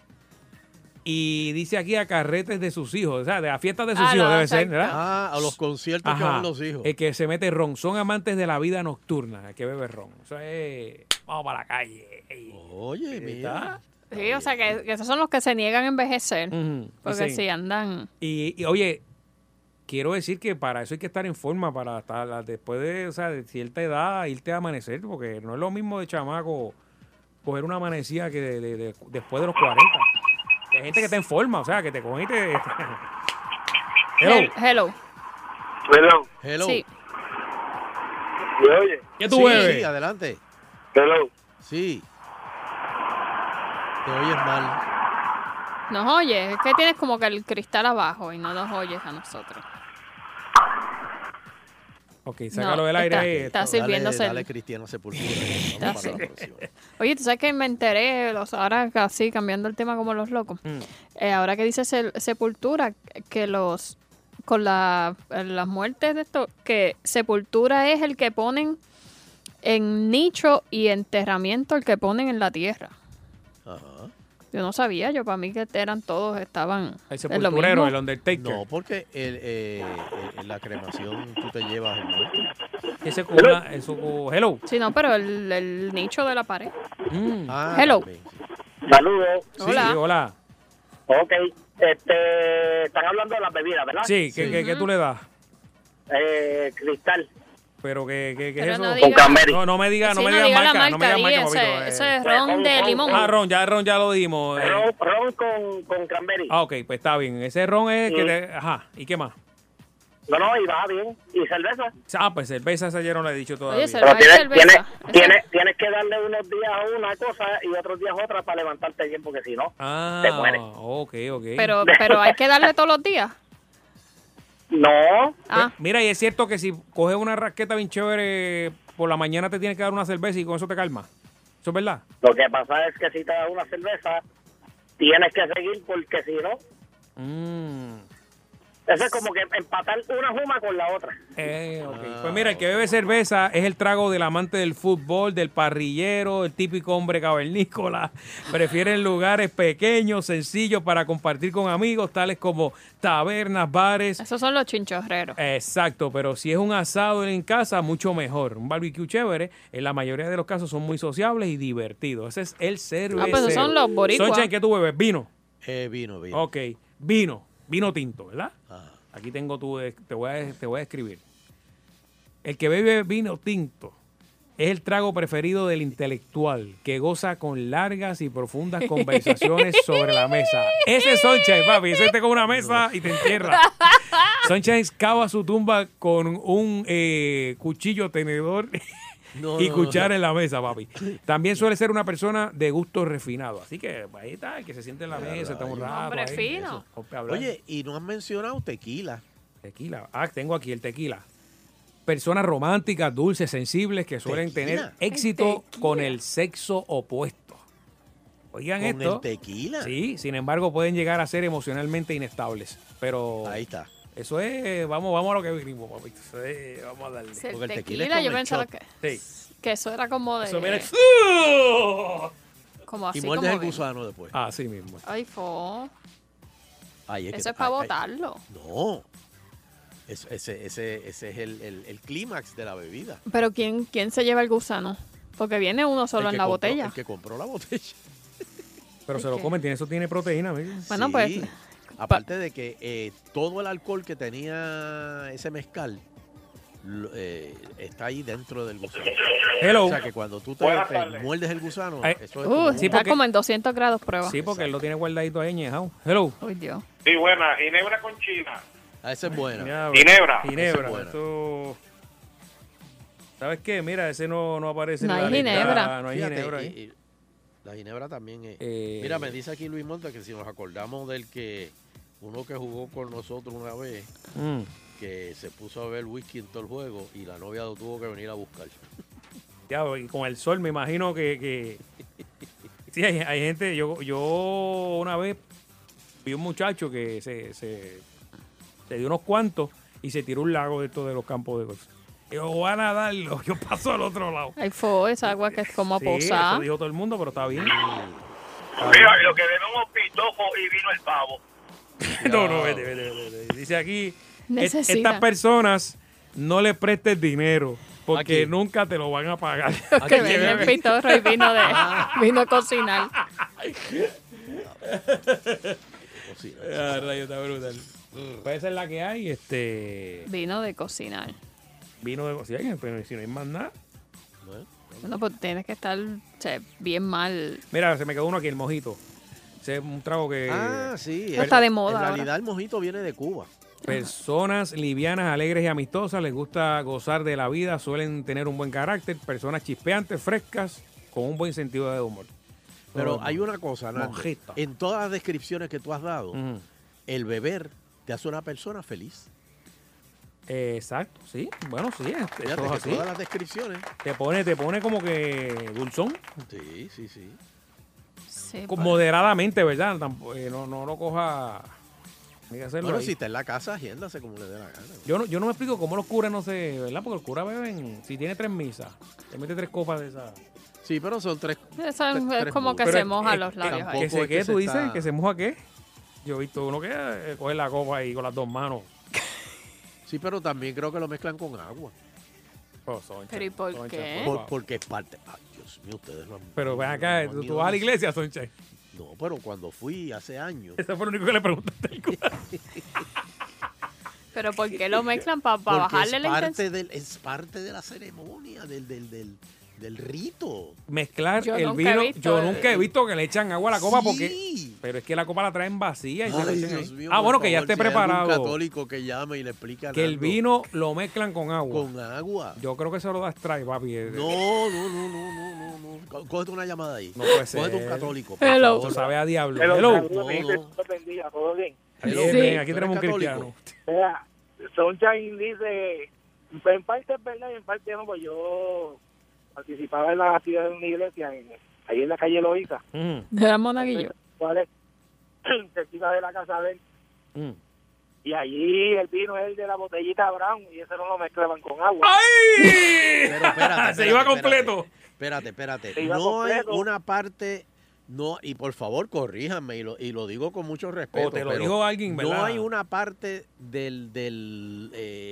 y dice aquí a carretes de sus hijos. O sea, de las fiestas de sus Ah, hijos no, debe ser, exacto. ¿verdad? Ah, a los conciertos que Ajá. van los hijos. El que se mete ron. Son amantes de la vida nocturna, el que bebe ron. Eso es... Vamos para la calle. Ey. Oye, mira. Sí, o sea, que, que esos son los que se niegan a envejecer. Ujú. Porque Sí. si andan... Y, y, oye, quiero decir que para eso hay que estar en forma, para estar después de, o sea, de cierta edad, irte a amanecer, porque no es lo mismo de chamaco coger una amanecida que de, de- de- después de los cuarenta. Hay gente que está en forma, o sea, que te cogen y te... Hello. Hel- Hello. Hello. Hello. Sí. ¿Me oye? ¿Qué tú sí, bebes? sí, adelante. Hello. Sí. Te oyes mal. Nos oyes. Es que tienes como que el cristal abajo y no nos oyes a nosotros. Ok, sácalo del No, aire. está- ahí. está Dale, sirviéndose el- dale Cristiano Sepultura. Está Vamos para la así. próxima. Oye, ¿tú sabes que me enteré, los, ahora casi cambiando el tema como los locos? Mm. Eh, ahora que dice sel- Sepultura, que los con la, las muertes de esto, que Sepultura es el que ponen en nicho y enterramiento, el que ponen en la tierra. Ajá. Yo no sabía, yo para mí que eran todos, estaban El en lo sepulturero, mismo. el Undertaker. No, porque el, eh, eh, en la cremación tú te llevas el muerto. Ese con una- eso, hello. Sí, no, pero el, el nicho de la pared. Mm. Ah, Hello. también, sí. Saludos. Sí, Hola. hola. Ok. Este, están hablando de las bebidas, ¿verdad? Sí, ¿qué, Sí. qué- qué tú le das? Eh, cristal. Pero que, que, que es Pero eso. no Con diga- Cranberry. No, no me diga, no Sí, me no digas diga la marca, no me marca, digas di marca, ese, papito. ese eh. es ron de limón. Ah, ron, ya ron ya lo dimos. eh. Ron, ron con, con cranberry. Ah, ok, pues está bien. Ese ron es que Sí. te... Ajá, ¿y qué más? No, no, y va bien. ¿Y cerveza? Ah, pues cerveza esa ya no la he dicho todavía. Oye, Pero cerveza. tienes, cerveza. tienes, Esa- tienes, tienes que darle unos días a una cosa y otros días otra para levantarte bien, porque si no, Ah, te mueres. ok, ok. Pero, pero hay que darle todos los días. No. Ah, Mira, y es cierto que si coges una raqueta bien chévere, por la mañana te tienes que dar una cerveza y con eso te calma. ¿Eso es verdad? Lo que pasa es que si te das una cerveza, tienes que seguir porque si no, Mm. eso es como que empatar una juma con la otra. Eh, ok. Pues mira, el que bebe cerveza es el trago del amante del fútbol, del parrillero, el típico hombre cavernícola. Prefieren lugares pequeños, sencillos para compartir con amigos, tales como tabernas, bares. esos son los chinchorreros. Exacto, pero si es un asado en casa, mucho mejor. Un barbecue chévere, en la mayoría de los casos son muy sociables y divertidos. Ese es el cervecero. Ah, pues esos son los boricuas. Soncha, ¿qué tú bebes? ¿Vino? Eh, vino, vino. Ok, vino. Vino tinto, ¿verdad? Ajá. Aquí tengo tu, te voy a, te voy a escribir. El que bebe vino tinto es el trago preferido del intelectual, que goza con largas y profundas conversaciones sobre la mesa. Ese es Sunshine, papi. Ese te con una mesa y te entierra. Sunshine cava su tumba con un eh, cuchillo, tenedor No, y no, cuchara no. en la mesa, papi. También suele ser una persona de gusto refinado. Así que ahí está, el que se siente en la mesa, está un rato. Hombre ahí, fino. eso, ponte a hablar. Oye, y no has mencionado tequila. Tequila. Ah, tengo aquí el tequila. Personas románticas, dulces, sensibles que suelen Tequila. tener éxito Tequila. con el sexo opuesto. Oigan Con esto. el tequila. Sí, sin embargo pueden llegar a ser emocionalmente inestables. Pero Ahí está. eso es, vamos, vamos a lo que vinimos, papito. Eso es, vamos a darle. Si el Porque el tequila, tequila es yo con el pensaba shot. que, Sí. que eso era como de... Eso viene- Como así, Y muerdes como el de- gusano después. Así mismo. Ay, fo. Ay, que- Eso es para ay, ay. botarlo. No. Eso- ese, ese, ese es el, el, el clímax de la bebida. Pero ¿quién, ¿quién se lleva el gusano? Porque viene uno solo El en que la compró- botella. El que compró la botella. Pero se lo que- comen, tiene, eso tiene proteína, amigo. Bueno, Sí. pues... Aparte de que eh, todo el alcohol que tenía ese mezcal lo- eh, está ahí dentro del gusano. Hello. O sea que cuando tú te, Buenas te tardes. muerdes el gusano, Ay, eso es Uh, como sí, está porque- como en doscientos grados prueba. Sí, porque él lo tiene guardadito ahí añejado. Hello. Uy, Dios. Sí, buena. Ginebra con China. Ah, esa es buena. Ya, Ginebra. Esa Ginebra. es buena. Esto... ¿Sabes qué? Mira, ese no, no aparece No en la hay lista. ginebra. No hay Fíjate, ginebra y- ahí. y la ginebra también es. Eh, Mira, me dice aquí Luis Montes que si nos acordamos del que uno que jugó con nosotros una vez, Mm. que se puso a ver whisky en todo el juego y la novia lo tuvo que venir a buscar. Ya, y con el sol me imagino que... que... Sí, hay, hay gente... Yo, yo una vez vi un muchacho que se, se, se dio unos cuantos y se tiró un lago de estos de los campos de golf. Yo voy a nadarlo, yo paso al otro lado. Ahí fue esa agua que es como Sí, posada. eso dijo todo el mundo, pero está bien. Mira, lo que bebemos pitofo y vino el pavo. No, no, vete, vete, vete, vete. Dice aquí, "Et- Necesita. estas personas no le prestes dinero porque Aquí. nunca te lo van a pagar. Que venden pitorro y vino de vino a cocinar. Ah, rayo, está brutal. Pues esa es la que hay, este... Vino de cocinar. Vino de... Si hay, pero si no hay más nada. Bueno, pues tienes que estar o sea, bien mal. Mira, se me quedó uno aquí, el mojito. Ese es un trago que... Ah, sí. No está de moda En ahora. realidad el mojito viene de Cuba. Personas livianas, alegres y amistosas, les gusta gozar de la vida, suelen tener un buen carácter, personas chispeantes, frescas, con un buen sentido de humor. Pero Oh, hay una cosa, Nando. mojito. En todas las descripciones que tú has dado, Ujú. el beber te hace una persona feliz. Eh, exacto, sí. Bueno, sí, es- Fíjate eso es que así. todas las descripciones. Te pone, te pone como que dulzón. Sí, sí, sí. Sí, Con- pues. Moderadamente, ¿verdad? Tampoco, eh, no, no lo coja... Hay que hacerlo Bueno, ahí. si está en la casa, agéndase como le dé la gana. Yo no, yo no me explico cómo los curas no se... ¿Verdad? Porque los curas beben... Si tiene tres misas, te mete tres copas de esas... Sí, pero son tres. Eso es, tres- es tres como que mudos. se Pero, moja eh, los eh, labios ahí. ¿Que se es qué? que ¿Tú se dices? está- ¿Que se moja qué? Yo he visto uno que eh, coge la copa ahí con las dos manos. Sí, pero también creo que lo mezclan con agua. Oh, Soncha, ¿Pero y por Soncha, qué? Por- favor. porque es parte. Ay, Dios mío, ustedes no han. Pero ven acá, no han ¿tú, ido tú vas a la eso. iglesia, Soncha? No, pero cuando fui hace años. Eso fue lo único que le preguntaste al cura. Pero ¿por qué lo mezclan? ¿Para Porque bajarle es la parte, intensidad? del, es parte de la ceremonia, del, del, del, del rito. Mezclar Yo el nunca he vino. visto Yo el- nunca he visto que le echan agua a la copa Sí. porque. Pero es que la copa la traen vacía y se la Ay, echan Dios ahí. mío, Ah, por bueno, que ya favor, esté si hay algún preparado. católico que llame y le explica Que el vino lo mezclan con agua. con agua. Yo creo que eso lo da strike, papi. No, no, no, no, no, no, no. Có- Cógete una llamada ahí. No puede ser. Cógete un católico. por Hello. favor. Eso sabe a diablo. Pero, Hello. saludos, No, mijito, no. Dios te bendiga, todo bien. Bien, Hello. bien, aquí ¿Tú tenemos un eres cristiano. católico? Mira, Sunshine dice, en parte es verdad y en parte no, pues yo participaba en la actividad de una iglesia en, ahí en la calle Loíza, Mm, De la monaguillo. ¿cuál es? Cerquita de la casa de él. mm. Y allí el vino es el de la botellita brown y ese no lo mezclaban con agua. ¡Ay! Pero espérate, Se iba espérate, completo. Espérate, espérate. Se iba No hay completo. una parte. No, y por favor, corríjanme, y lo, y lo digo con mucho respeto. O te lo pero dijo alguien, ¿verdad? No hay una parte del, del,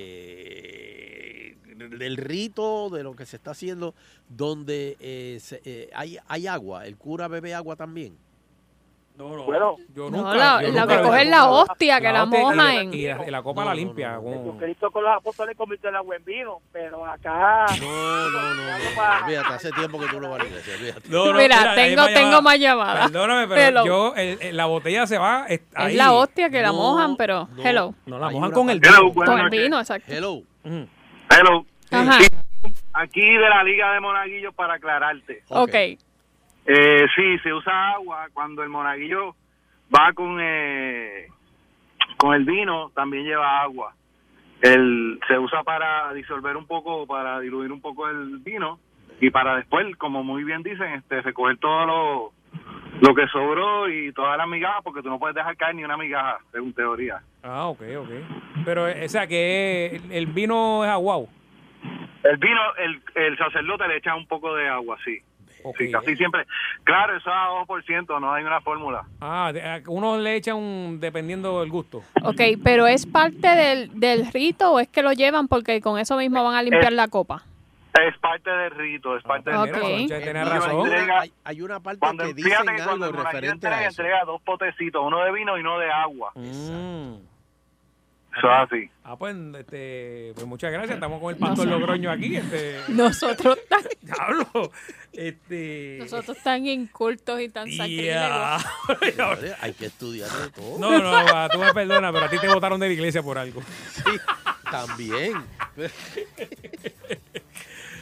eh, del rito, de lo que se está haciendo, donde eh, se- eh, hay, hay agua. El cura bebe agua también. No, no. Bueno, yo No, nunca. la, yo la nunca que he coge es visto. la hostia, que la hostia y moja en... Y la, y la copa No, la no, limpia. no, no, con- Jesucristo con los apóstoles convirtió el agua en vino, pero acá... No, no, no. no. Olvídate, hace tiempo que tú no vas a la iglesia. Olvídate. No, no, Mira, hay tengo, más tengo llamadas. más llamadas. Perdóname, pero Hello. yo, el- el- la botella se va es- ahí. Es la hostia que la No, mojan, pero... no. Hello. No la Hay mojan una con el parte- Hello, vino. buenas Con el noches. vino, exacto. Hello. Mm. Hello. Ajá. Aquí de la Liga de Monaguillos para aclararte. Ok. Eh, sí, se usa agua cuando el monaguillo va con eh, con el vino, también lleva agua. El, se usa para disolver un poco, para diluir un poco el vino y para después, como muy bien dicen, este, recoger todo lo, lo que sobró y todas las migajas, porque tú no puedes dejar caer ni una migaja, según teoría. Ah, ok, ok. Pero, eh, o sea, que el, el vino es aguau. El vino, el, el sacerdote le echa un poco de agua, sí. Ok. Sí, casi siempre. Claro, eso es a dos por ciento, no hay una fórmula. Ah, de- a- uno le echa un, dependiendo del gusto. Ok, pero ¿es parte del, del rito o es que lo llevan porque con eso mismo van a limpiar la copa? Es parte del rito, es parte Ah, del mira, Ok. Soncha Eh, tiene no, hay, razón. una, hay- hay una parte Cuando, que dicen fíjate que cuando algo el monaguillo referente a entrega, eso. entrega dos potecitos, uno de vino y uno de agua. Mm. Eso es así. Ah, pues, este, pues muchas gracias. Estamos con el pastor Logroño aquí. Este, Nosotros tan, diablo. Este. nosotros tan incultos y tan Ya. sacrílegos. Señores, hay que estudiar de todo. No, no, va, tú me perdonas, pero a ti te votaron de la iglesia por algo. Sí, también.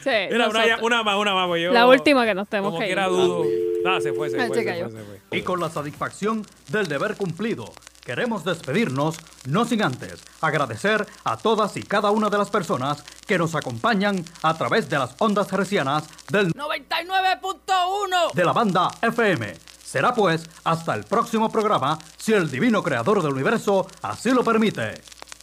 Sí, Mira, una, nosotros. una más, una más. Pues yo, La última que nos tenemos como que ir. quiera dudo. Ah, se fue, se Ah, fue, se se cayó. fue, se fue. Y con la satisfacción del deber cumplido, queremos despedirnos, no sin antes agradecer a todas y cada una de las personas que nos acompañan a través de las ondas hercianas del noventa y nueve punto uno de la banda F M. Será pues hasta el próximo programa, si el divino creador del universo así lo permite.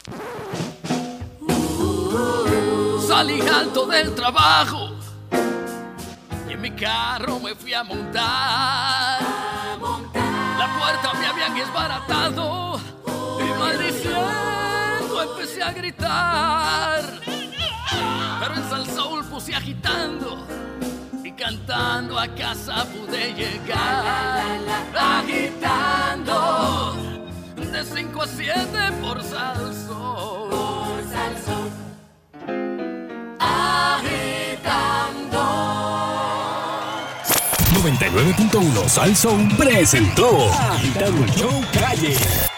Salí alto del trabajo y en mi carro me fui a montar. La puerta me habían desbaratado y maldiciendo empecé a gritar. Pero en Salsoul puse agitando y cantando a casa pude llegar. Agitando de cinco a siete por Salsoul. Por Salsoul. Agitando. noventa y nueve punto uno Sal Soul presentó Agitando el Show Calle.